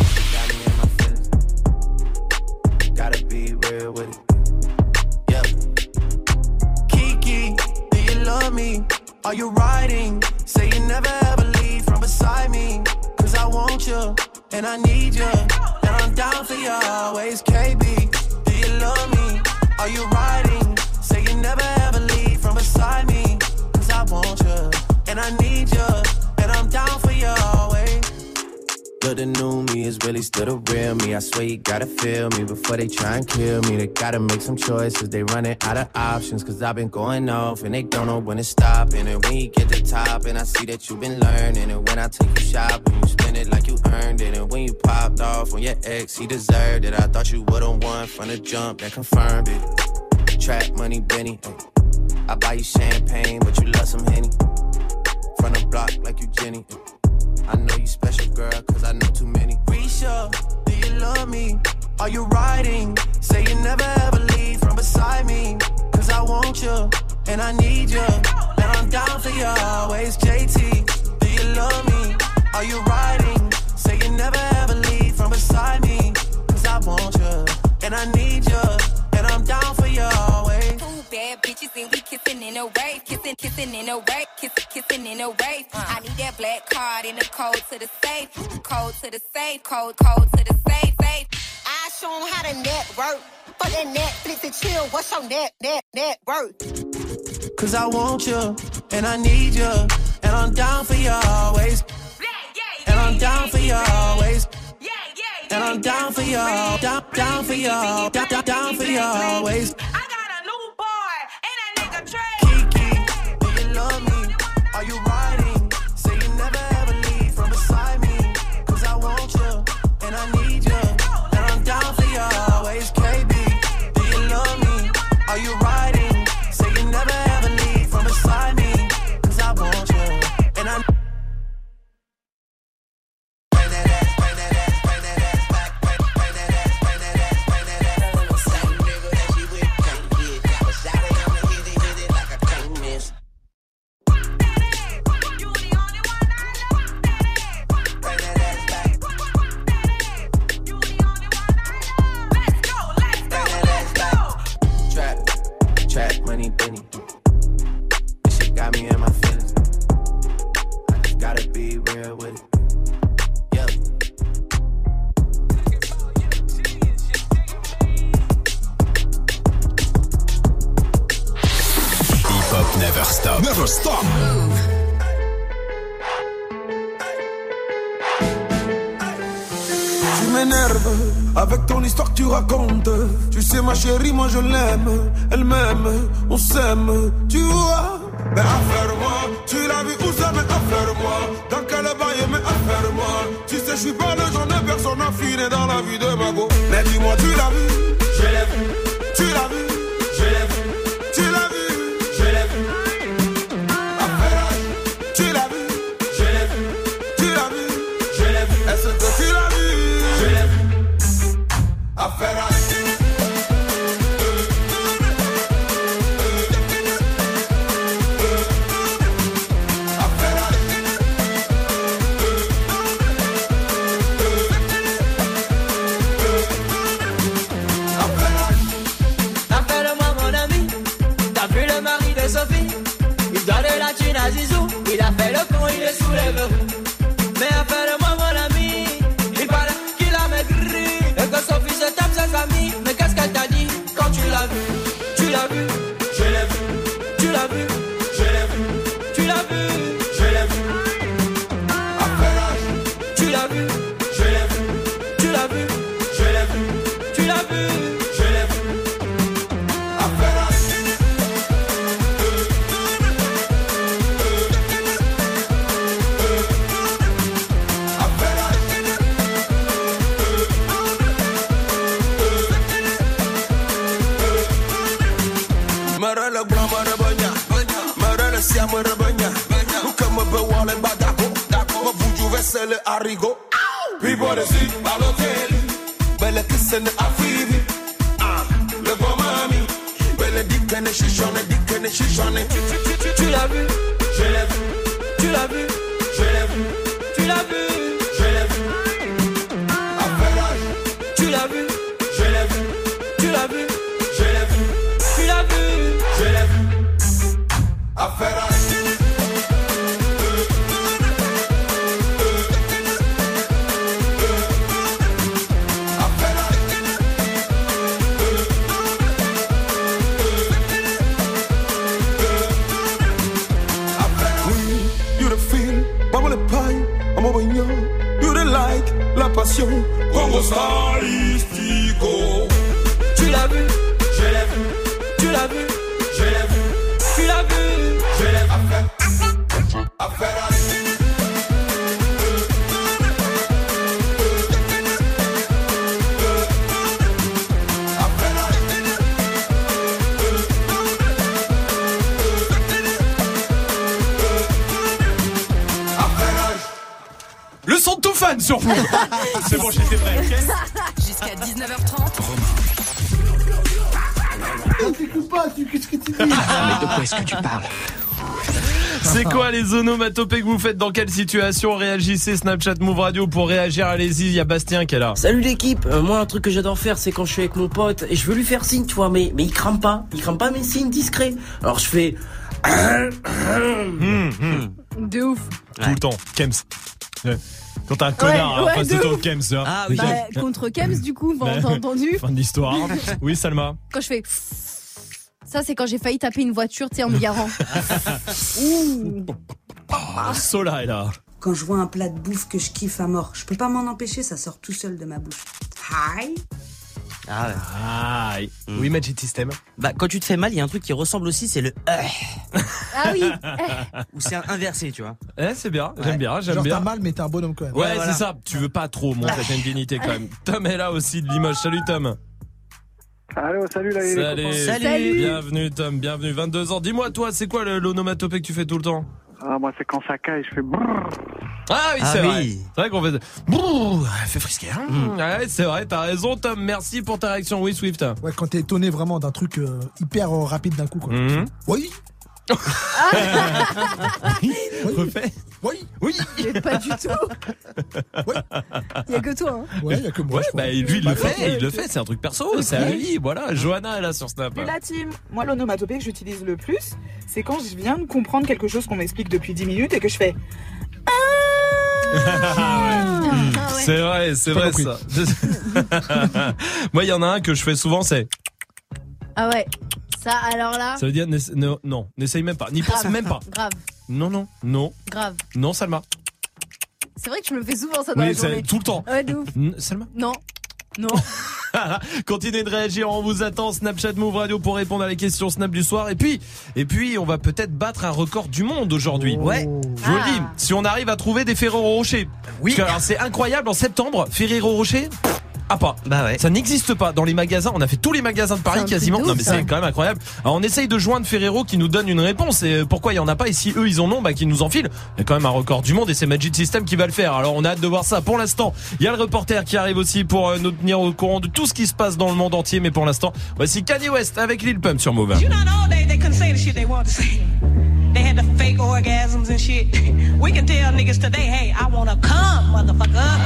Gotta be real with it. Yeah. Kiki, do you love me? Are you riding? Say you never ever leave from beside me. Cause I want you, and I need you. And I'm down for you always. KB, do you love me? Are you riding? Say you never ever leave from beside me. Cause I want you, and I need you. And I'm down for you always. But the new me is really still the real me. I swear you gotta feel me before they try and kill me. They gotta make some choices, they running out of options. Cause I've been going off and they don't know when to stop. And when you get to the top and I see that you've been learning. And when I take you shopping, you spend it like you earned it. And when you popped off on your ex, he deserved it. I thought you would've won from the jump, that confirmed it. Trap money, Benny, ay. I buy you champagne, but you love some Henny. From the block like you Jenny, ay. I know you special, girl, cause I know too many. Risha, do you love me? Are you riding? Say you never ever leave from beside me. Cause I want you, and I need you. And I'm down for you always. JT, do you love me? Are you riding? Say you beside me. Cause I want you, and I need you, and I'm down for you always. Two bad bitches and we kissing in a wave. Kissing in a wave. Kissing in a wave. I need that black card and the code to the safe. Code to the safe. Code to the safe. I show 'em how to network. For that Netflix and chill, what's your net worth? Cause I want you, and I need you, and I'm down for you always. And I'm down for you always. And I'm down for you, down for you, down for you always. I got a new boy, and that nigga Trey. Kiki, do you love me? Are you riding? Say you never ever leave from beside me. Cause I want you, and I need you, and I'm down for you always. KB, do you love me? Are you riding? Say you never ever leave from beside me. Cause I want you, and I money, Benny. This shit got me in my feelings. I just gotta be real with it. Yeah. Hip-hop never stop. Never stop. Tu m'énerves avec ton histoire que tu racontes. Tu sais ma chérie, moi je l'aime. Elle m'aime, on s'aime, tu vois. Mais affaire-moi, tu l'as vu où ça, mais affaire-moi. Dans quel bail, mais affaire-moi. Tu sais, je suis pas le genre de personne affinée dans la vie de ma go. Mais dis-moi, tu l'as vu? Je l'ai vu. Tu l'as vu? Je l'ai vu. Tu l'as vu? Je l'ai vu. Affaire, tu l'as vu? Je l'ai vu. Tu l'as vu? Je l'ai vu. Est-ce que tu l'as vu? Je l'ai vu. Affaire, Zizou, il a fait le con, il est sous les verrous. Mais appelle-moi mon ami, il paraît qu'il a maigri et que son fils tape ses amis. Mais qu'est-ce qu'elle t'a dit quand tu l'as vu? Tu l'as vu? Je l'ai vu. Tu l'as vu? Je l'ai vu. Tu l'as vu? Je l'ai vu. Tu l'as vu? Je l'ai vu. Tu l'as vu? Je l'ai vu. Tu l'as vu? Je l'ai vu. Siamo rebagna, come be wale badako, ma buju vesele arigo. People they see Balotelli, belle kissene afiri. Le bon mami, belle dikene shishone. Tu l'as vu? Je l'ai vu. Tu l'as vu? Je l'ai vu. Tu l'as vu? Je l'ai vu. Tu l'as vu? Je l'ai vu. Tu l'as vu? Je l'ai vu. Tu l'as vu? Je l'ai vu. Affaire. You the like, la passion, Congo stylistico. Tu l'as vu? Je l'ai vu. Tu l'as vu? Je l'ai vu. Tu l'as vu? Je l'ai vu. Affaire. Le son de tout fan sur Move. C'est bon, j'étais prêt. Jusqu'à 19h30. On t'écoute pas, qu'est-ce que tu dis? Mais de quoi est-ce que tu parles? C'est quoi les onomatopées que vous faites? Dans quelle situation? Réagissez, Snapchat Move Radio pour réagir. Allez-y, il y a Bastien qui est là. Salut l'équipe, moi un truc que j'adore faire c'est quand je suis avec mon pote et je veux lui faire signe, tu vois, mais il crame pas mes signes discrets. Alors je fais de ouf. Tout le temps, Kems. Quand t'as un connard en face de ton Kems, hein. Ah oui. Contre Kems du coup, t'as entendu. Fin de l'histoire. Oui, Salma. Quand je fais ça, c'est quand j'ai failli taper une voiture, tu sais, en me garant. Ouh. Sola est là. Quand je vois un plat de bouffe que je kiffe à mort, je peux pas m'en empêcher, ça sort tout seul de ma bouche. Hi. Ah ouais. Ah, oui, Magic System. Bah, quand tu te fais mal, il y a un truc qui ressemble aussi, c'est le Ah oui. Ou c'est inversé, tu vois. C'est bien, j'aime bien. Genre t'as mal, mais t'es un bonhomme quand même. Ouais, voilà. C'est ça. Tu veux pas trop montrer ta divinité quand même. Tom est là aussi de Limoges. Salut Tom. Allô, salut là, Salut. Bienvenue Tom, bienvenue. 22 ans. Dis-moi toi, c'est quoi l'onomatopée que tu fais tout le temps? Ah, moi c'est quand ça caille, je fais brrr. Ah oui, c'est vrai. C'est vrai qu'on fait brrr, fait frisquer. Ouais, c'est vrai, t'as raison Tom. Merci pour ta réaction. Oui, Swift. Ouais, quand t'es étonné vraiment d'un truc hyper rapide d'un coup quoi. Oui. Refais. Oui. Mais pas du tout. Il y a que toi. Hein. Ouais, il y a que moi. Ouais, bah lui il le fait, c'est un truc perso, c'est à lui. Voilà, Johanna est là sur Snap. La team. Moi l'onomatopée que j'utilise le plus, c'est quand je viens de comprendre quelque chose qu'on m'explique depuis 10 minutes et que je fais C'est vrai ça. Moi il y en a un que je fais souvent, c'est ah ouais. Ça, alors là. Ça veut dire non, n'essaye même pas, n'y pense même pas. Grave. Non. Grave. Non, Salma. C'est vrai que je me fais souvent ça dans la journée. Tout le temps. Ouais, de ouf. Salma. Non. Continuez de réagir, on vous attend. Snapchat Move Radio pour répondre à les questions Snap du soir. Et puis, on va peut-être battre un record du monde aujourd'hui. Ouais. Je vous le dis, si on arrive à trouver des Ferrero Rocher. Oui. Parce que, alors, c'est incroyable, en septembre, Ferrero Rocher. Ah pas. Bah ouais. Ça n'existe pas dans les magasins. On a fait tous les magasins de Paris quasiment. Non mais c'est quand même incroyable. Alors on essaye de joindre Ferrero qui nous donne une réponse. Et pourquoi il y en a pas? Et si eux ils en ont, bah qu'ils nous en filent. Il y a quand même un record du monde et c'est Magic System qui va le faire. Alors on a hâte de voir ça. Pour l'instant, il y a le reporter qui arrive aussi pour nous tenir au courant de tout ce qui se passe dans le monde entier. Mais pour l'instant, voici Kanye West avec Lil Pump sur Move. You know, all day they couldn't say the shit they wanted to say. They had the fake orgasms and shit. We can tell niggas today, hey, I wanna come, motherfucker.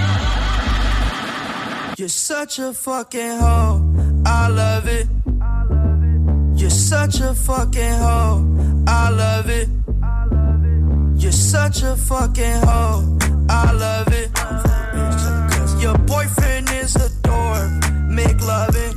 You're such a fucking hoe, I love it. You're such a fucking hoe, I love it. You're such a fucking hoe, I love it. Your boyfriend is a dork, make loving.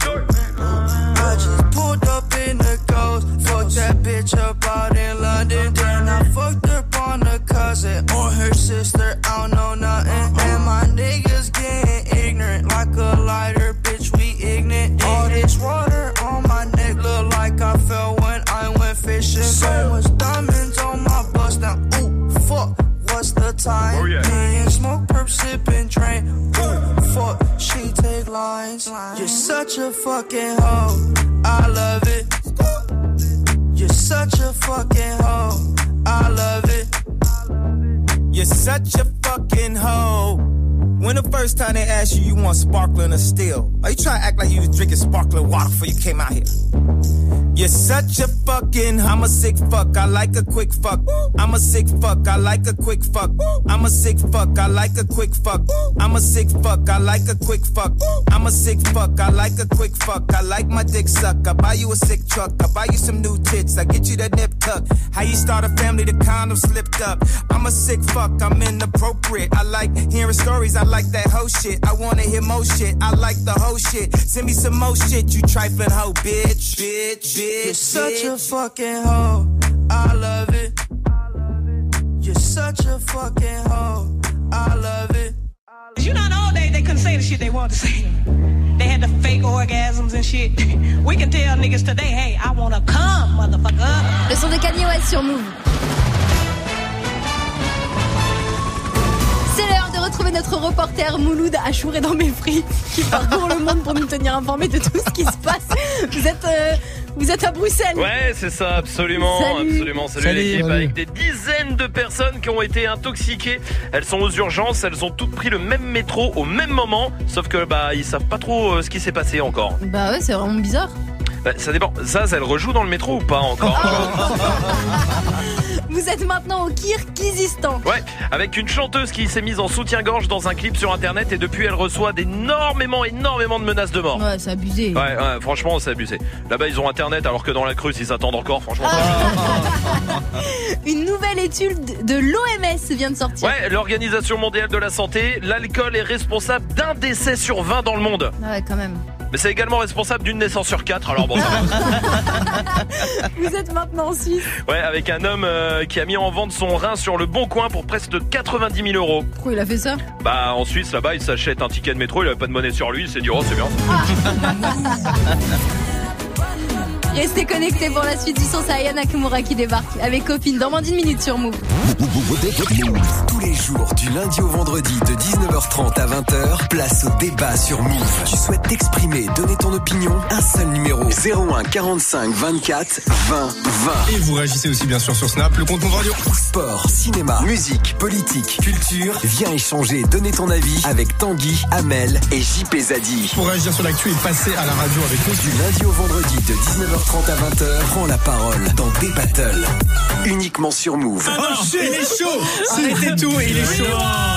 I just pulled up in the Ghost, fucked that bitch up out in London. Then I fucked up on her cousin or her sister, I don't know nothing. And my niggas getting ignorant like a lighter, bitch, we ignorant. All this water on my neck look like I fell when I went fishing. So much diamonds on my bust now, ooh, fuck, what's the time? Oh, yeah. Me and smoke, perp, sipping, train, ooh, fuck, she take lines. You're such a fucking hoe, I love it. You're such a fucking hoe, I love it. You're such a fucking hoe. When the first time they asked you want sparkling or still? Or you try to act like you was drinking sparkling water before you came out here? You're such a fucking, I'm a sick fuck, I like a quick fuck. I'm a sick fuck, I like a quick fuck. I'm a sick fuck, I like a quick fuck. I'm a sick fuck, I like a quick fuck. I'm a sick fuck, I like a quick fuck. I like my dick suck, I buy you a sick truck. I buy you some new tits, I get you that nip tuck. How you start a family, the condom slipped up. I'm a sick fuck, I'm inappropriate. I like hearing stories, I like that hoe shit. I wanna hear more shit, I like the whole shit. Send me some more shit, you trifling hoe, bitch. You're such a fucking hoe, I love it. You're such a fucking hoe, I love it. You know, all day they couldn't say the shit they wanted to say. They had the fake orgasms and shit. We can tell niggas today, hey, I wanna come, motherfucker. Le son de Kanye West sur Move. C'est l'heure de retrouver notre reporter Mouloud Achour et dans mes frites qui parcourt le monde pour nous tenir informés de tout ce qui se passe. Vous êtes à Bruxelles. Ouais, c'est ça, absolument. Salut l'équipe. Avec des dizaines de personnes qui ont été intoxiquées. Elles sont aux urgences, elles ont toutes pris le même métro au même moment. Sauf que ils savent pas trop ce qui s'est passé encore. Bah ouais, c'est vraiment bizarre. Bah, ça dépend. Ça, elle rejoue dans le métro ou pas encore? Vous êtes maintenant au Kirghizistan. Ouais, avec une chanteuse qui s'est mise en soutien-gorge dans un clip sur internet et depuis elle reçoit énormément de menaces de mort. Ouais, c'est abusé. Ouais, franchement, c'est abusé. Là-bas, ils ont internet alors que dans la Creuse, ils attendent encore, franchement. Une nouvelle étude de l'OMS vient de sortir. Ouais, l'Organisation mondiale de la santé, l'alcool est responsable d'1 décès sur 20 dans le monde. Ouais, quand même. Mais c'est également responsable d'une naissance sur 4, alors bon, ça va. Vous êtes maintenant en Suisse. Ouais, avec un homme qui a mis en vente son rein sur le Bon Coin pour presque 90 000 €. Pourquoi il a fait ça? Bah, en Suisse, là-bas, il s'achète un ticket de métro, il avait pas de monnaie sur lui, il s'est dit, oh, c'est bien. Restez connectés pour la suite du son, c'est Aya Nakamura qui débarque avec Copine dans moins d'1 minute sur Move. Tous les jours, du lundi au vendredi, de 19h30 à 20h, place au débat sur Move. Tu souhaites t'exprimer, donner ton opinion? Un seul numéro, 01 45 24 20 20. Et vous réagissez aussi bien sûr sur Snap, le compte Move Radio. Sport, cinéma, musique, politique, culture. Viens échanger, donner ton avis avec Tanguy, Amel et JP Zadi. Pour réagir sur l'actu et passer à la radio avec nous. Du lundi au vendredi, de 19h30 à 20h, prends la parole dans des battles. Uniquement sur Move. Ah non, il est chaud. C'était tout et il est chaud.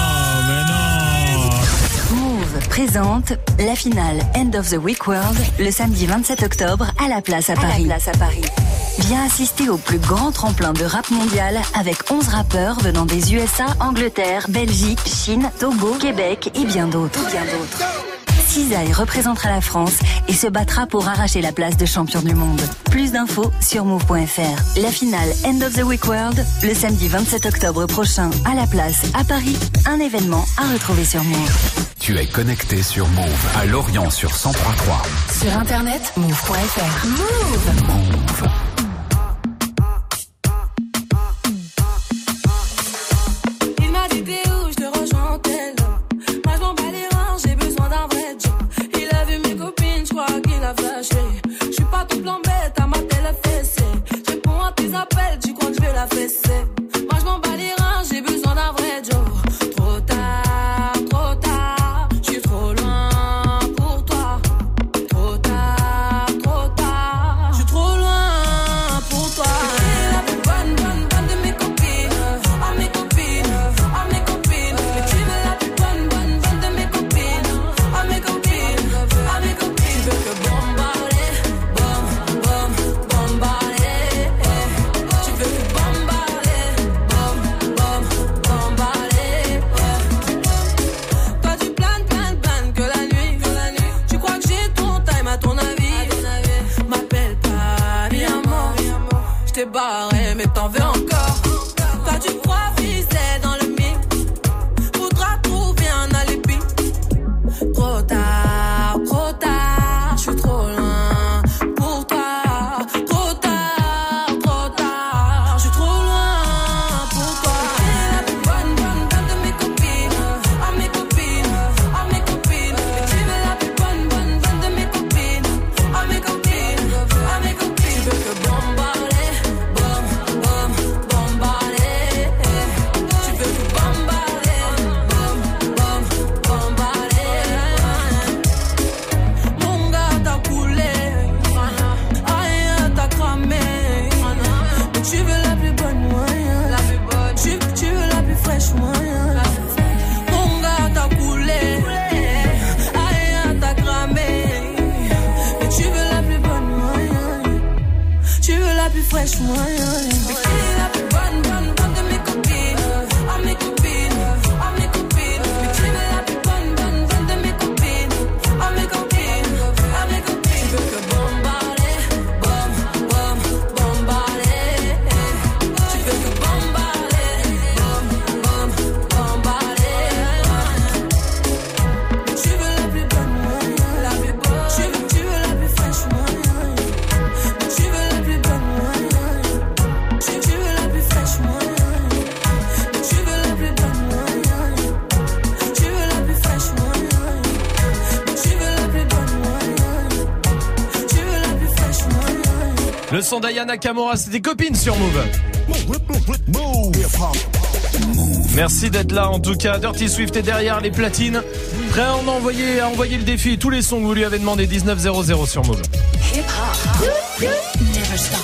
Move présente la finale End of the Week World le samedi 27 octobre à la Place à Paris. Viens assister au plus grand tremplin de rap mondial avec 11 rappeurs venant des USA, Angleterre, Belgique, Chine, Togo, Québec et bien d'autres. Cisaille représentera la France et se battra pour arracher la place de champion du monde. Plus d'infos sur move.fr. La finale End of the Week World, le samedi 27 octobre prochain à la Place, à Paris. Un événement à retrouver sur Move. Tu es connecté sur Move, à Lorient sur 103.3. Sur internet, move.fr. Move. Il m'a dit t'es où, je te rejoins en tel. Moi je m'en bats les reins, j'ai besoin d'un vrai job. Il a vu mes copines, je crois qu'il a flashé. Je suis pas tout plan bête, à ma télé fessée. Je réponds à tes appels, tu crois que je vais la fesser. Moi je m'en bats les reins, j'ai besoin d'un vrai job. Trop tard, je suis trop loin pour toi. Trop tard, je suis trop loin pour toi. T'es la plus bonne de mes copines. Ah mes copines, ah mes copines. Mais tu veux la plus bonne de mes copines. Ah mes copines, ah mes copines. Tu veux que bombarder, bombarder. Tu veux que bombarder, bombarder. Toi tu planes que la nuit. Tu crois que j'ai ton time à ton avis. M'appelle pas mi amor. Je t'ai barré mais t'en veux encore. Toi tu crois viser dans le mille. Faudra trouver un alibi. Trop tard, je suis trop loin pour toi. Trop tard, je suis trop loin pour toi. T'es la plus bonne de mes copines. Ah mes copines, ah mes copines. Mais tu veux la plus bonne de mes copines. Ah mes copines, ah mes copines. Tu veux que bombarder, bombarder. Tu veux que bombarder, bombarder. Mon gars t'a coulé, aïe t'a cramé. Mais tu veux la plus bonne moyen. Tu veux la plus fraîche moyen. Mon gars t'a coulé, aïe t'a cramé. Mais tu veux la plus bonne moyen. Tu veux la plus fraîche moyen. Mais qui est la plus bonne de mes copines. Ah mes copines, ah mes copines. Mais tu veux la plus bonne de mes copines. Ah mes copines, ah mes copines. Tu veux que bombarder, bombarder. Tu veux que bombarder, bombarder. Mais tu veux la plus bonne moyen. Tu veux la plus fraîche moyen. Mais tu veux la plus bonne moyen. Tu veux la plus fraîche moyen. Mais tu veux la plus bonne moyen. Tu veux la plus fraîche moyen. Mais tu veux la plus bonne moyen. Tu veux la plus fraîche moyen. Le son d'Aya Nakamura, c'est des copines sur Move. Merci d'être là en tout cas. Dirty Swift est derrière les platines. Prêt à envoyer le défi et tous les sons que vous lui avez demandé. 1900 sur Move. Never stop.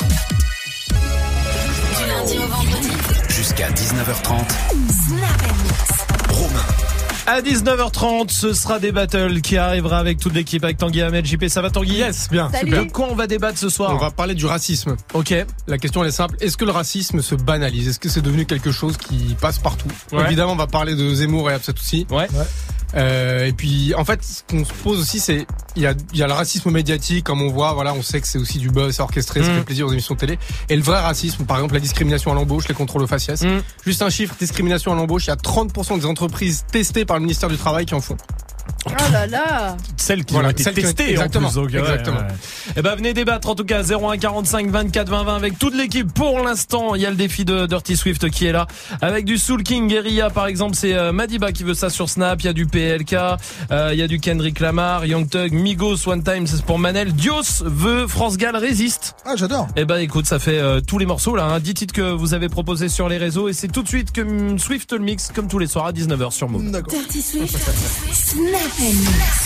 Du lundi au vendredi. Jusqu'à 19h30. Snap and Mix. Romain. À 19h30, ce sera des battles qui arrivera avec toute l'équipe, avec Tanguy, Ahmed, JP. Ça va Tanguy? Yes, bien. Salut. De quoi on va débattre ce soir? On va parler du racisme. Ok. La question elle est simple. Est-ce que le racisme se banalise? Est-ce que c'est devenu quelque chose qui passe partout? Ouais. Évidemment, on va parler de Zemmour et Absatoussi. Ouais. Et puis, en fait, ce qu'on se pose aussi, c'est il y a le racisme médiatique, comme on voit. Voilà, on sait que c'est aussi du buzz, c'est orchestré, ça fait plaisir aux émissions de télé. Et le vrai racisme, par exemple, la discrimination à l'embauche, les contrôles aux faciès. Juste un chiffre, discrimination à l'embauche, il y a 30% des entreprises testées par le ministère du Travail qui en font. Oh là là. Celles qui ont été testées exactement, en plus. Donc, exactement. Ouais. Eh ben venez débattre en tout cas 01 45 24 20 20 avec toute l'équipe. Pour l'instant, il y a le défi de Dirty Swift qui est là avec du Soul King, Guerilla par exemple, c'est Madiba qui veut ça sur Snap, il y a du PLK, il y a du Kendrick Lamar, Young Thug, Migos, One Time, c'est pour Manel. Dios veut France Gall Résiste. Ah, j'adore. Eh ben écoute, ça fait tous les morceaux là, 10 titres que vous avez proposés sur les réseaux et c'est tout de suite que Swift le mix comme tous les soirs à 19h sur Move. D'accord. Dirty Swift. Snap and Mix.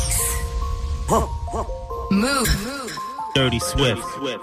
Move. Dirty Swift.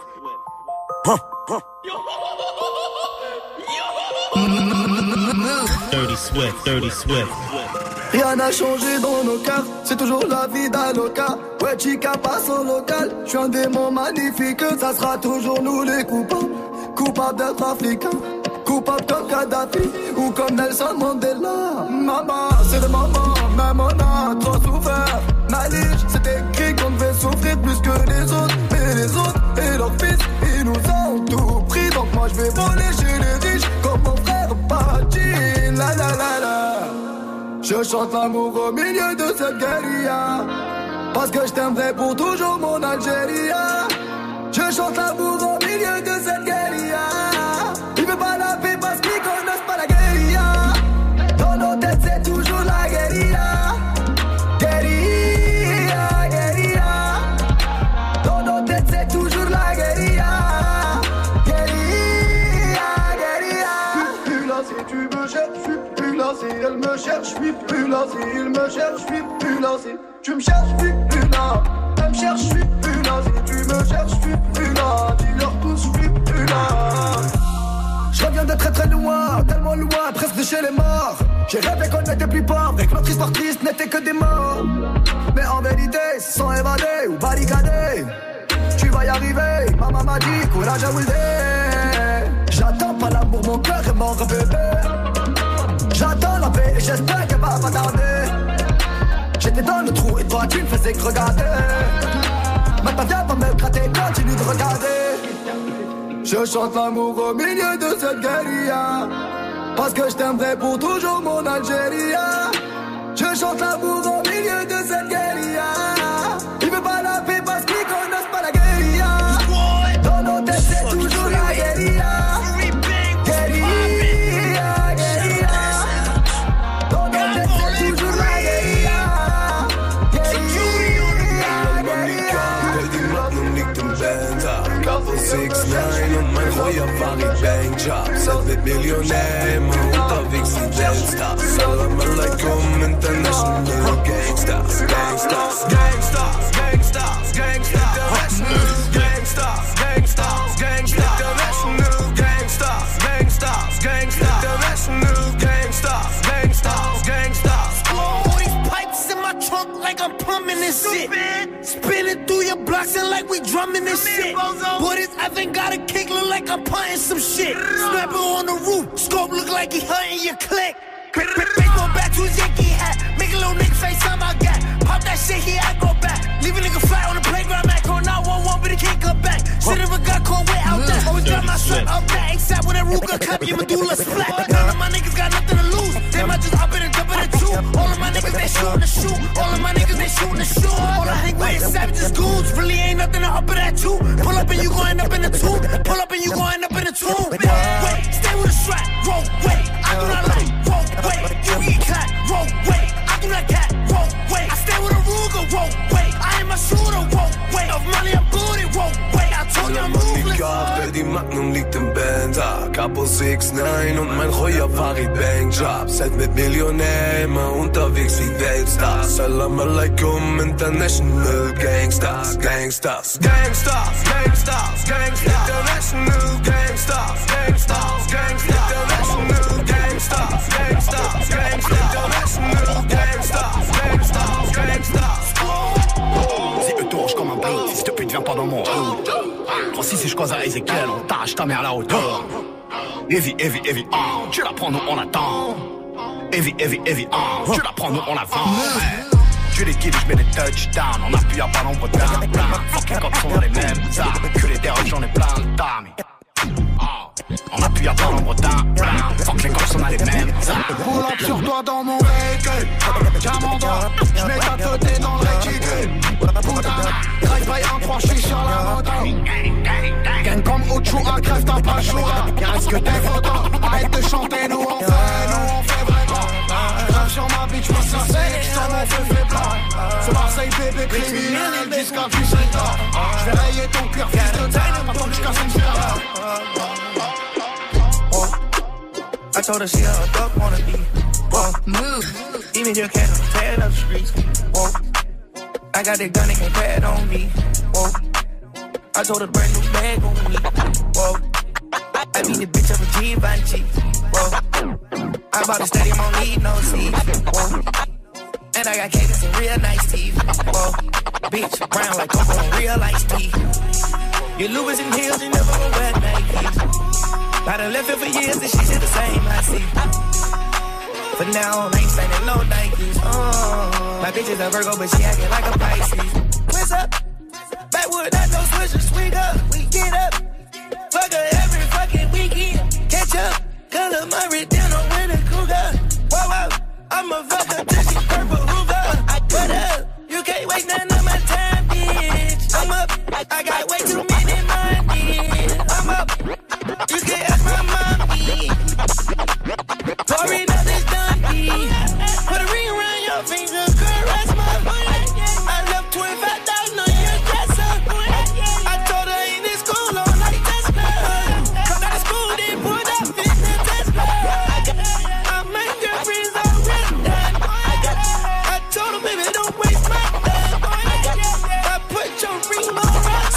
Dirty Swift, Dirty Swift. Rien n'a changé dans nos cœurs, c'est toujours la vie d'Aloca. Ouais, chica passe au local, je suis un démon magnifique. Ça sera toujours nous les coupables, coupables d'être africains, coupables comme Kadhafi ou comme Nelson Mandela. Maman, c'est le moment, même on a trop souffert. Malige, c'est écrit qu'on devait souffrir plus que les autres. Mais les autres et leurs fils, ils nous ont tout pris. Donc moi je vais voler chez les riches comme mon frère Patin. La la la la. Je chante l'amour au milieu de cette guérilla, parce que je t'aimerai pour toujours mon Algérie. Je chante l'amour au milieu de cette guérilla. Ils veulent pas la paix parce qu'ils connaissent pas la guérilla. Dans nos têtes c'est toujours la guérilla. Guérilla, guérilla. Dans nos têtes c'est toujours la guérilla. Guérilla, guérilla. Plus là si tu me cherches, je suis plus là si elle me cherche, je suis plus là si il me cherche, je suis plus là si tu me cherches, je suis plus là. Elle me cherche, je suis plus là si tu me cherches, je suis plus là. Dis-leur tous, je suis plus là. Je reviens de très très loin, tellement loin, presque de chez les morts. J'ai rêvé qu'on n'était plus pauvres et que notre histoire triste n'était que des morts. Mais en vérité, sans évader ou barricader, tu vas y arriver. Maman m'a dit, courage à Wilde. J'attends pas l'amour, mon cœur est mort, bébé. J'attends la paix et j'espère qu'elle va pas tarder. J'étais dans le trou et toi tu ne faisais que regarder. Maintenant viens pas me gratter, continue de regarder. Je chante l'amour au milieu de cette guérilla, parce que je t'aimerai pour toujours mon Algérie. Je chante l'amour au milieu de cette guérilla. Ils veulent pas la paix parce qu'ils connaissent pas la guérilla. Dans nos têtes c'est toujours la guérilla. Guérilla, guérilla. Dans nos têtes c'est toujours la guérilla. Guérilla, guérilla. 6ix9ine und mein Feuerfahrer Bankjob. Selbst Millionär, immer unterwegs in Gangsta. Salam alaikum, international Gangsters. Gangsters, Gangsters, Gangsters, Gangsters. Gangsters, Gangsters, Gangsters. International Gangsters, Gangsters, Gangsters. International Gangsters, Gangsters, Gangsters. All these pipes in my trunk like I'm pumping this shit. Spinning through your blocks and like we drumming this shit. Boy, this effing got a kick, look like I'm punting some shit. Snapper on the roof, scope look like he hunting your click. Baseball bat to his Yankee hat, make a little nigga face on my gat. Pop that shit here, I go back. Leave a nigga flat on the playground, Mac on 911, but he can't come back. Shit if a got caught way out there. Always got my son up that ASAP when that Ruger clap, your medulla splat. None of my niggas got nothing to lose. They might just up in and jump in the two. All of my niggas, they shootin' the shoot. All of my niggas, they shootin' the shoot. All I hang with is savages, goons. Really ain't nothing to up in that too. Pull up and you gon' end up in the tomb. Pull up and you gon' end up in the tomb. Wait, stay with a strap. Roll, wait. I do not like. Roll, wait. You get clap. Roll, wait. I do not cat. Roll, wait. I stay with a Ruger. Roll, wait. I ain't my shooter. Roll, wait. Of money, I'm booty. Roll, wait. I told you I'm ruthless. Scarf, die Magnum liegt im Benzer. Capo 6'9 und mein Royer Farid Bankjob. Seid mit Millionär, immer unterwegs wie Weltstars. Salam alaikum, international Gangsters, Gangsters, Gangsters, Gangsters, Gangsters, international Gangsters, Gangsters, Gangsters, international Gangsters, Gangsters, Gangsters, international Gangsters, Gangsters, Gangsters. Si eux tourne comme un bleu, si cette pute vient pas dans mon hood. Francis si je cause à Ezekiel, on tâche ta mère à la hauteur. Heavy, heavy, heavy, tu la prends, nous on attend. Heavy, heavy, heavy, tu la prends, nous on avance. Tu les kills, je mets des touchdowns, on appuie à ballon pour down. Fucking cops sont dans les mêmes armes, que les derrière j'en ai plein de dames. On appuie à ballon pour down. Fuck les cops sont dans les mêmes armes. Pull up sur toi dans mon véhicule. Diamant d'or, je mets ta tête dans le réticule. Putain, drive by 1-3, je suis sur la moto. Gang comme Ocho à crève, t'as pas le choix. Reste que tes photos, arrête de chanter, nous on fait vraiment. Grave sur ma bitch, moi ça c'est, j'tends mon feu fait blanc. C'est Marseille bébé criminel, jusqu'à 17 ans. J'vais rayer ton cuir, fils de taille, attends que j'casse une sphère. I told her she a duck wanna be. Whoa, move. Even you can't tear up the streets. Whoa, I got that gun that can pad on me. Whoa, I told her to brand new bag on me. Whoa, I beat the bitch up a Givenchy. Whoa, I bought a stadium, I don't need no seats. Whoa, and I got cadence and real nice teeth. Whoa, bitch, brown like Coco and real iced tea. Your Louis and heels, you never gonna wear Nikes. I done left it for years and she said the same, I see. But now I ain't standing no Nikes. My bitch is a Virgo, but she acting like a Pisces. What's up? Backwood, I know switchers, swing up, we get up. Fuck her every fucking weekend. Catch up, color Murray down on with a cougar. Whoa, whoa, I'm a fucker till she purple Hoover. I put up, you can't waste none of my time, bitch. I'm up, I got way too many money. I'm up. You can't ask my mommy. Sorry, nothing's done. Put a ring around your finger, caress my booty. I left 25,000 on your dresser. I told her ain't in school on like Tesla. Come out of school, then put up in the Tesla. I make girlfriends already done. I told her, baby, don't waste my time. I put your ring on rocks.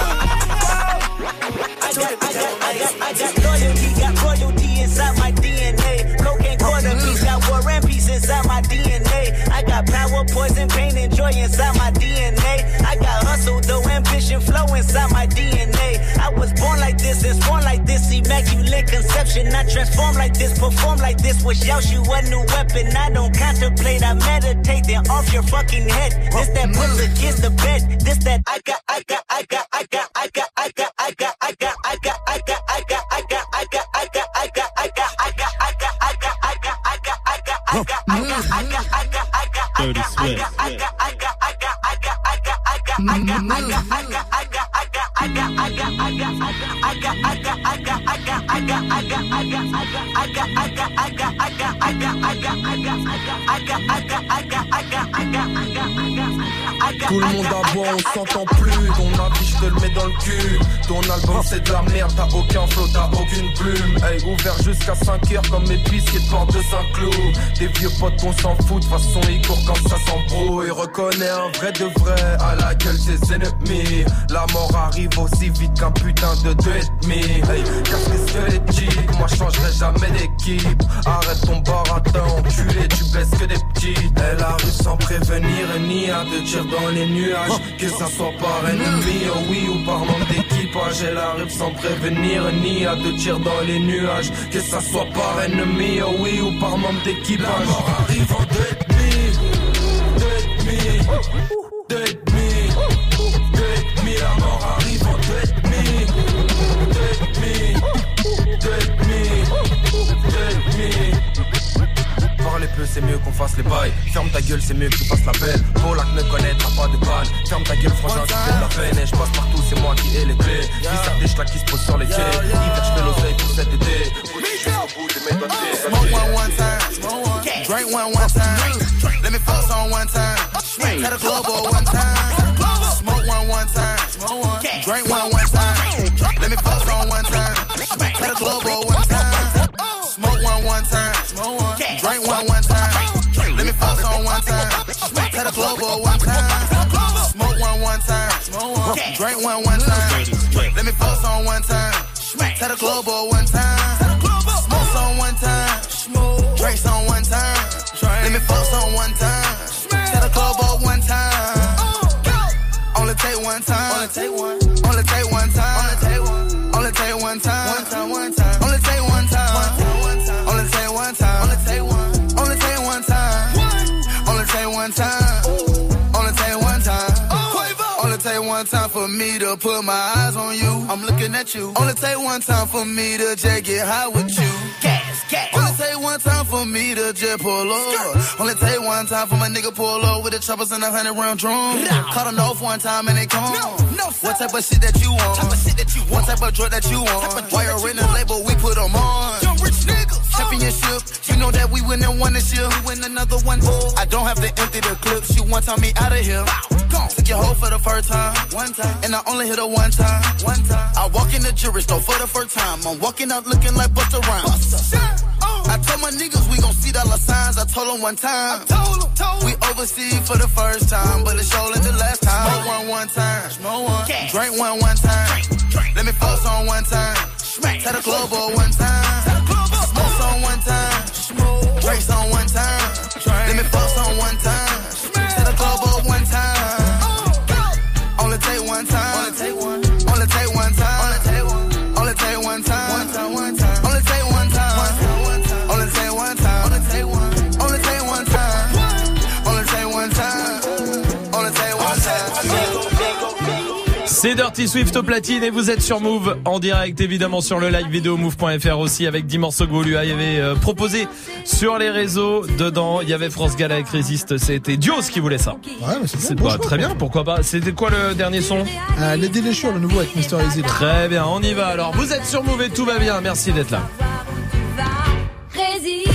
I got loyalty, got royalty inside my DNA. Cocaine quarter piece, got war and peace inside my DNA. I got power, poison, pain, and joy inside my DNA. I got hustle, though, ambition, flow inside my DNA. I was born like this and sworn like this, immaculate conception. I transform like this, perform like this, wish out you a new weapon. I don't contemplate, I meditate, then off your fucking head. This that puts against the bed. This that I got. Dirty Swift. Tout le monde aboie, on s'entend plus. Ton affiche, je te le mets dans le cul. Ton album c'est de la merde, t'as aucun flow, t'as aucune plume. Hey, ouvert jusqu'à 5h comme mes biscuits de porte de Saint-Cloud. Des vieux potes on s'en fout, de façon ils courent quand ça s'embrouille. Reconnais un vrai de vrai, à la gueule ses ennemis. La mort arrive aussi vite qu'un putain de 2,5. Hey, casse les squelettiques, moi je changerai jamais d'équipe. Arrête ton baratin, enculé, tu baisses que des petits. Elle arrive sans prévenir, ni à deux tirs dans les nuages. Que ça soit par ennemi, oh oui, ou par manque d'équipage. Elle arrive sans prévenir, ni à deux tirs dans les nuages. Que ça soit par ennemi, oh oui, ou par manque d'équipage. La mort arrive en 2,5. 2,5, la mort arrive en 2,5. 2,5. Parler peu, c'est mieux qu'on fasse les bails. Ferme ta gueule, c'est mieux que tu fasses la peine. Polak ne connaîtra pas de balle. Ferme ta gueule, frangin, tu fais de la peine. Et je passe partout, c'est moi qui ai les clés. Visser des schlacs qui se posent sur les quais. Hiver, je fais l'oseille pour cet été. Smoke one time, drink one time. Let me fuck on one time. At a club or one time. Smoke one time, drink one time. Let me club one time. Smoke one time. Drink one time. Let me fuck on one time. Tell the club one time. Smoke one time. Drink one time. Let me fuck on one time. Tell the club one time. Smoke on one time. Drinks on one time. Let me fuck on one time. Tell the club one time. Only take one time. Only take one. Only take one time. Only take one. Only take one time. One time. One time. Only take one time. Only take one time. Only take one. Only take one time. Only take one time. Only take one time. Only take one time for me to put my eyes on you. I'm looking at you. Only take one time for me to just get high with you. Gas, gas. Only take one time for me to just pull up. Only take one time for my nigga pull up with the choppers and 100-round drum. Caught them off one time and they come. What type of shit that you want? What type of drug that you want? Why you're in the label, we put them on. Young rich niggas. Championship, you know that we win and won this year. We win another one. I don't have to empty the clip. She one time me out of here. Took your hoe for the first time. One time. And I only hit her one time. One time. I walk in the jewelry store for the first time. I'm walking out looking like Busta Rhymes. I told my niggas we gon' see dollar signs. I told them one time. We overseas for the first time, but it's surely the last time. Smoke one time. Drink one time. Let me focus on one time. Tell the club one time. Smoke on one time. Drinks on one time. Let me focus on one time. Tell the club one time. Only take one time. Only take one. Only take one time. Only take one. Only take one time. One time. One time. Only take one time. Only take one time. Only take one. Only take one time. Only take one time. Only take one time. C'est Dirty Swift au platine et vous êtes sur Move en direct évidemment sur le live vidéo move.fr aussi avec 10 morceaux que vous lui avez proposé sur les réseaux. Dedans il y avait France Gall avec Résiste, c'était Dios qui voulait ça. Ouais, mais c'est pas très bien, pourquoi pas. C'était quoi le dernier son? Les Déléchures, le nouveau avec Mr. Easy. Très bien, on y va alors. Vous êtes sur Move et tout va bien, merci d'être là. Résiste.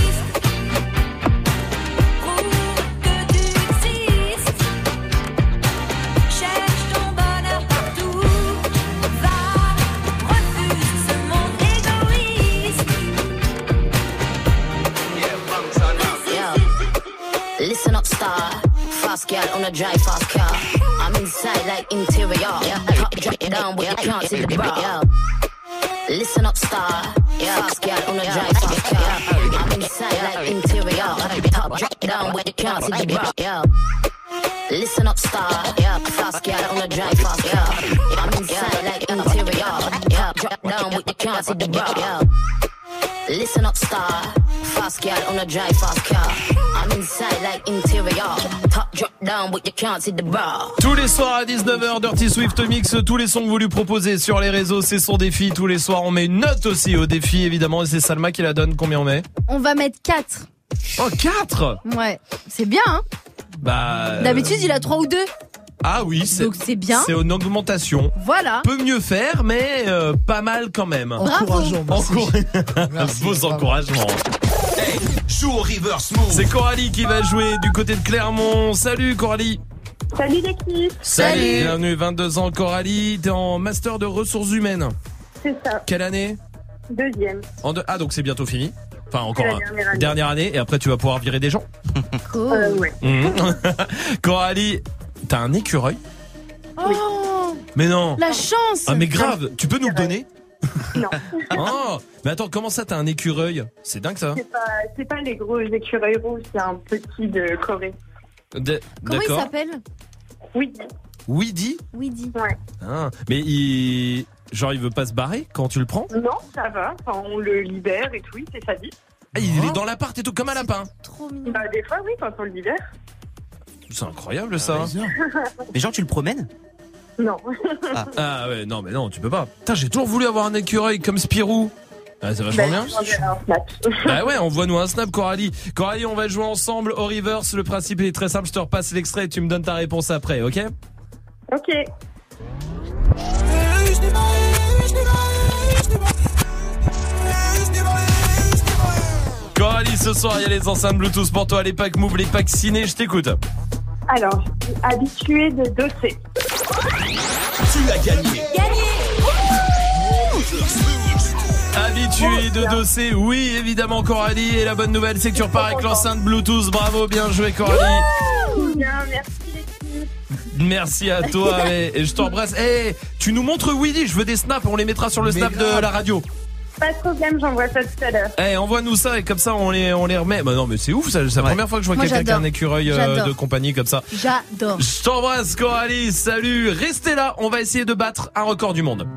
Listen up, star. Fast girl on a drive fast car. I'm inside like interior. Top drop down but you can't see the bra. Listen up, star. Fast girl on a drive fast car. I'm inside like interior. Top drop down but you can't see the bra. Listen up, star. Fast girl on a drive fast car. I'm inside like interior. Top drop down but you can't see the bra. Listen up, star. Fast girl on a drive fast car. I'm inside like interior. Top drop down but you can't see the bra. Tous les soirs à 19h, Dirty Swift mix tous les sons que vous lui proposez sur les réseaux. C'est son défi. Tous les soirs, on met une note aussi au défi, évidemment. Et c'est Salma qui la donne. Combien on met? On va mettre 4. Oh, 4? Ouais, c'est bien, hein? Bah. D'habitude, il a 3 ou 2. Ah oui, donc c'est bien. C'est une augmentation. Voilà. Peut mieux faire, mais pas mal quand même. Encourageant. Vos encouragements. Hey, joue au reverse move. C'est Coralie qui va jouer du côté de Clermont. Salut Coralie. Salut l'équipe. Salut. Bienvenue, 22 ans Coralie. T'es en master de ressources humaines. C'est ça. Quelle année? Deuxième. Ah donc c'est bientôt fini. Enfin encore dernière année. Et après tu vas pouvoir virer des gens. Ouais. Coralie, t'as un écureuil? Oh. Mais non. La chance. Ah mais grave, tu peux nous le donner? Non. Oh, mais attends, comment ça t'as un écureuil? C'est dingue ça. C'est pas les gros écureuils rouges, c'est un petit de Corée. Comment il s'appelle? Weedy. Weedy. Ouais. Ah, mais il veut pas se barrer quand tu le prends? Non, ça va. Enfin, on le libère et tout, c'est sa vie. Ah, il est dans l'appart et tout comme un lapin. Trop mignon. Bah des fois oui, quand on le libère. C'est incroyable ça. Mais genre tu le promènes? Non. Ah ouais, non mais non, tu peux pas. Putain, j'ai toujours voulu avoir un écureuil comme Spirou. Ah, c'est vachement bien. Bah ouais, envoie-nous un snap Coralie. Coralie, on va jouer ensemble au reverse. Le principe est très simple, je te repasse l'extrait et tu me donnes ta réponse après, ok? Ok. Coralie, ce soir, il y a les enceintes Bluetooth pour toi, les packs Move, les packs ciné, je t'écoute. Alors, habitué de doser. Tu as gagné. Habitué habitué de Dossé. Oui, évidemment, Coralie. Et la bonne nouvelle, c'est que tu repars avec l'enceinte Bluetooth. Bravo, bien joué, Coralie. Bien, merci. Merci à toi. Et je t'embrasse. Hey, tu nous montres Weedy. Je veux des snaps. On les mettra sur le snap de la radio. Pas de problème, j'envoie ça tout à l'heure. Eh, envoie-nous ça et comme ça on les remet. Bah non mais c'est ouf, c'est la première fois que je vois quelqu'un qui a un écureuil de compagnie comme ça. J'adore. Je t'embrasse Coralie, salut. Restez là, on va essayer de battre un record du monde.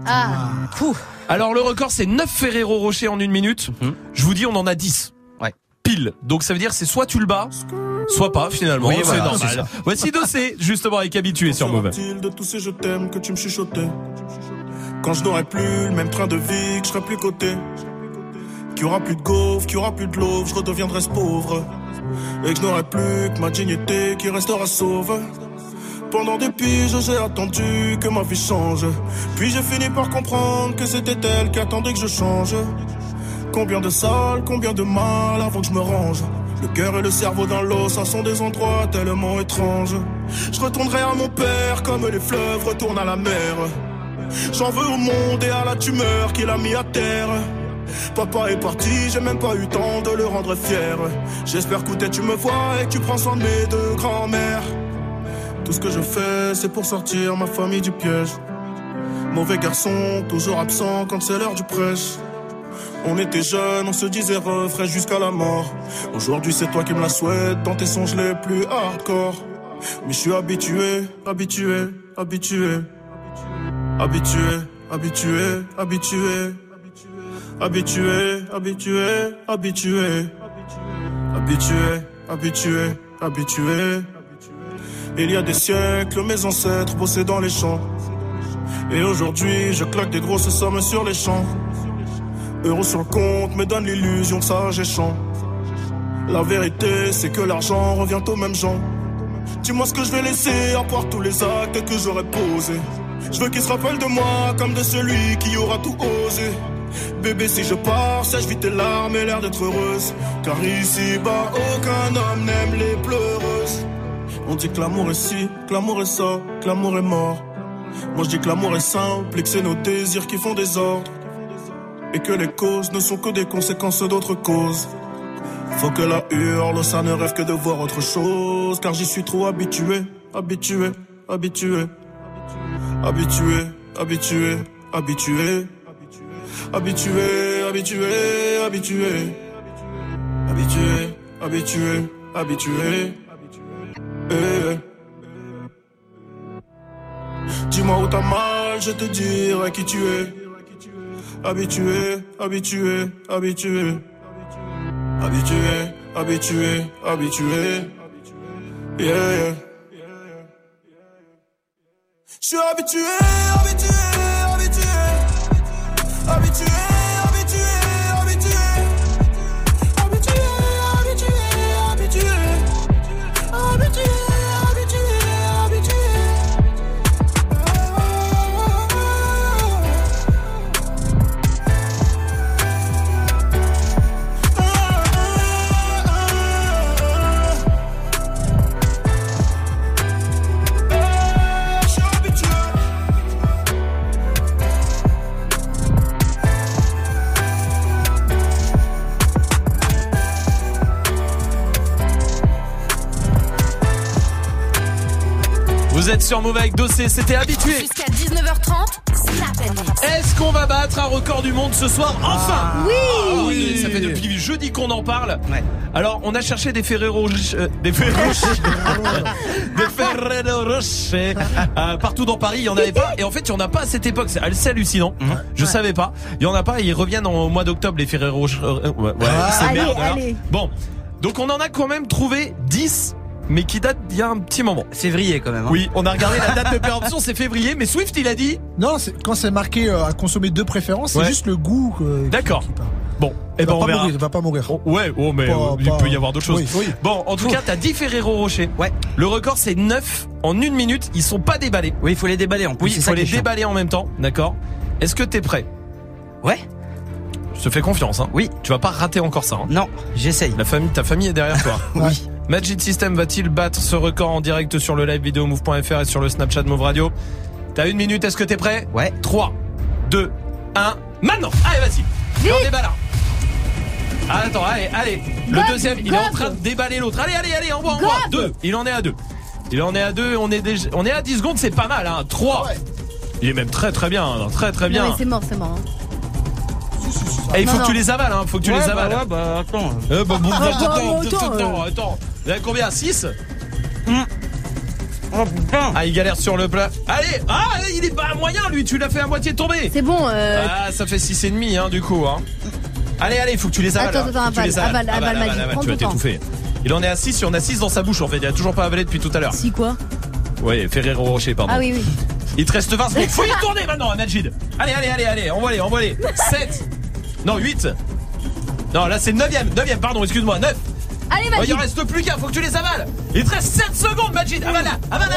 Alors le record c'est 9 Ferrero Rocher en 1 minute. Je vous dis on en a 10. Ouais. Pile. Donc ça veut dire c'est soit tu le bats, soit pas finalement. Oui, c'est voilà, normal. Voici Dossé, justement avec Habitué sur Move. De tous ces je t'aime que tu me chuchotais. Quand je n'aurai plus le même train de vie, que je serai plus coté. Qu'il y aura plus de gaufres, qu'il y aura plus de l'eau, je redeviendrai ce pauvre. Et que je n'aurai plus que ma dignité qui restera sauve. Pendant des piges, j'ai attendu que ma vie change. Puis j'ai fini par comprendre que c'était elle qui attendait que je change. Combien de salles, combien de mal avant que je me range. Le cœur et le cerveau dans l'eau, ça sont des endroits tellement étranges. Je retournerai à mon père comme les fleuves retournent à la mer. J'en veux au monde et à la tumeur qu'il a mis à terre. Papa est parti, j'ai même pas eu le temps de le rendre fier. J'espère qu'écoute tu me vois et que tu prends soin de mes deux grands-mères. Tout ce que je fais c'est pour sortir ma famille du piège. Mauvais garçon, toujours absent quand c'est l'heure du prêche. On était jeunes, on se disait refrain jusqu'à la mort. Aujourd'hui c'est toi qui me la souhaites dans tes songes les plus hardcore. Mais je suis habitué, habitué, habitué. Habitué, habitué, habitué. Habitué, habitué, habitué. Habitué, habitué, habitué. Il y a des siècles, mes ancêtres bossaient dans les champs. Et aujourd'hui, je claque des grosses sommes sur les champs. Euros sur le compte me donne l'illusion que ça j'ai champ. La vérité, c'est que l'argent revient aux mêmes gens. Dis-moi ce que je vais laisser à part tous les actes que j'aurais posés. Je veux qu'il se rappelle de moi comme de celui qui aura tout osé. Bébé si je pars, sèche vite tes larmes et l'air d'être heureuse. Car ici-bas, aucun homme n'aime les pleureuses. On dit que l'amour est ci, que l'amour est ça, que l'amour est mort. Moi je dis que l'amour est simple et que c'est nos désirs qui font des ordres. Et que les causes ne sont que des conséquences d'autres causes. Faut que la hurle, ça ne rêve que de voir autre chose. Car j'y suis trop habitué, habitué, habitué. Habitué, habitué, habitué. Habitué, habitué, habitué. Habitué, habitué, habitué. Dis-moi où t'as mal, je te dirai qui tu es. Habitué, habitué, habitué. Habitué, habitué, habitué. Yeah, yeah. Je suis habitué, habitué, habitué. Habitué, habitué, habitué. Habitué, habitué, habitué. Habitué, habitué, habitué. Vous êtes sur Move avec Dossé, c'était Habitué. Jusqu'à 19h30, Snap & Mix. Est-ce qu'on va battre un record du monde ce soir? Enfin! Oui! Ça fait depuis jeudi qu'on en parle. Ouais. Alors, on a cherché des Ferrero Rocher, des Ferrero Rocher, partout dans Paris, il y en avait pas. Et en fait, il y en a pas à cette époque. C'est hallucinant. Je savais pas. Il y en a pas. Et ils reviennent au mois d'octobre, les Ferrero Rocher. C'est merde. Allez. Bon. Donc, on en a quand même trouvé 10. Mais qui date d'il y a un petit moment. Février quand même. Hein. Oui, on a regardé la date de péremption, c'est février. Mais Swift, il a dit. Non, quand c'est marqué à consommer de préférence, c'est juste le goût. D'accord. Bon, et ben on verra. Il va pas mourir. Mais il peut y avoir d'autres choses. Oui. Bon, en tout cas, t'as 10 Ferrero Rocher. Ouais. Le record, c'est 9 en 1 minute. Ils sont pas déballés. Oui, il faut les déballer en plus. Oui, il faut les déballer en même temps. D'accord. Est-ce que t'es prêt? Ouais. Je te fais confiance, hein. Oui. Tu vas pas rater encore ça, hein. Non, j'essaye. Ta famille est derrière toi. Oui. Magic System va-t-il battre ce record en direct sur le live vidéo move.fr et sur le Snapchat Move Radio? T'as 1 minute, est-ce que t'es prêt? Ouais. 3, 2, 1, maintenant! Allez, vas-y! Et on déballe. Ah, attends, allez. Le deuxième, il est en train de déballer l'autre. Allez, envoie. 2. Il en est à 2. On est à 10 secondes, c'est pas mal, hein. 3. Ouais. Il est même très bien, hein. Très bien. Non, mais c'est mort. Hein. Et il faut que tu les avales, hein. Faut que tu les avales. Attends. Attends. Vous avez combien? 6? Oh putain. Ah, il galère sur le plat. Allez. Ah, il est pas moyen, lui. Tu l'as fait à moitié tomber. C'est bon. Ah, ça fait 6,5, hein, du coup, hein. Allez, il faut que tu les avales. Attends, avale, Magic. Tu vas t'étouffer. Il en est à 6, il en a 6 dans sa bouche, en fait. Il a toujours pas avalé depuis tout à l'heure. Si quoi? Ouais, Ferrero Rocher, pardon. Ah oui. Il te reste 20 secondes. Faut y tourner maintenant, Majid. Allez. Envoie-les. 7. Non, 8. Non, là, c'est le 9ème, pardon, excuse-moi. 9. Allez, Majid. Il en reste plus qu'un, faut que tu les avales. Il te reste 7 secondes, Majid. Avale.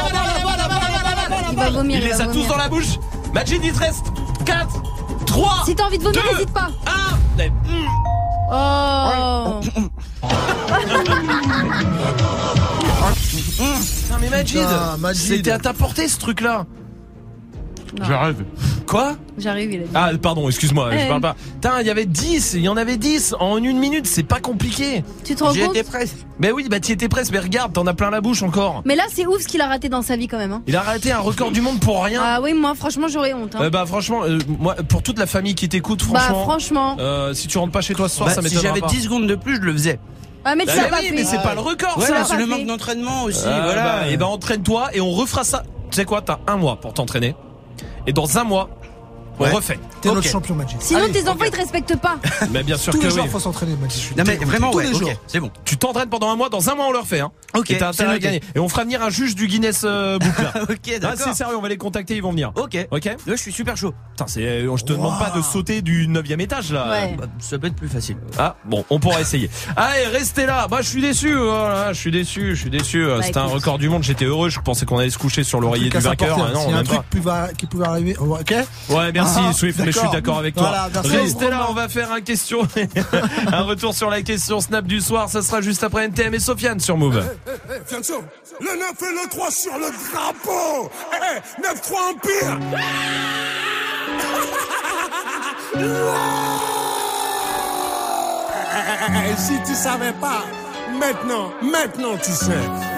Il va vomir. Il les a tous dans la bouche. Majid, il te reste 4, 3. Si t'as envie de vomir, n'hésite pas. 1. Oh. Putain, mais Majid, c'était à ta portée ce truc-là. J'arrive. Quoi? J'arrive, il a dit. Ah, pardon, excuse-moi, je parle pas. Putain, il y en avait 10 en 1 minute, c'est pas compliqué. Tu te rends compte? J'étais presque. Mais oui, t'y étais presque, mais regarde, t'en as plein la bouche encore. Mais là, c'est ouf ce qu'il a raté dans sa vie quand même. Hein. Il a raté un record du monde pour rien. Ah oui, moi, franchement, j'aurais honte. Hein. Franchement, moi, pour toute la famille qui t'écoute, franchement. Si tu rentres pas chez toi ce soir, ça m'étonnerait pas. Si j'avais 10 secondes de plus, je le faisais. Ah, mais tu l'as pas fait. Mais c'est pas le record, ça. C'est le manque d'entraînement aussi, voilà. Et entraîne-toi et on refera ça. Tu sais quoi, t'as 1 mois pour t'entraîner. Et dans 1 mois, on refait. T'es notre champion, Magic. Sinon, tes enfants, ils te respectent pas. Mais bien sûr tous que les jours, oui. faut s'entraîner, Magic. Non, mais vraiment, tous les jours. C'est bon. Tu t'entraînes pendant 1 mois, dans 1 mois, on le refait, hein. Ok. Et t'as intérêt à gagner. Et on fera venir un juge du Guinness Book, là. Ok, d'accord. C'est sérieux, on va les contacter, ils vont venir. Ok. Là, je suis super chaud. Putain, je te demande pas de sauter du 9ème étage, là. Ouais. Ça peut être plus facile. Ah, bon, on pourra essayer. Allez, restez là. Je suis déçu, voilà. Je suis déçu. C'était un record du monde, j'étais heureux. Je pensais qu'on allait se coucher sur l'oreiller du vainqueur. Non, il y a un truc qui pouvait arriver. Ok? Ouais, merci, Swift, mais je suis d'accord avec toi. Voilà, restez là, on va faire un retour sur la question Snap du soir. Ça sera juste après NTM et Sofiane sur Move. Fianso, le 9 et le 3 sur le drapeau. 9-3 Empire. Si tu savais pas, maintenant tu sais.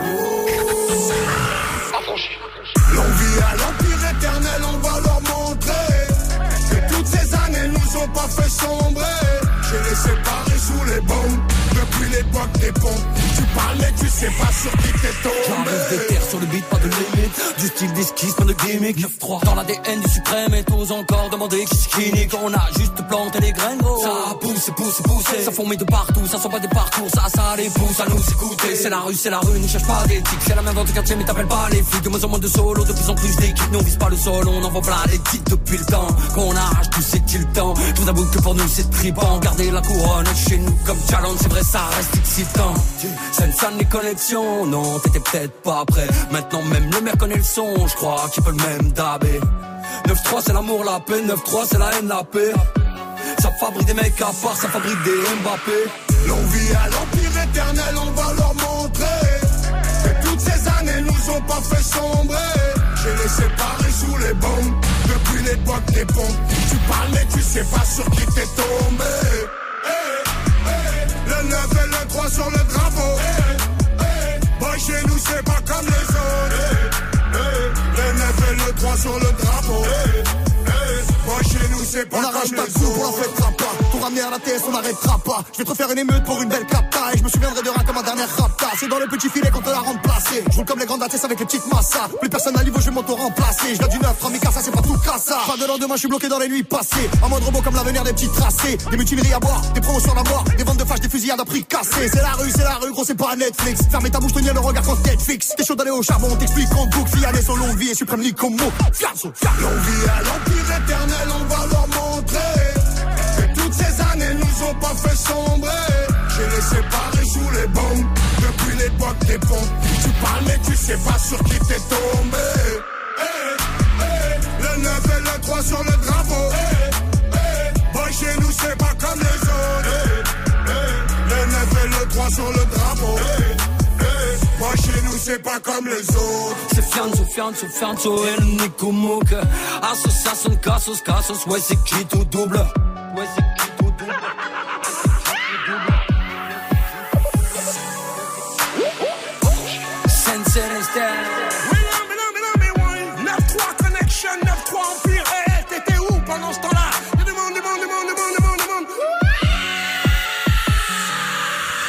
L'envie à l'Empire éternel, on va leur montrer que toutes ces années nous ont pas fait sombrer. J'ai les séparés sous les bombes depuis l'époque des pompes. Tu parles mais tu sais pas sur qui t'es tombé. J'arrive des terres sur le beat, pas de limite. Du style d'esquisse, pas de gimmick. 9-3 dans l'ADN du suprême et tous encore demander qui c'est qui. On a juste planté les graines, gros. Ça pousse, ça fourmille de partout. Ça sent pas des parcours, ça les pousse à nous écouter. C'est la rue, ne cherche pas d'éthique. C'est la même dans ton quartier mais t'appelles pas les flics. De moins en moins de solo, de plus en plus d'équipes. Nous on vise pas le sol, on envoie plein les titres depuis le temps qu'on arrache tout c'est-il le temps. Tout d'abord que pour nous c'est tripant. Garder la couronne chez nous comme challenge, c'est vrai ça reste excitant. Ça les connexions, non t'étais peut-être pas prêt. Maintenant même le maire connaît le son, je crois qu'il peut le même dabé. 9-3 c'est l'amour, la paix, 9-3 c'est la haine, la paix. Ça fabrique des mecs à part, ça fabrique des Mbappé. L'envie à l'Empire éternel, on va leur montrer que toutes ces années nous ont pas fait sombrer. J'ai les séparés sous les bombes depuis l'époque des pompes. Tu parles mais tu sais pas sur qui t'es tombé. Le 9 et le 3 sur le drapeau. Boy chez nous c'est pas comme les autres. Le 9 et le 3 sur le drapeau. Boy chez nous c'est pas comme les autres. On arrache pas de coups, on en fêtera pas. Pour ramener à la TS on n'arrêtera pas. Je vais te refaire une émeute pour une belle capta. Et je me souviendrai de rien comme ma dernière rapta. C'est dans le petit filet qu'on te l'a remplacé. Je roule comme les grandes ATS avec les petites massas. Plus personne à niveau, je vais m'auto-remplacer. Je viens du 9, 3000 ça c'est pas tout cassa. Pas de lendemain, je suis bloqué dans les nuits passées. En mode robot comme l'avenir des petits tracés. Des mutineries à boire, des promotions à mort. Des ventes de flash, des fusillades à prix cassé. C'est la rue, gros c'est pas Netflix. Fermez ta bouche, tenir le regard quand Netflix. T'es chaud d'aller au charbon, on t'explique en boucle. Fiané son longue vie et suprême lit comme mot. L'envie à l'Empire éternel, on va leur montrer que toutes ces années nous ont pas fait sombrer. J'ai les séparés sous les bombes depuis l'époque des pompes. Tu parles mais tu sais pas sur qui t'es tombé. Le 9 et le 3 sur le drapeau. Boy chez nous c'est pas comme les autres. Le 9 et le 3 sur le drapeau. Moi chez nous c'est pas comme les autres. C'est Fianso, El Nico Mouk. Association, Cassos, ouais c'est qui tout double. Ouais c'est qui tout double.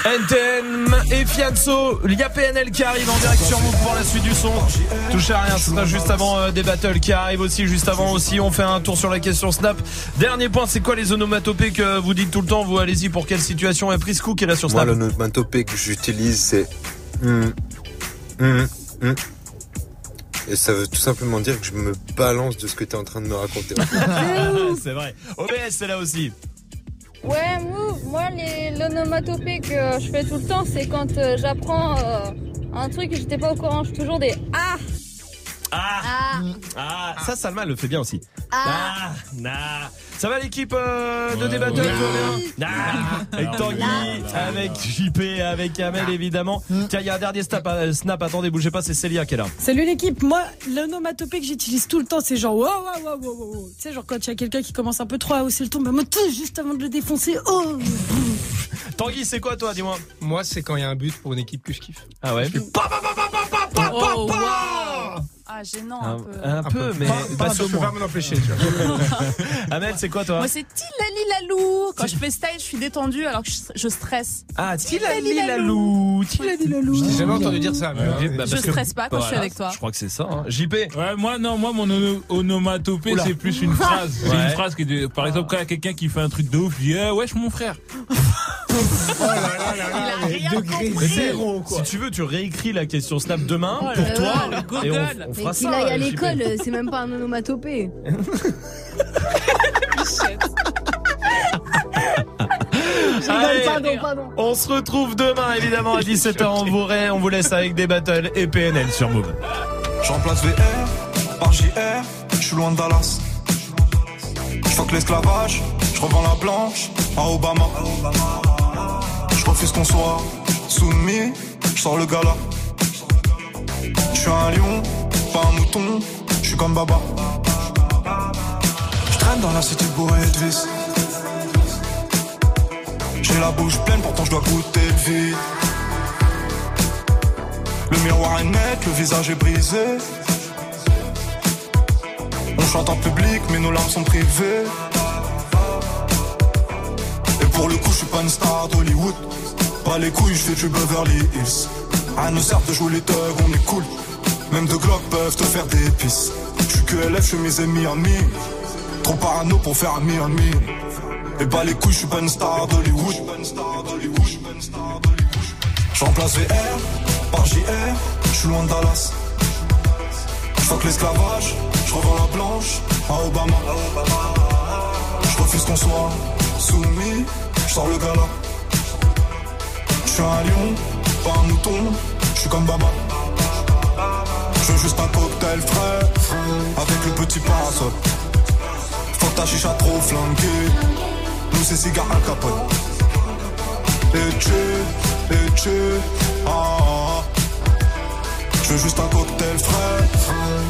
NTM et Fianso, il y a PNL qui arrive en direct sur Move pour la suite du son. Touche à rien, ce sera juste avant des battles qui arrivent aussi, juste avant aussi. On fait un tour sur la question Snap. Dernier point, c'est quoi les onomatopées que vous dites tout le temps? Vous allez-y pour quelle situation? Et Priscou qui est là sur Snap. Moi, l'onomatopée que j'utilise, c'est et ça veut tout simplement dire que je me balance de ce que t'es en train de me raconter. C'est vrai. OBS c'est là aussi. Ouais, moi l'onomatopée que je fais tout le temps, c'est quand j'apprends un truc et j'étais pas au courant. Je fais toujours des ah. Ça Salma le fait bien aussi. Ça va l'équipe de débat avec Tanguy, avec JP, avec Kamel évidemment. Tiens, il y a un dernier snap, attendez, bougez pas, c'est Célia qui est là. Salut l'équipe, moi l'onomatopée que j'utilise tout le temps, c'est genre wow. Tu sais, genre quand il y a quelqu'un qui commence un peu trop à hausser le ton, bah moi tout juste avant de le défoncer. Tanguy, c'est quoi toi, dis-moi? Moi, c'est quand il y a un but pour une équipe que je kiffe. Ah ouais. Ah, gênant un peu, mais pas je peux pas m'en empêcher, tu vois. Amel, c'est quoi toi? Moi, c'est Tilali-lalou. Quand je fais style, je suis détendue alors que je stresse. Ah, Tilali-lalou. Je t'ai jamais entendu dire ça. Je stresse pas quand je suis avec toi. Je crois que c'est ça, hein. JP. Ouais, moi, mon onomatopée, c'est plus une phrase. C'est une phrase qui est par exemple, quand il y a quelqu'un qui fait un truc de ouf, je dis, wesh, mon frère. Il a rien compris. Zéro, quoi. Si tu veux, tu réécris la question Snap demain pour toi. Et on fera ça. Il aille à l'école, c'est même pas un onomatopée. Allez, pardon. On se retrouve demain évidemment à 17h en Voiray. On vous laisse avec des battles et PNL sur Move. Je remplace VR par JR, je suis loin de Dallas. Je fuck l'esclavage, je revends la blanche à Obama. Je refuse qu'on soit soumis, je sors le gala. Je suis un lion, pas un mouton, je suis comme Baba. Je traîne dans la cité bourrée de vis. J'ai la bouche pleine, pourtant je dois goûter le vide. Le miroir est net, le visage est brisé. On chante en public, mais nos larmes sont privées. Et pour le coup, je suis pas une star d'Hollywood. Pas les couilles, je fais du Beverly Hills. À nous sert de jouer les thugs, on est cool. Même deux Glock peuvent te faire des pisses. Je suis que LF, je suis mes ennemis en mi. Trop parano pour faire un mi. Et bah les couilles, je suis pas une star d'Hollywood. Je remplace VR par JR, je suis loin de Dallas. Je fuck l'esclavage, je revends la blanche à Obama. Je refuse qu'on soit soumis, je sors le gala. Je suis un lion, pas un mouton, je suis comme Baba. Je veux juste un cocktail frais, avec le petit parasol. Faut que ta chicha trop flanquée, nous c'est cigare Al Capone. Et tu, je veux juste un cocktail frais.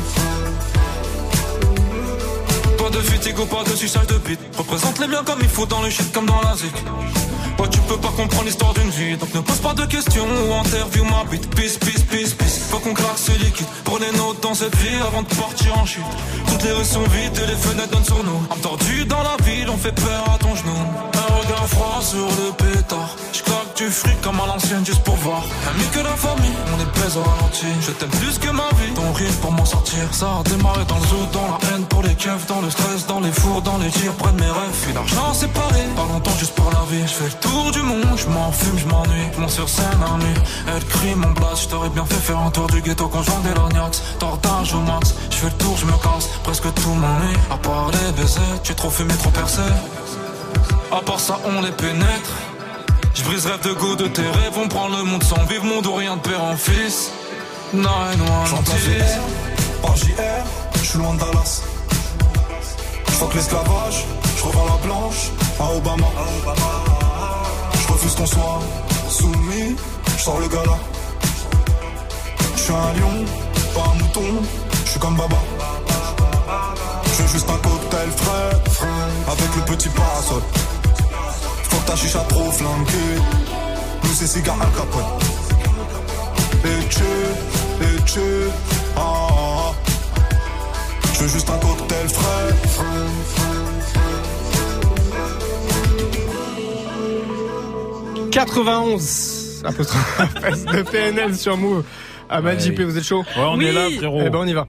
Pas de fatigue, pas de suçage de bite. Représente les biens comme il faut dans le shit comme dans la zik. Ouais, tu peux pas comprendre l'histoire d'une vie, donc ne pose pas de questions ou interview ma bite. Peace. Faut qu'on craque ce liquide. Prenez note dans cette vie avant de partir en chute. Toutes les rues sont vides et les fenêtres donnent sur nous. Entendu dans la ville, on fait peur à ton genou. Un regard froid sur le pétard. J'claque du fric comme à l'ancienne juste pour voir. Ami que la famille, on est pèse au ralenti. Je t'aime plus que ma vie, ton rire pour m'en sortir. Ça a démarré dans le zoo, dans la haine pour les keufs, dans le stress, dans les fours, dans les tirs, près de mes rêves. Puis l'argent séparé, pas longtemps juste pour la vie. J'fais le tour du monde, j'm'en fume, j'm'ennuie. Mon sur scène à nuit, elle crie mon blast. J't'aurais bien fait faire un tour du ghetto quand j'vends des lorgnax. Tordage au max, j'fais le tour, j'me casse. Presque tout m'ennuie, à part les baisers. Tu es trop fumé, trop percé. À part ça, on les pénètre. J'brise rêve de go de tes rêves. On prend le monde sans vivre, monde ou rien de père en fils. 911 J'entends JR, par JR, j'suis loin de Dallas. J'fuck l'esclavage, j'revends la blanche à Obama. J'refuse qu'on soit soumis, j'sors le gala. J'suis un lion, pas un mouton, j'suis comme Baba. J'veux juste un cocktail frais, avec le petit parasol. Faut que ta chicha trop flanquée, nous c'est cigare Al Capone. Et tu, j'veux juste un cocktail frais. 91 de PNL sur Move. Ah bah JP, vous êtes chaud? Ouais, on est là, frérot. Eh ben on y va.